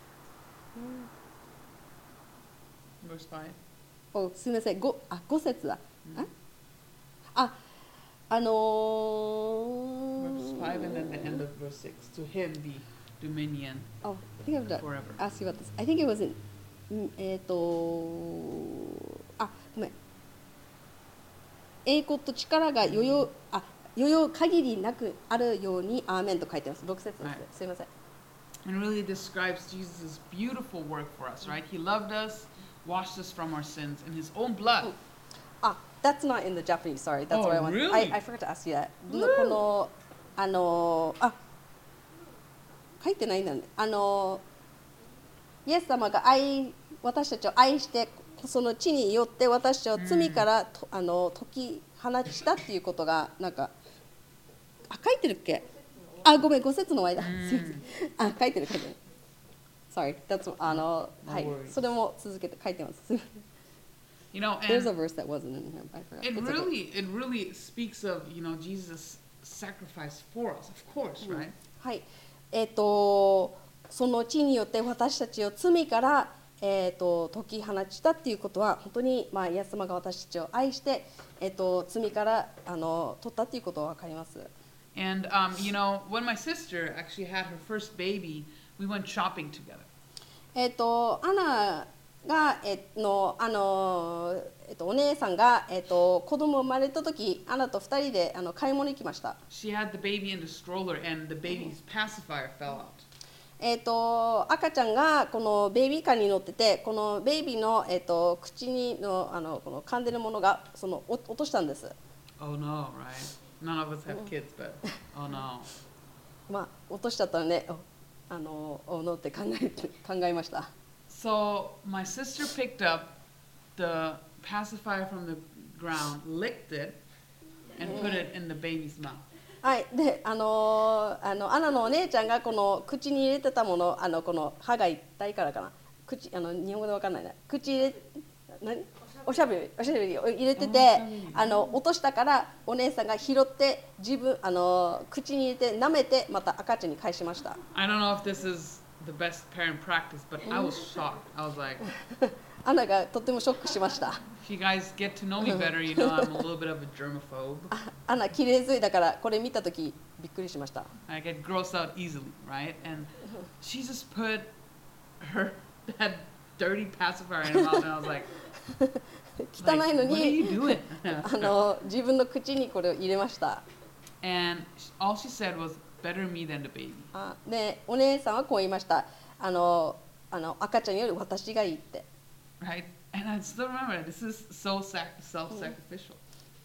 うん Verse five. おすみません ご, あご節だ、うん、ああのー、 Verse five and then the end of verse six. To him be dominion oh, I think I've forever. asked you about this. I think it was in えっ、ー、とあごめん栄光と力が余裕あ余裕限りなくあるようにアーメンと書いてます。ろく節です、はい、すいません。 And really describes Jesus' beautiful work for us, right? He loved us, washed us from our sins in his own blood. Ah, that's not in the Japanese. Sorry, that's oh, what I want. Really? I, I forgot to ask you that. このあのあ書いてないんだね。あのイエス様が愛私たちを愛してその地によって私たちを罪からと、うん、あの解き放したっていうことがなんかあ書いてるっけあごめんご節の間、うん、すいませんあ書いてる書いてる Sorry that's あの、no、はいそれも続けて書いてます You know, and There's a verse that wasn't in here I forgot It It's really okay. it really speaks of you know Jesus' sacrifice for us of course、うん、right はいえっ、ー、とその地によって私たちを罪からえー、と解き放ちたっていうことは本当に、まあ、イエス様が私たちを愛して、えー、と罪からあの取ったっていうことは分かります。 And um, you know, when my sister actually had her first baby, we went shopping together. えっ、とアナがえー、のあのえっ、ー、とお姉さんがえっ、ー、と子供生まれた時、アナと二人であの買い物行きました。 She had the baby in the stroller, and the baby's pacifier fell out. えー、と赤ちゃんがこのベイビーカーに乗っててこのベイビーの、えー、と口にのあのこの噛んでるものがそのお落としたんです。 Oh no, right? None of us have kids, but oh no. まあ落としちゃったらね、あのおのって考え考えました。 So my sister picked up the pacifier from the ground, licked it, and put it in the baby's mouth. はい、で、あのー、あのアナのお姉ちゃんがこの口に入れてたもの、あのこの歯が痛いからかな、口あの日本語でわかんないね、口入れ何おしゃべりおしゃべりを入れてて、あの落としたからお姉さんが拾って自分あの口に入れて舐めてまた赤ちゃんに返しました。 I don't know if this is the best parent practice, but I was shocked. I was like. アナがとてもショックしました。 If you guys get to know me better, you know I'm a little bit of a germaphobe. アナ綺麗ずいだからこれ見たときびっくりしました。 I get grossed out easily, right? And she just put her that dirty pacifier in her mouth, and I was like, 汚いの like, what are you に doing? あの自分の口にこれを入れました。 And all she said was, "Better me than the baby." あでお姉さんはこう言いました。あのあの赤ちゃんより私がいいって。 Right? And I still remember this is so sac- self-sacrificial.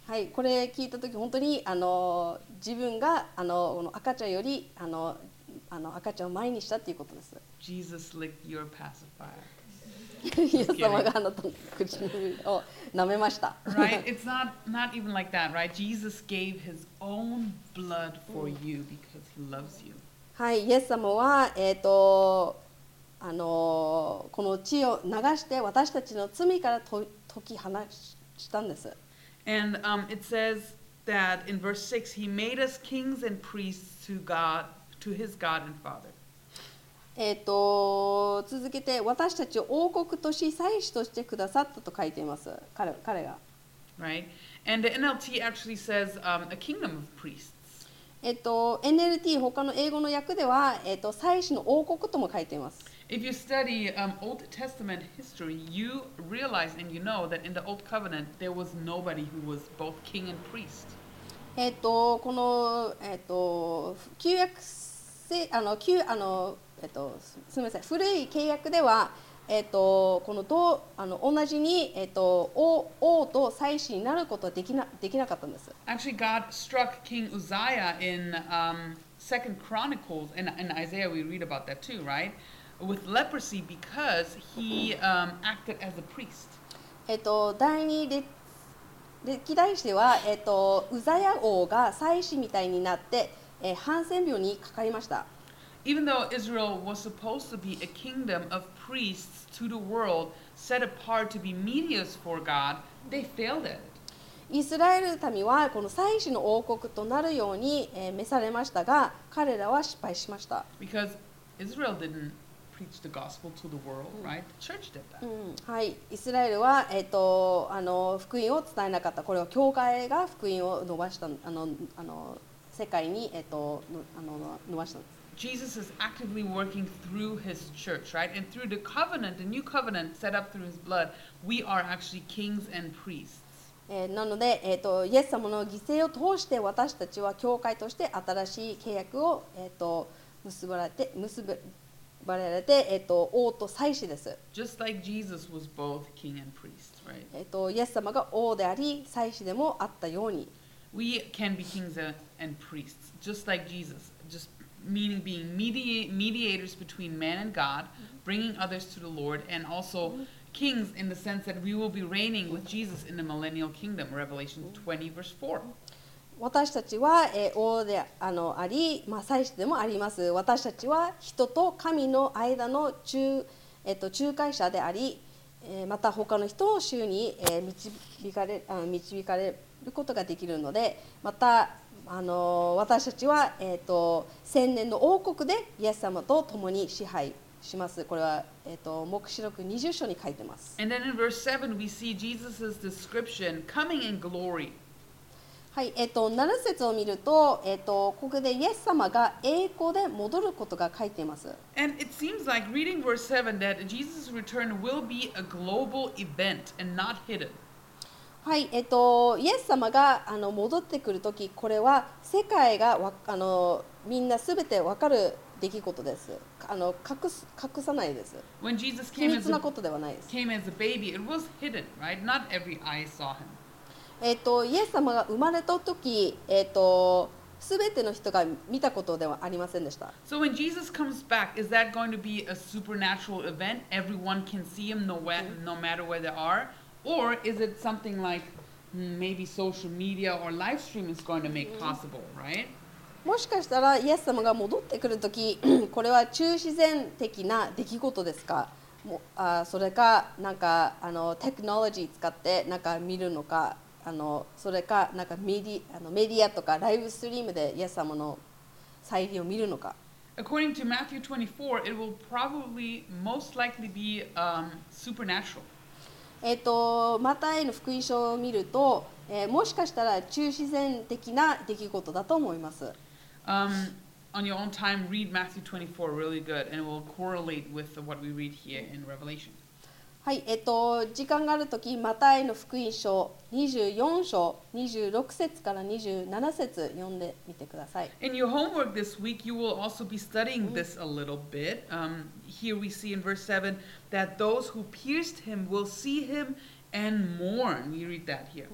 はい、これ聞いたとき本当にあの自分があのこの赤ちゃんよりあのあの赤ちゃんを前にしたっていうことです。 Jesus licked your pacifier. イエス様があなたの口を舐めました。 Right? It's not not even like that, right? Jesus gave his own blood for you because he loves you. はい、イエス様はえっ、とあのこの血を流して私たちの罪からと解き放したんです。 And um, it says that in verse six, he made us kings and priests to God, to his God and Father. えっと続けて私たちを王国とし祭司としてくださったと書いています。彼彼が。 Right? And the N L T actually says um, a kingdom of priests. えっと エヌエルティー 他の英語の訳ではえっと祭司の王国とも書いています。 If you study um, Old Testament history, you realize and you know that in the Old Covenant there was nobody who was both king and priest. えっとこのえっと旧約せあの旧あのえっとすみません古い契約ではえっとこのどあの同じにえっと王王と祭司になることはできなできなかったんです。 Actually, God struck King Uzziah in um, Second Chronicles, and in Isaiah we read about that too, right? With leprosy because he um, acted as a priest. えっと第二列歴代史ではえっとウザヤ王が祭司みたいになって、えー、ハンセン病にかかりました。 Even though Israel was supposed to be a kingdom of priests to the world, set apart to be mediators for God, they failed at it. イスラエル民はこの祭司の王国となるように、えー、召されましたが、彼らは失敗しました。 Because Israel didn't preach the gospel to the world, right? The church did that. うん、はい、イスラエルは、えー、とあの福音を伝えなかった。これは教会が福音を伸ばしたあのあの世界に、えー、とあの伸ばしたんです。 Jesus is actively working through his church, right? And through the covenant, the new covenant set up through his blood, we are actually kings and priests. えー、なので、えー、とイエス様の犠牲を通して私たちは教会として新しい契約を、えー、と結ばれて結ばれて、えー、と王と祭司です。 Just like Jesus was both king and priest, right? えー、とイエス様が王であり祭司でもあったように。 We can be kings and priests, just like Jesus. Just meaning being media- mediators between man and God, bringing others to the Lord, and also kings in the sense that we will be reigning with Jesus in the millennial kingdom, Revelation twenty, verse four. 私たちは、えー、王で あ, のあり、まあ、祭司でもあります。私たちは人と神の間の 仲,、えー、と仲介者であり、えー、また他の人を主に、えー、導かれあ導かれることができるので、またあの私たちは、えー、と千年の王国でイエス様と共に支配します。これは、えー、と黙示録にじゅう章に書いてます。 And then in verse seven, we see Jesus' description coming in glory. はい、えー、となな節を見ると、えー、とここでイエス様が栄光で戻ることが書いています。 And it seems like reading verse seven that Jesus' return will be a global event and not hidden. はい、えっと、イエス様があの戻ってくるとき、これは世界がわあのみんなすべてわかる出来事です。あの隠す隠さないです。 When Jesus 秘 came 密 as な a, ことではないです。 came as a baby, it was hidden, right? Not every eye saw him. えっと、イエス様が生まれたとき、えっと、すべての人が見たことではありませんでした。 So when Jesus comes back, is that going to be a supernatural event? Everyone can see him no, where, no matter where they are? Or is it something like maybe social media or live stream is going to make possible, right? もしかしたらイエス様が戻ってくるとき、これは中自然的な出来事ですか？もあそれかなんかあのテクノロジー使ってなんか見るのか、あのそれかなんかメディあのメディアとかライブストリームでイエス様の再臨を見るのか。 According to Matthew twenty-four, it will probably most likely be um, supernatural. えっとマタイの福音書を見ると、えー、もしかしたら中自然的な出来事だと思います。 Um, on your own time, read Matthew twenty-four really good, and it will correlate with what we read here in Revelation. はい、えっと時間があるとき、マタイの福音書にじゅうよん章にじゅうろく節からにじゅうなな節読んでみてください。 In your homework this week, you will also be studying this a little bit. Um, here we see in verse seven that those who pierced him will see him and mourn. We read that here.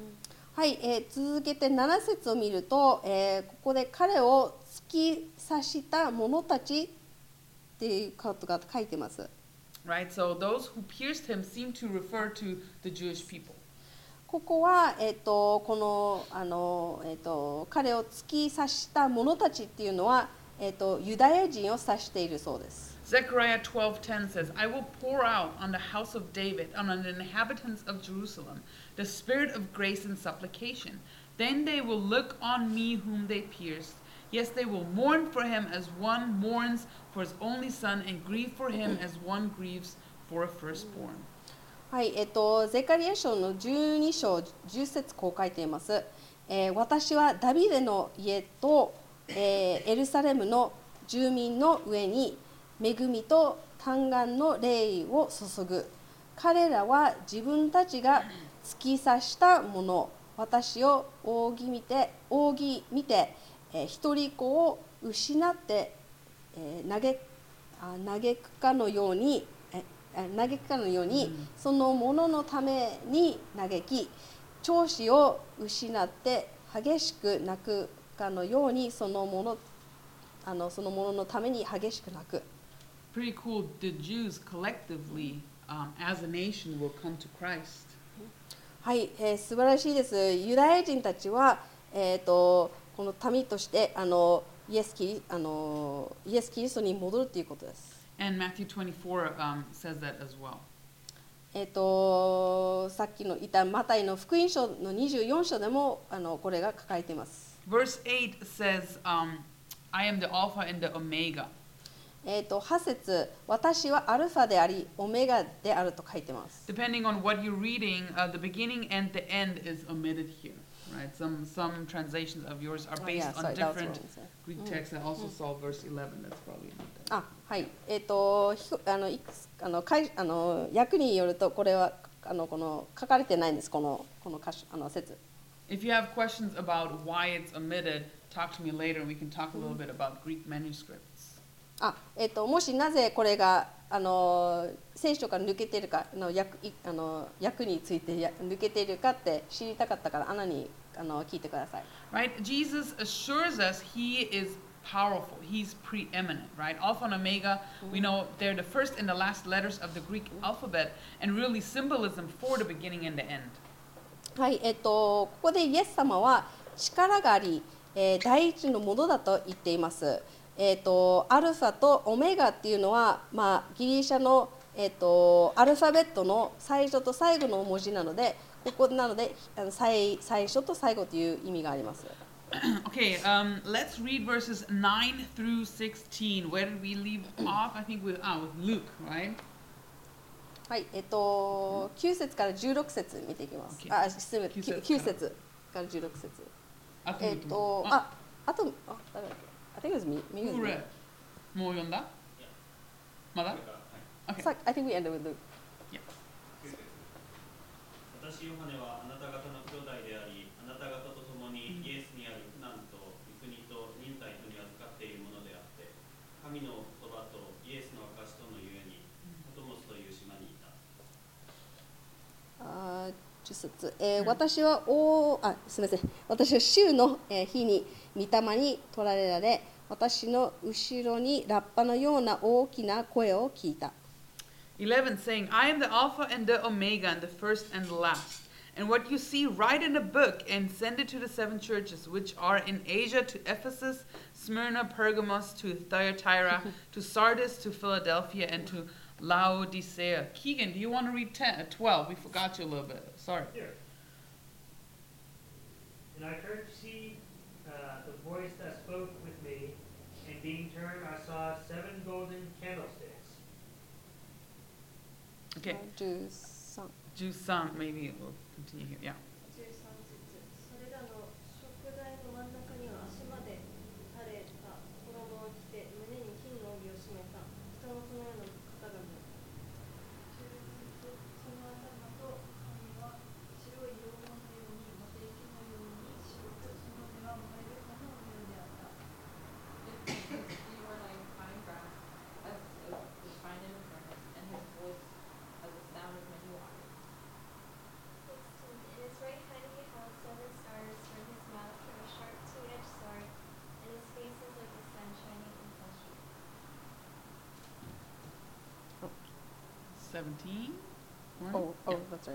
はい、えー続けてなな節を見ると、えーここで彼を突き刺した者たちっていうことが書いてます。 Right? So those who pierced him seem to refer to the Jewish people. ここは、えー、とこのあの、えー、と彼を突き刺した者たちっていうのは、えー、とユダヤ人を指しているそうです。 Zechariah twelve ten says, I will pour out on the house of David and on the inhabitants of Jerusalem the spirit of grace and supplication. Then they will look on me whom they pierced. Yes, they will mourn for him as one mourns for his only son, and grieve for him as one grieves for a firstborn. はい、えっと、ゼカリヤ書のじゅうに章じゅっ節こう書いています。えー私はダビデの家と、えーエルサレムの住民の上に恵みと嘆願の霊を注ぐ。彼らは自分たちが突き刺したもの、私を仰ぎ見て、仰ぎ見て、えー一人子を失って、えー嘆あ嘆くかのように、えー嘆くかのように、そのもののために嘆き、長子を失って激しく泣くかのように、そのものあのそのもののために激しく泣く。 Pretty cool. The Jews collectively, um, as a nation, will come to Christ. はい、えー素晴らしいです。ユダヤ人たちは、えー、とこの民としてあのイエスキリあのイエス・キリストに戻るということです。 And Matthew twenty-four um, says that as well. えー、とさっきの言ったマタイの福音書のにじゅうよん章でもあのこれが書かれています。 Verse eight says, um, I am the Alpha and the Omega. えー、とはち節、私はアルファでありオメガであると書いてます。 Depending on what you're reading, uh, the beginning and the end is omitted here. Right? Some some translations of yours are Oh, based yeah, on sorry, that was different wrong, sorry. Greek texts. I also saw verse eleven. That's probably not there. あ、はい。えっ、とひあのいくつあのかいあの訳によるとこれはあのこの書かれてないんです。このこの箇所あの説。 If you have questions about why it's omitted, talk to me later, and we can talk a little bit about Greek manuscripts. あ、えっ、ともしなぜこれがあの聖書から抜けているかあの訳いあの訳についてや抜けているかって知りたかったからアナにあの聞いてください。 Right? Jesus assures us he is powerful. He's preeminent, right? Alpha and Omega, we know they're the first and the last letters of the Greek alphabet, and really symbolism for the beginning and the end. はい、えっ、とここでイエス様は力があり、えー第一のものだと言っています。えっ、とアルファとオメガっていうのはまあギリシャのえっ、とアルファベットの最初と最後の文字なので、ここなのであの最最初と最後という意味があります。 Okay, um, let's read verses nine through sixteen. Where did we leave off? I think with, ah, with Luke, right? はい、えっ、ときゅう節からじゅうろく節見ていきます。 Okay. あ、失礼、 きゅう節きゅう節からじゅうろく節。 あとえっ、とあ、あとあ、誰だっけ? I think it was me. Maybe it was Who me. read? もう読んだ? まだ? これからはい Okay. So, I think we ended with Luke. きゅう節私ヨハネはあなた方の兄弟であり、あなた方と共にイエスにある苦難と御国と忍耐とに預かっているものであって、神の言葉とイエスの証とのゆえに、パトモスという島にいた。 あーじゅっ節、えー私はおあすみません私は週の、えー日に御霊に取られられ、私の後ろにラッパのような大きな声を聞いた。 eleven saying, I am the Alpha and the Omega, and the first and the last. And what you see, write in a book and send it to the seven churches which are in Asia, to Ephesus, Smyrna, Pergamos, to Thyatira, to Sardis, to Philadelphia, and to Laodicea. Keegan, do you want to read ten, uh, twelve? We forgot you a little bit. Sorry. Here. And I turned to see uh, the voice that spoke with me, and being turned, I saw seven golden candlesticks. Okay, じゅうさん Jusan, maybe we'll continue here. Yeah. じゅうさん節、それらの食台の真ん中には足まで垂れた衣を着て胸に金の帯を締めた人のそのような方が見えた。じゅう節、その頭と髪は白い羊毛のようにモテ池のように白く、その目は燃える炎のようであった。 You were like fine brass, as it was refined in a furnace, and his voice as the sound of many waters. sixteen. In his seventeen. お right? お、that's right. その方を見たとき、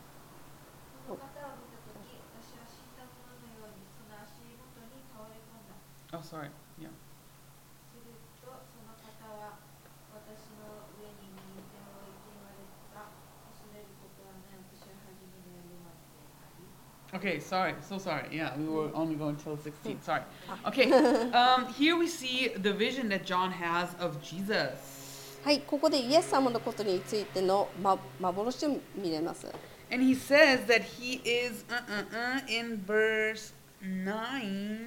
私は死んだ者のようにその足元に倒れ込んだ。 Oh, sorry. Yeah. するとその方は私の上に右手を置いて言われた。恐れることはない。私は初めの夜までであり。 Okay, sorry. So sorry. Yeah, we were only going till sixteen. Sorry. Okay. Um, here we see the vision that John has of Jesus. はい、ここでイエス様のことについての、ま、幻を見れます。 And he says that he is uh, uh, uh, in verse nine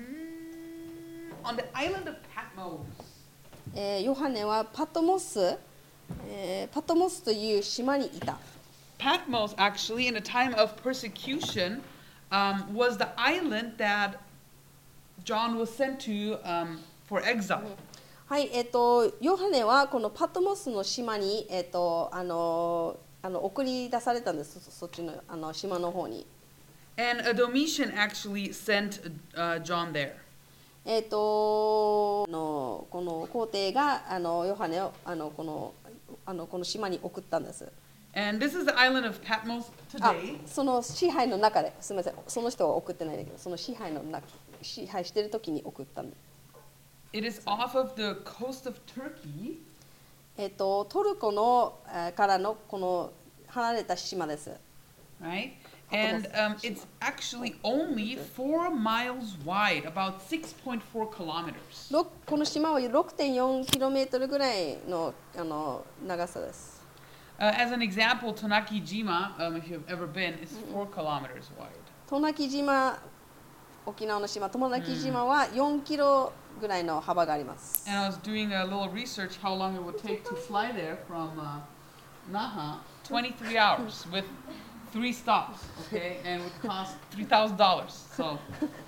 on the island of Patmos. えーヨハネはパトモス、えーパトモスという島にいた。 Patmos, actually, in a time of persecution, um, was the island that John was sent to um, for exile. はい、えっ、とヨハネはこのパトモスの島にえっ、とあのあの送り出されたんです。そそっちのあの島の方に。 And uh, Domitian actually sent uh, John there. えっ、とあのこの皇帝があのヨハネをあのこのあのこの島に送ったんです。 And this is the island of Patmos あ today. その支配の中ですみません、その人は送ってないんだけど、その支配の中支配してる時に送ったんです。 It is off of the coast of Turkey. えっ、とトルコのえーからのこの離れた島です。 Right? And um, it's actually only four miles wide, about six point four kilometers. ろこの島は ろくてんよんキロメートルぐらいのあの長さです。 Uh, as an example, Tonakijima, um, if you've ever been, is four kilometers wide. 渡名喜島、沖縄の島、渡名喜島はよんキロぐらいの幅があります。 And I was doing a little research how long it would take to fly there from uh, Naha, twenty-three hours with three stops, okay, and would cost three thousand dollars. So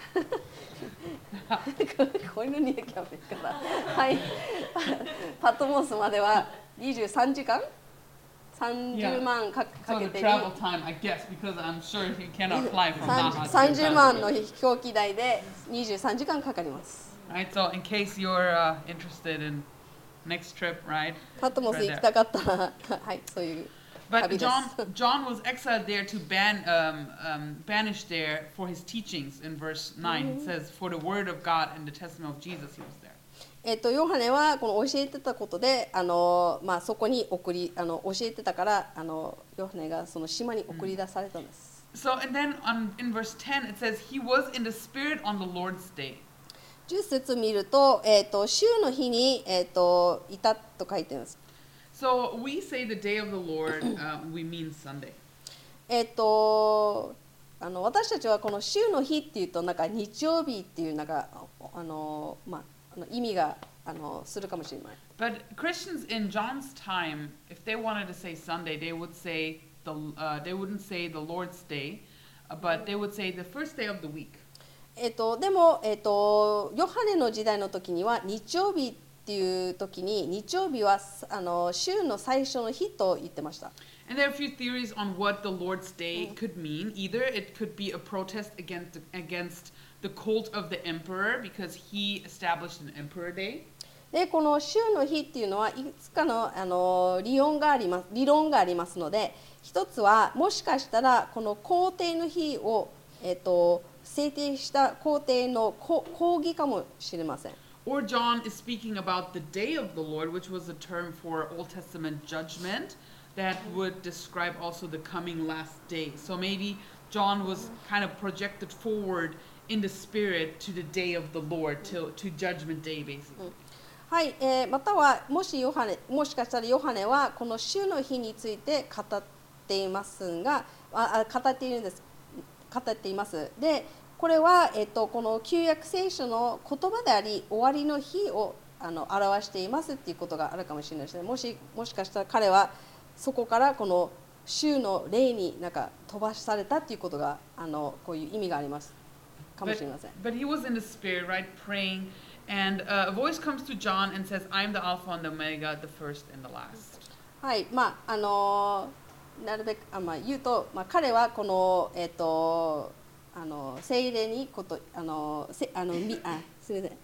こういうのにキャンペーンから、はい、パトモスまではにじゅうさんじかんさんじゅうまんか so かけ the て travel time, I guess, because I'm sure you cannot fly from Naha. to さんじゅうまんの Japan. 飛行機代でにじゅうさんじかんかかります。 Right, so in case you're uh, interested in next trip, right? パトモス行きたかったら、はい、そういう But 旅です。 John, John was exiled there to ban, um, um, banished there for his teachings. In verse nine, it says, "For the word of God and the testimony of Jesus, he was there." えっとヨハネはこの教えてたことで、あのまあそこに送りあの教えてたからあのヨハネがその島に送り出されたんです。 So, and then on, in verse ten, it says, "He was in the Spirit on the Lord's day." じゅっ節見ると、えっと週の日にえっといたと書いてます。 So we say the day of the Lord, uh, we mean Sunday. えっとあの私たちはこの週の日っていうとなんか日曜日っていうなんかあのまああの意味があのするかもしれない。 But Christians in John's time, if they wanted to say Sunday, they would say the uh, they wouldn't say the Lord's day, uh, but they would say the first day of the week. えっとでもえっとヨハネの時代の時には日曜日っていう時に日曜日はあの週の最初の日と言ってました。 And there are a few theories on what the Lord's Day could mean. Either it could be a protest against against the cult of the emperor because he established an emperor day. でこの週の日っていうのはいくつかのあの理論があります理論がありますので、一つはもしかしたらこの皇帝の日をえっと制定した皇帝のこ抗議かもしれません。 Or John is speaking about the day of the Lord, which was a term for Old Testament judgment that would describe also the coming last day. So maybe John was kind of projected forward in the spirit to the day of the Lord, to, to judgment day basically. はい、えーまたはもしヨハネもしかしたらヨハネはこの週の日について語っていますが、ああ語っているんです。語っています。で、これはえっとこの旧約聖書の言葉であり、終わりの日をあの表していますっていうことがあるかもしれないですね。もしもしかしたら彼はそこからこの週の例になんか飛ばされたっていうことがあのこういう意味がありますかもしれません。 But he was in the spirit, right, praying, and uh, a voice comes to John and says, "I am the Alpha and the Omega, the first and the last." はい、まああのなるべくあ、まあ、言うと、まあ、彼はこのえっ、とあの聖霊にことあのせあのみあすみません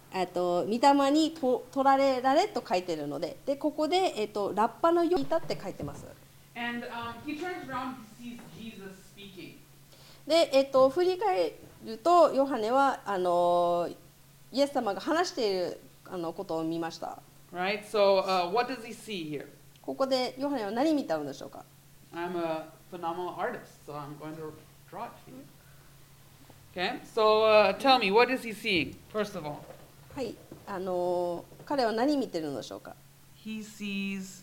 えっと、御霊にと取られられと書いてるので、でここで、えっと、ラッパのようにいたって書いてます。 And um, he turns around, he sees Jesus speaking. で、えっと、振り返ると、ヨハネはあのイエス様が話しているあのことを見ました。 Right? So, uh, what does he see here? ここでヨハネは何見たのでしょうか。 I'm a phenomenal artist, so I'm going to draw it for you. Okay? So, uh, tell me, what is he seeing, first of all? はい、あの彼は何見てるのでしょうか。 He sees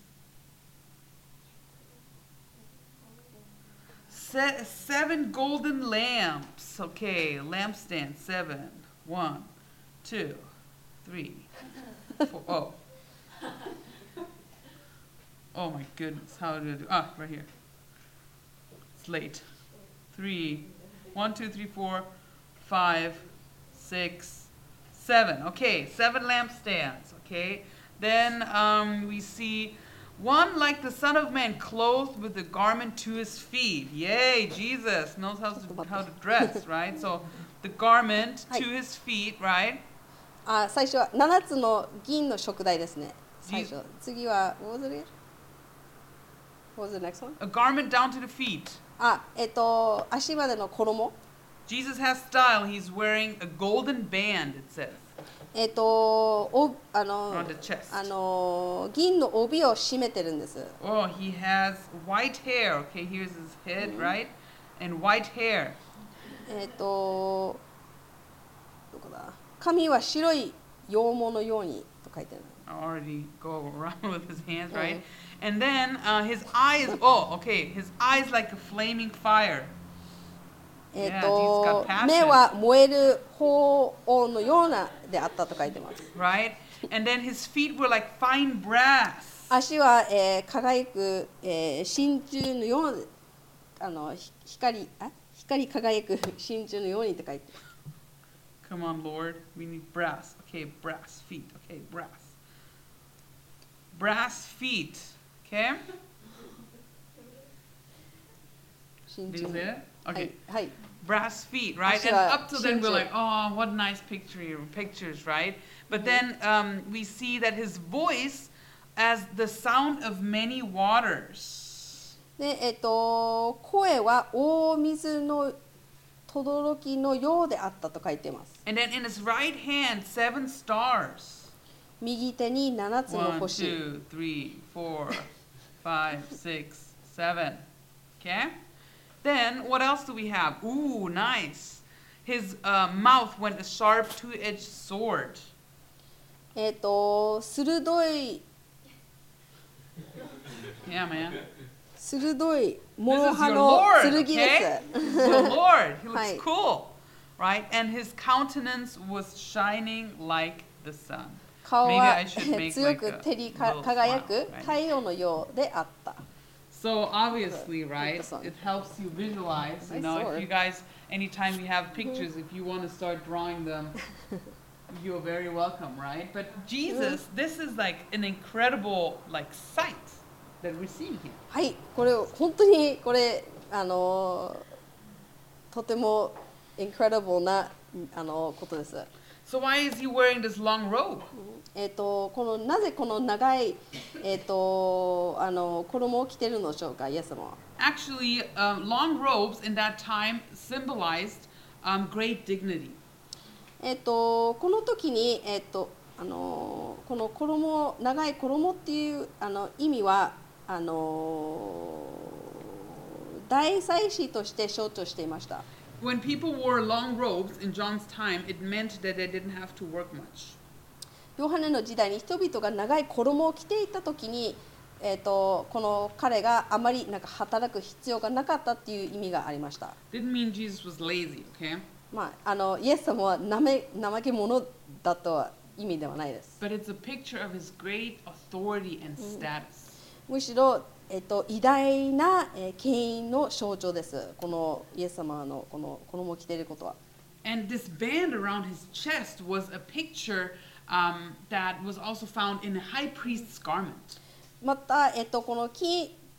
se- seven golden lamps. Okay, lampstand, seven. One, two, three, four. Oh. Oh my goodness, how did I do? Ah, right here. It's late. Three, one, two, three, four, five, six, seven. Okay, seven lampstands. Okay. Then um, we see one like the Son of Man, clothed with a garment to his feet. Yay, Jesus knows how to, how to dress, right? So the garment to his feet, right? あ、最初はななつの銀の食台ですね。最初。次は what was it? What was the next one? A garment down to the feet. あ、えっと足までの衣。 Jesus has style. He's wearing a golden band, it says, えっとおあの on the chest. あの銀の帯を締めてるんです。 Oh, he has white hair. Okay, here's his head, right? And white hair. えっとどこだ。髪は白い羊毛のようにと書いてある。 I already go around with his hands, right? Mm. And then uh, his eyes, oh, okay, his eyes like a flaming fire. えっ Yeah, と Jesus got passion. 目は燃える炎のようなであったと書いてます。 Right? And then his feet were like fine brass. 足は、えー輝く、えー真鍮のようあのひ光あ光り輝く真鍮のようにって書いてます。 Come on, Lord. We need brass. Okay, brass feet. Okay, brass. Brass feet. Okay? 真 Did 鍮 you の say it? は Okay. い、はい、 Brass feet, right? And Actually, up to then we're ginger. like, oh, what nice picture, pictures, right? But then um, we see that his voice as the sound of many waters. で、えっと声は大水の轟きのようであったと書いてます。 And then in his right hand, seven stars. 右手に七つの One, 星。 two, three, four, five, six, seven. Okay? Then what else do we have? Ooh, nice. His uh, mouth went a sharp two-edged sword. えっと鋭い Yeah, man. 鋭い This 諸 is 刃 your の Lord, 剣 okay? で This す。 is the Lord. He looks Hi. cool, right? And his countenance was shining like the sun. 顔 Maybe は I should make 強 like く a 照り little か輝く smile, right? 太陽のようであった。 So obviously, Like right, the sun. it helps you visualize. You Nice know, if sword. you guys, anytime you have pictures, if you want to start drawing them, you're very welcome, right? But Jesus, this is like an incredible like sight that we're seeing here. はい、これ本当にこれあのとても incredible なあのことです。 So why is he wearing this long robe? えっとこのなぜこの長いえっとあの衣を着てるのでしょうか、イエス様は。 Actually, um, long robes in that time symbolized um, great dignity. えっとこの時にえっとあのこの衣長い衣っていうあの意味はあの大祭司として象徴していました。 When people wore long robes in John's time, it meant that they didn't have to work much. ヨハネの時代に人々が長い衣を着ていた時に、えー、とこの彼があまりなんか働く必要がなかったっていう意味がありました。 Didn't mean Jesus was lazy, okay? まあ、あのイエス様はなめ怠け者だとは意味ではないです。 But it's a picture of his great authority and status. むしろ、えー、と偉大な、えー権威の象徴です。このイエス様のこの衣を着ていることは。 And this band around his chest was a picture um, that was also found in a high priest's garment. また、えー、とこの金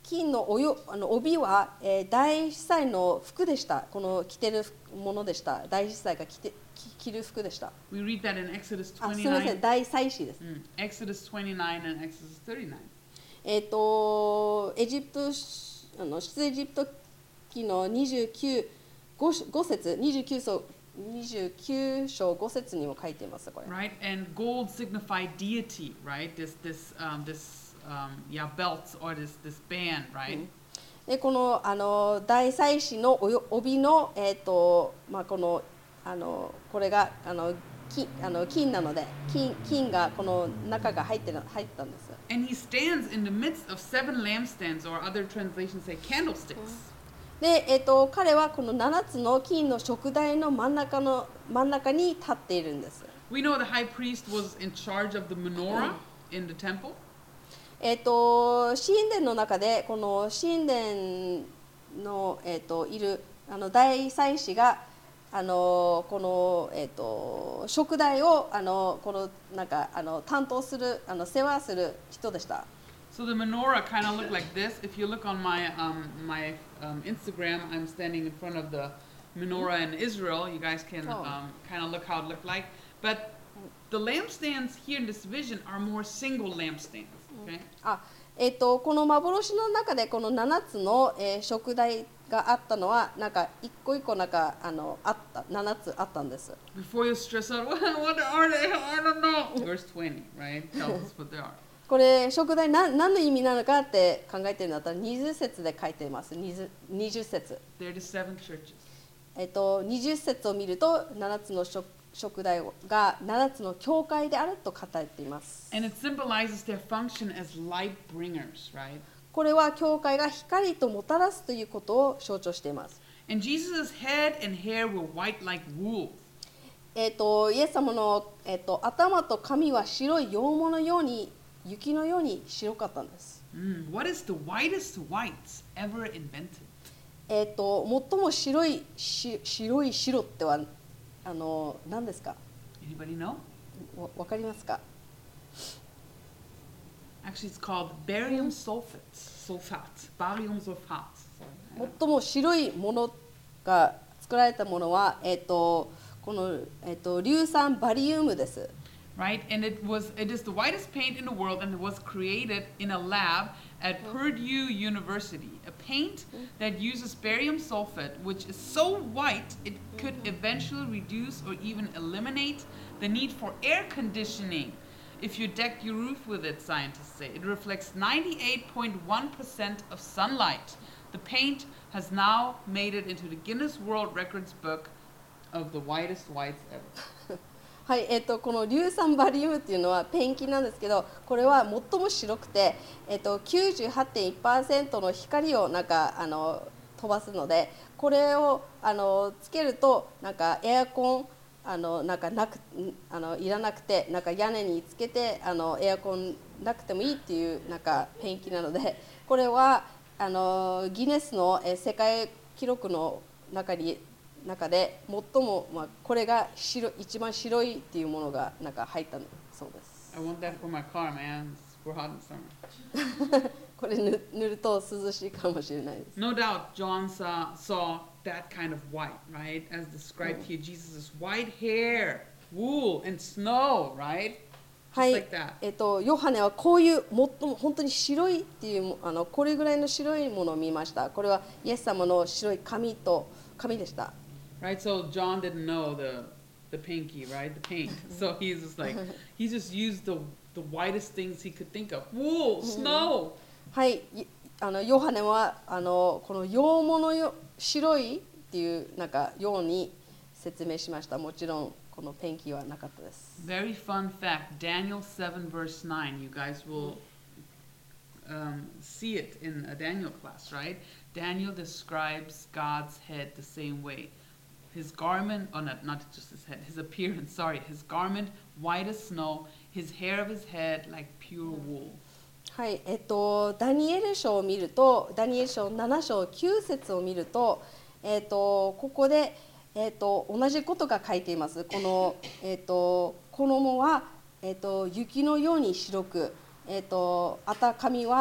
金のおよあの帯は、えー、大司祭の服でした。この着てるものでした。大司祭が着て着着る服でした。 We read that in Exodus あ、すみません、 twenty-nine. 大祭司です。 Mm, Exodus twenty-nine and Exodus thirty-nine. えっ、とエジプトあの出エジプト記のにじゅうきゅう 5, 節にじゅうきゅう章にじゅうきゅう章ご節にも書いていますこれ。 Right, and gold signified deity, right? This, this, um, this, um, yeah, belts or this, this band, right? でこのあの大祭司のおよ帯のえっ、とまあこのあのこれがあの金あの金なので金金がこの中が入ってる入ったんです。 And he stands in the midst of seven lampstands, or other translations say candlesticks. で、えっと彼はこのななつの金の燭台の真ん中の真ん中に立っているんです。 We know the high priest was in charge of the menorah in the temple. えっと神殿の中でこの神殿のえっといるあの大祭司があのこのえっと燭台をあのこのなんかあの担当するあの世話する人でした。 So the menorah kind of looked like this. If you look on my um, my um, Instagram, I'm standing in front of the menorah in Israel. You guys can Oh. um, kind of look how it looked like. But the lampstands here in this vision are more single lampstands. Okay. あえっとこの幻の中でこのななつの、えー、燭台があったのはなんか一個一個なんかあのあったななつあったんです。 Before you stress out, what, what are they? I don't know. Verse twenty, right? Tells us what they are. これ燭台何何の意味なのかって考えてるんだったらにじゅう節で書いています。にじゅう、にじゅう節。 They're the seven churches. えっとにじゅう節を見るとななつの燭燭台がななつの教会であると語っています。 And it symbolizes their function as light bringers, right? これは教会が光ともたらすということを象徴しています。 And Jesus' head and hair were white like wool. えっとイエス様の、えっと頭と髪は白い羊毛のように雪のように白かったんです。 Mm, what is the whitest whites ever invented? えっと最も白いし白い白ってはあの何ですか？ Anybody know? わわかりますか？ Actually, it's called barium sulfate. Sulfate. Barium sulfate. Sorry. 最も白いものが作られたものは、えっとこの、えっと硫酸バリウムです。 Right? And it was it is the whitest paint in the world, and it was created in a lab at Purdue University. A paint that uses barium sulfate, which is so white it could eventually reduce or even eliminate the need for air conditioning if you deck your roof with it, scientists say. It reflects ninety-eight point one percent of sunlight. The paint has now made it into the Guinness World Records book of the whitest whites ever. はい、えっとこの硫酸バリウムっていうのはペンキなんですけど、これは最も白くて、えっと きゅうじゅうはちてんいちパーセント の光をなんかあの飛ばすので、これをあのつけるとなんかエアコンあのなんかなくあのいらなくて、なんか屋根につけてあのエアコンなくてもいいっていうなんかペンキなので、これはあのギネスのえ世界記録の中に中で最も、まあ、これが白一番白いっていうものがなんか入ったそうです。 I want that for my car, man. We're hot in summer. これ塗塗ると涼しいかもしれないです。 No doubt John saw, saw that kind of white, right? As described here, Jesus' white hair, wool, and snow, right? は Just い like that. えっと、ヨハネはこういう最も本当に白いっていうあのこれぐらいの白いものを見ました。これはイエス様の白い髪と髪でした。 Right, so John didn't know the the pinky, right? The paint. So he's just like, he just used the the whitest things he could think of. Wool, snow. はい、いあのヨハネはあのこの羊毛のよ白いっていうなんかように説明しました。もちろんこのペンキはなかったです。 Very fun fact, Daniel seven verse nine. You guys will um, see it in a Daniel class, right? Daniel describes God's head the same way. His garment, oh not, not just his head, his appearance, sorry, his garment white as snow, his hair of his head like pure wool. はい、えっとダニエル書を見ると、ダニエル書なな章きゅう節を見ると、えっとここでえっと同じことが書いています。このえっと衣はえっと雪のように白く、えっとあた髪は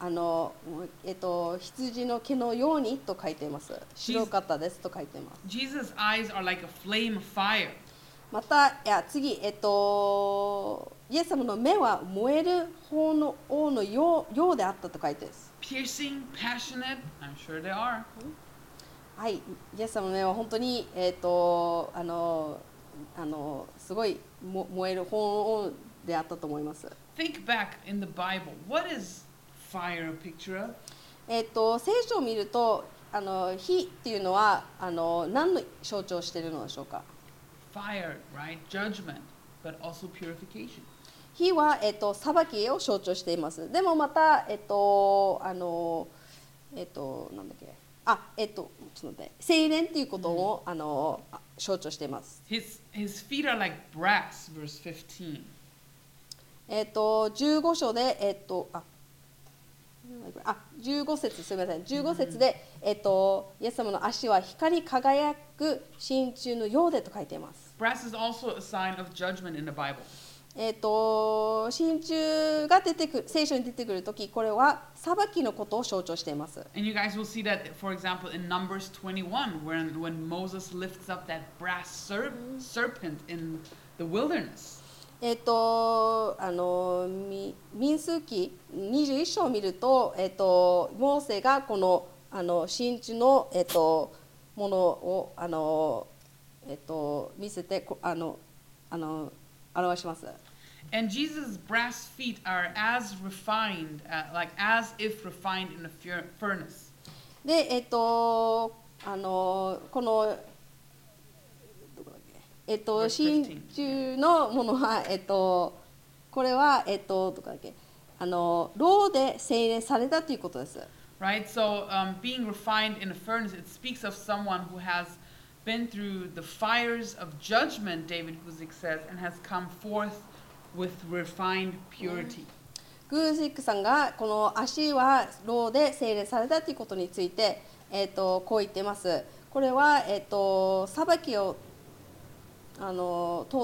あの、えっと、羊の毛のようにと書いています。白かったですと書いています。 Jesus' eyes are like a flame of fire. また、いや次、えっと、イエス様の目は燃える方の王のよう、ようであったと書いてます。 Piercing, passionate, I'm sure they are. はい、イエス様の目は本当に、えっと、あの、あのすごいも燃える方の王であったと思います。 Think back in the Bible. What is fire a picture of? えっと、聖書を見ると、あの火っていうのはあの何の象徴しているのでしょうか。 Fire, right? Judgment, but also purification. 火は、えっと、裁きを象徴しています。でもまた、えっと、あの、えっと、なんだっけ、あ、えっと、ちょっと待って、精錬っていうことを、あの象徴しています。 His, his feet are like brass, verse fifteen. えっと、じゅうご章で、えっと、あ、あ、じゅうご節、すみません、じゅうご節で、えっと、イエス様の足は光り輝く真鍮のようでと書いています。 Brass is also a sign of judgment in the Bible. えっと、真鍮が出てくる、聖書に出てくるとき、これは裁きのことを象徴しています。 And you guys will see that, for example, in Numbers twenty-one, when, when Moses lifts up that brass serp- serpent in the wilderness. えっと、あの、み民数記にじゅういち章を見ると、えっと、モーセがこの、あの、真鍮の、えっと、ものを、あの、えっと、見せて、こあの、あの、表します。 And Jesus' brass feet are as refined, uh, like as if refined in a fur- furnace. で、えっと、あの、この、どこだっけ、えっと、 Verse 真 fifteen. 鍮のものは、えっと、これは、えっと、どこだっけ、あの、ろうで精錬されたということです。 Right? So, um, being refined in a furnace, it speaks of someone who has been through the fires of judgment, David Guzik says, and has come forth with refined purity. グージックさんがこの足はろうで精錬されたということについて、えっと、こう言っています。これは、えっと、裁きをあの通って、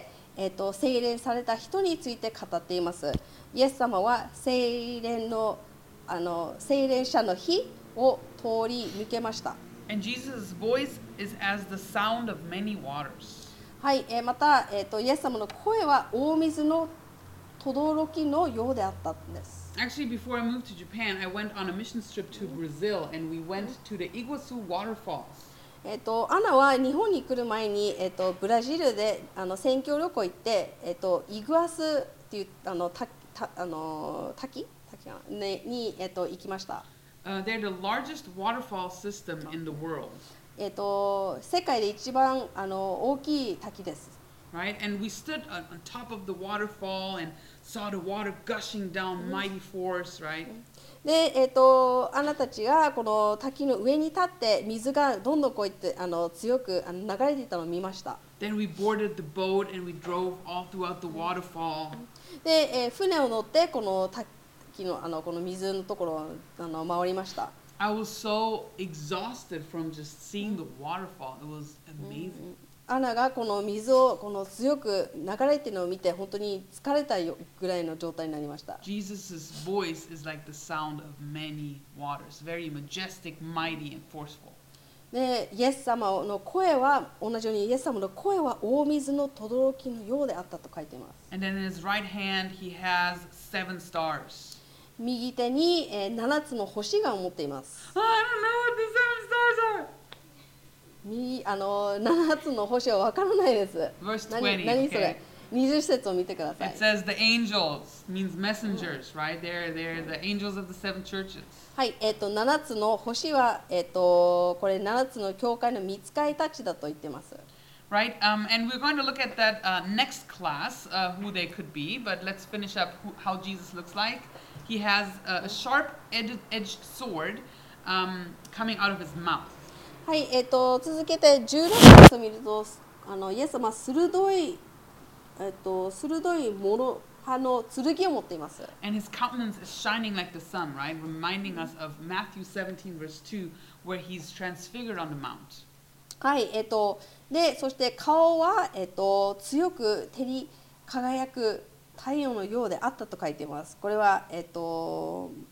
えっと、精錬された人について語っています。イエス様は精錬の、あの精錬者の火を通り抜けました。 And Jesus' voice is as the sound of many waters. はい、えー、また、えーと、イエス様の声は大水の轟きのようであったんです。 Actually, before I moved to Japan, I went on a mission trip to Brazil, and we went to the Iguazu waterfalls. えーと、アナは日本に来る前に、えーと、ブラジルであの宣教旅行行って、えーと、イグアスっていうあのたたあの滝滝かな、ね、に、えーと、行きました。 Uh, they're the largest waterfall system in the world. えーと、世界で一番あの大きい滝です。 Right? And we stood on, on top of the waterfall and saw the water gushing down mighty force, right? で、えーと、あなたたちがこの滝の上に立って水がどんどんこうやってあの強くあの流れていたのを見ました。 Then we boarded the boat and we drove all throughout the waterfall. で、えー、船を乗ってこの滝のあのこの水のところをあの回りました。 I was so exhausted from just seeing the waterfall. It was amazing. アナがこの水をこの強く流れているのを見て本当に疲れたぐらいの状態になりました。 Jesus' voice is like the sound of many waters, very majestic, mighty, and forceful. で、イエス様の声は同じようにイエス様の声は大水の轟きのようであったと書いています。 And then in his right hand, he has seven stars. 右手に、えー、ななつの星が持っています。 I don't know what the seven stars are. 右あのななつの星はわからないです。 Verse 何 twenty, 何そ okay? れ？にじゅう節を見てください It。says the angels means messengers, right? They're, they're the angels of the seven churches. はい、えっ、とななつの星はえっ、とこれななつの教会の御使いたちだと言ってます。 Right? Um, and we're going to look at that uh, next class, uh, who they could be, but let's finish up who, how Jesus looks like. He has a, a sharp edged, edged sword um, coming out of his mouth. はい、えっ、と続けてじゅうろく節を見ると、あのイエス様は鋭いえっ、と鋭いもの刃の剣を持っています。 And his countenance is shining like the sun, right? Reminding us of Matthew seventeen, verse two, where he's transfigured on the mount. はい、えっ、とでそして顔はえっ、と強く照り輝く太陽のようであったと書いています。これはえっ、と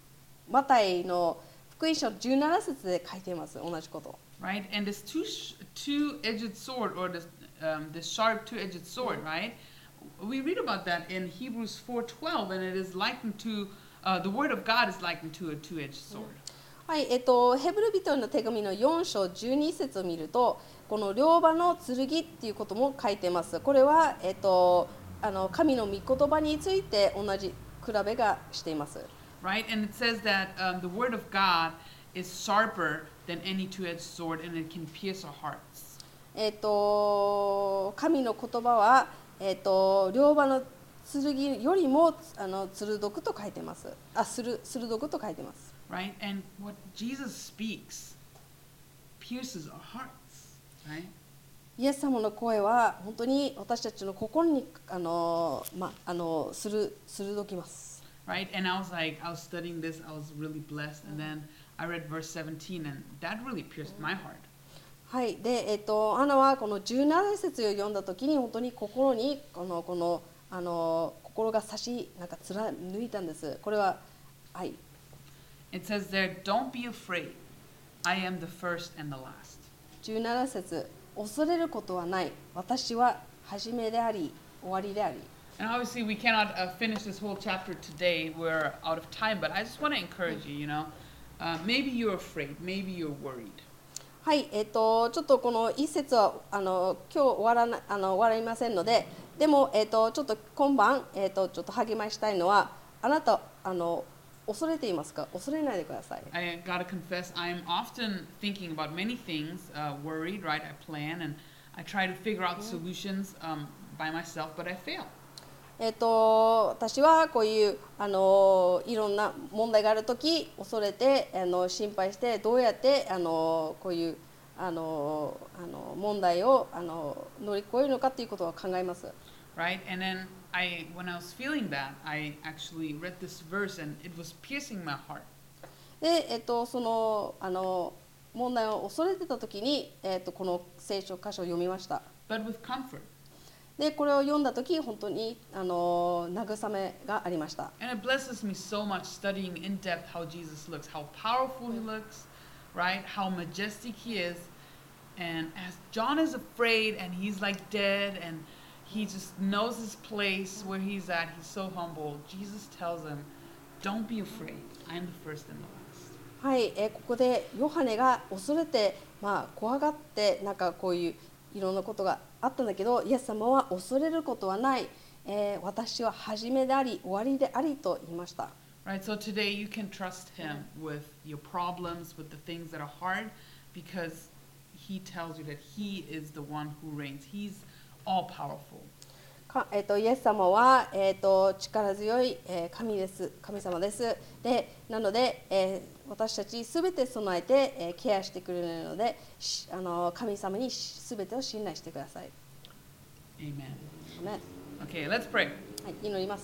マタイの福音書じゅうなな節で書いています。同じこと。 Right? And this two sh- two-edged sword, or this um, this sharp two-edged sword, right? We read about that in Hebrews four twelve, and it is likened to uh, the word of God is likened to a two-edged sword. はい、えっと、ヘブル人への手紙のよん章じゅうに節を見ると、この両刃の剣っていうことも書いてます。これは、えっと、あの神の御言葉について同じ比べがしています。 Right? And it says that um, the word of God is sharper than any two-edged sword, and it can pierce our hearts. えっと、神の言葉は、えっと、両刃の剣よりもあの鋭くと書いてます。あ、する鋭くと書いてます。 Right? And what Jesus speaks pierces our hearts. Right? イエス様の声は本当に私たちの心にあの、ま、あのする鋭きます。 Right? And I was like, I was studying this, I was really blessed, and then I read verse seventeen, and that really pierced my heart. はい、で、えっと、アナはこのじゅうなな節を読んだときに本当に心にこのこのあの心が差しなんか貫いたんです。これははい。 It says there, don't be afraid. I am the first and the last. じゅうなな節、恐れることはない。私は初めであり、終わりであり。 And obviously, we cannot uh, finish this whole chapter today. We're out of time, but I just want to encourage you, you know, uh, maybe you're afraid, maybe you're worried. はい、えっと、ちょっとこの一節はあの今日終わらなあの終わりませんので、でも、えっと、ちょっと今晩、えっと、ちょっと励ましたいのは、あなたあの恐れていますか？恐れないでください。 I gotta confess, I'm often thinking about many things, uh, worried, right? I plan and I try to figure out solutions um, by myself, but I fail. えっと、私はこういうあのいろんな問題があるとき恐れてあの心配してどうやってあのこういうあのあの問題をあの乗り越えるのかということを考えます。 Right? And then I, when I was feeling that, I actually read this verse and it was piercing my heart. で、えっと、そのあの問題を恐れてたときに、えっと、この聖書箇所を読みました。 But with comfort. で、これを読んだとき本当にあの慰めがありました。 And it blesses me so much studying in depth how Jesus looks, how powerful he looks, right? How majestic he is. And as John is afraid and he's like dead and he just knows his place where he's at, he's so humble. Jesus tells him, don't be afraid. I'm the first and the last. はい、えー、ここでヨハネが恐れて、まあ、怖がってなんかこういういろんなことがあったんだけど、イエス様は恐れることはない、えー、私は初めであり終わりでありと言いました。 Right, so today you can trust him with your problems, with the things that are hard, because he tells you that he is the one who reigns. He's all powerful. かえー、とイエス様は、えー、と力強い、えー、神です。神様です。で、なので、えー、私たちすべて備えて、えー、ケアしてくれるので、あの神様にすべてを信頼してください。 Amen. アメン。 Okay, let's pray. はい、祈ります。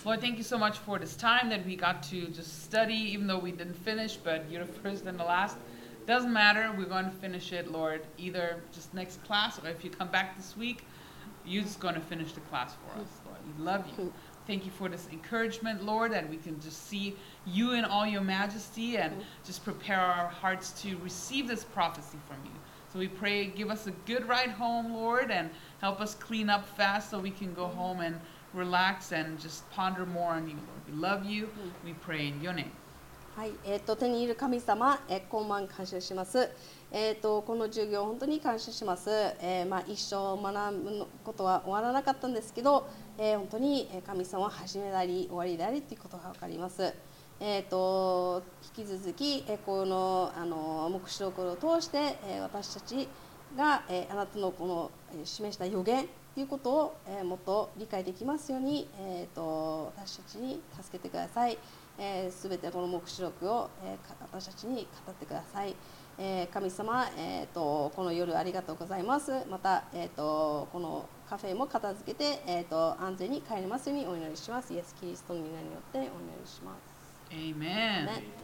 Lord, thank you so much for this time that we got to just study, even though we didn't finish, but you're the first and the last. Doesn't matter, we're going to finish it, Lord, either just next class, or if you come back this week, you're just going to finish the class for us, Lord. We love you. Thank you for this encouragement, Lord, that we can just see you in all your majesty and just prepare our hearts to receive this prophecy from you. So we pray, give us a good ride home, Lord, and help us clean up fast so we can go home and relax and just ponder more on you, Lord. We love you. We pray in your name. はい、えー、と手にいる神様、えー、今晩感謝します。えー、とこの授業本当に感謝します。えーまあ、一生学ぶことは終わらなかったんですけど、えー、本当に神様は始めであり終わりでありということが分かります。えー、と引き続き、えー、このあの黙示録を通して、えー、私たちが、えー、あなたのこの、えー、示した予言ということを、えー、もっと理解できますように、えー、と私たちに助けてください。すべ、えー、てこの黙示録を、えー、私たちに語ってください。えー、神様、えー、とこの夜ありがとうございます。また、えー、とこのカフェも片付けて、えー、と安全に帰れますようにお祈りします。イエス・キリストの皆によってお祈りします。 Amen. Amen.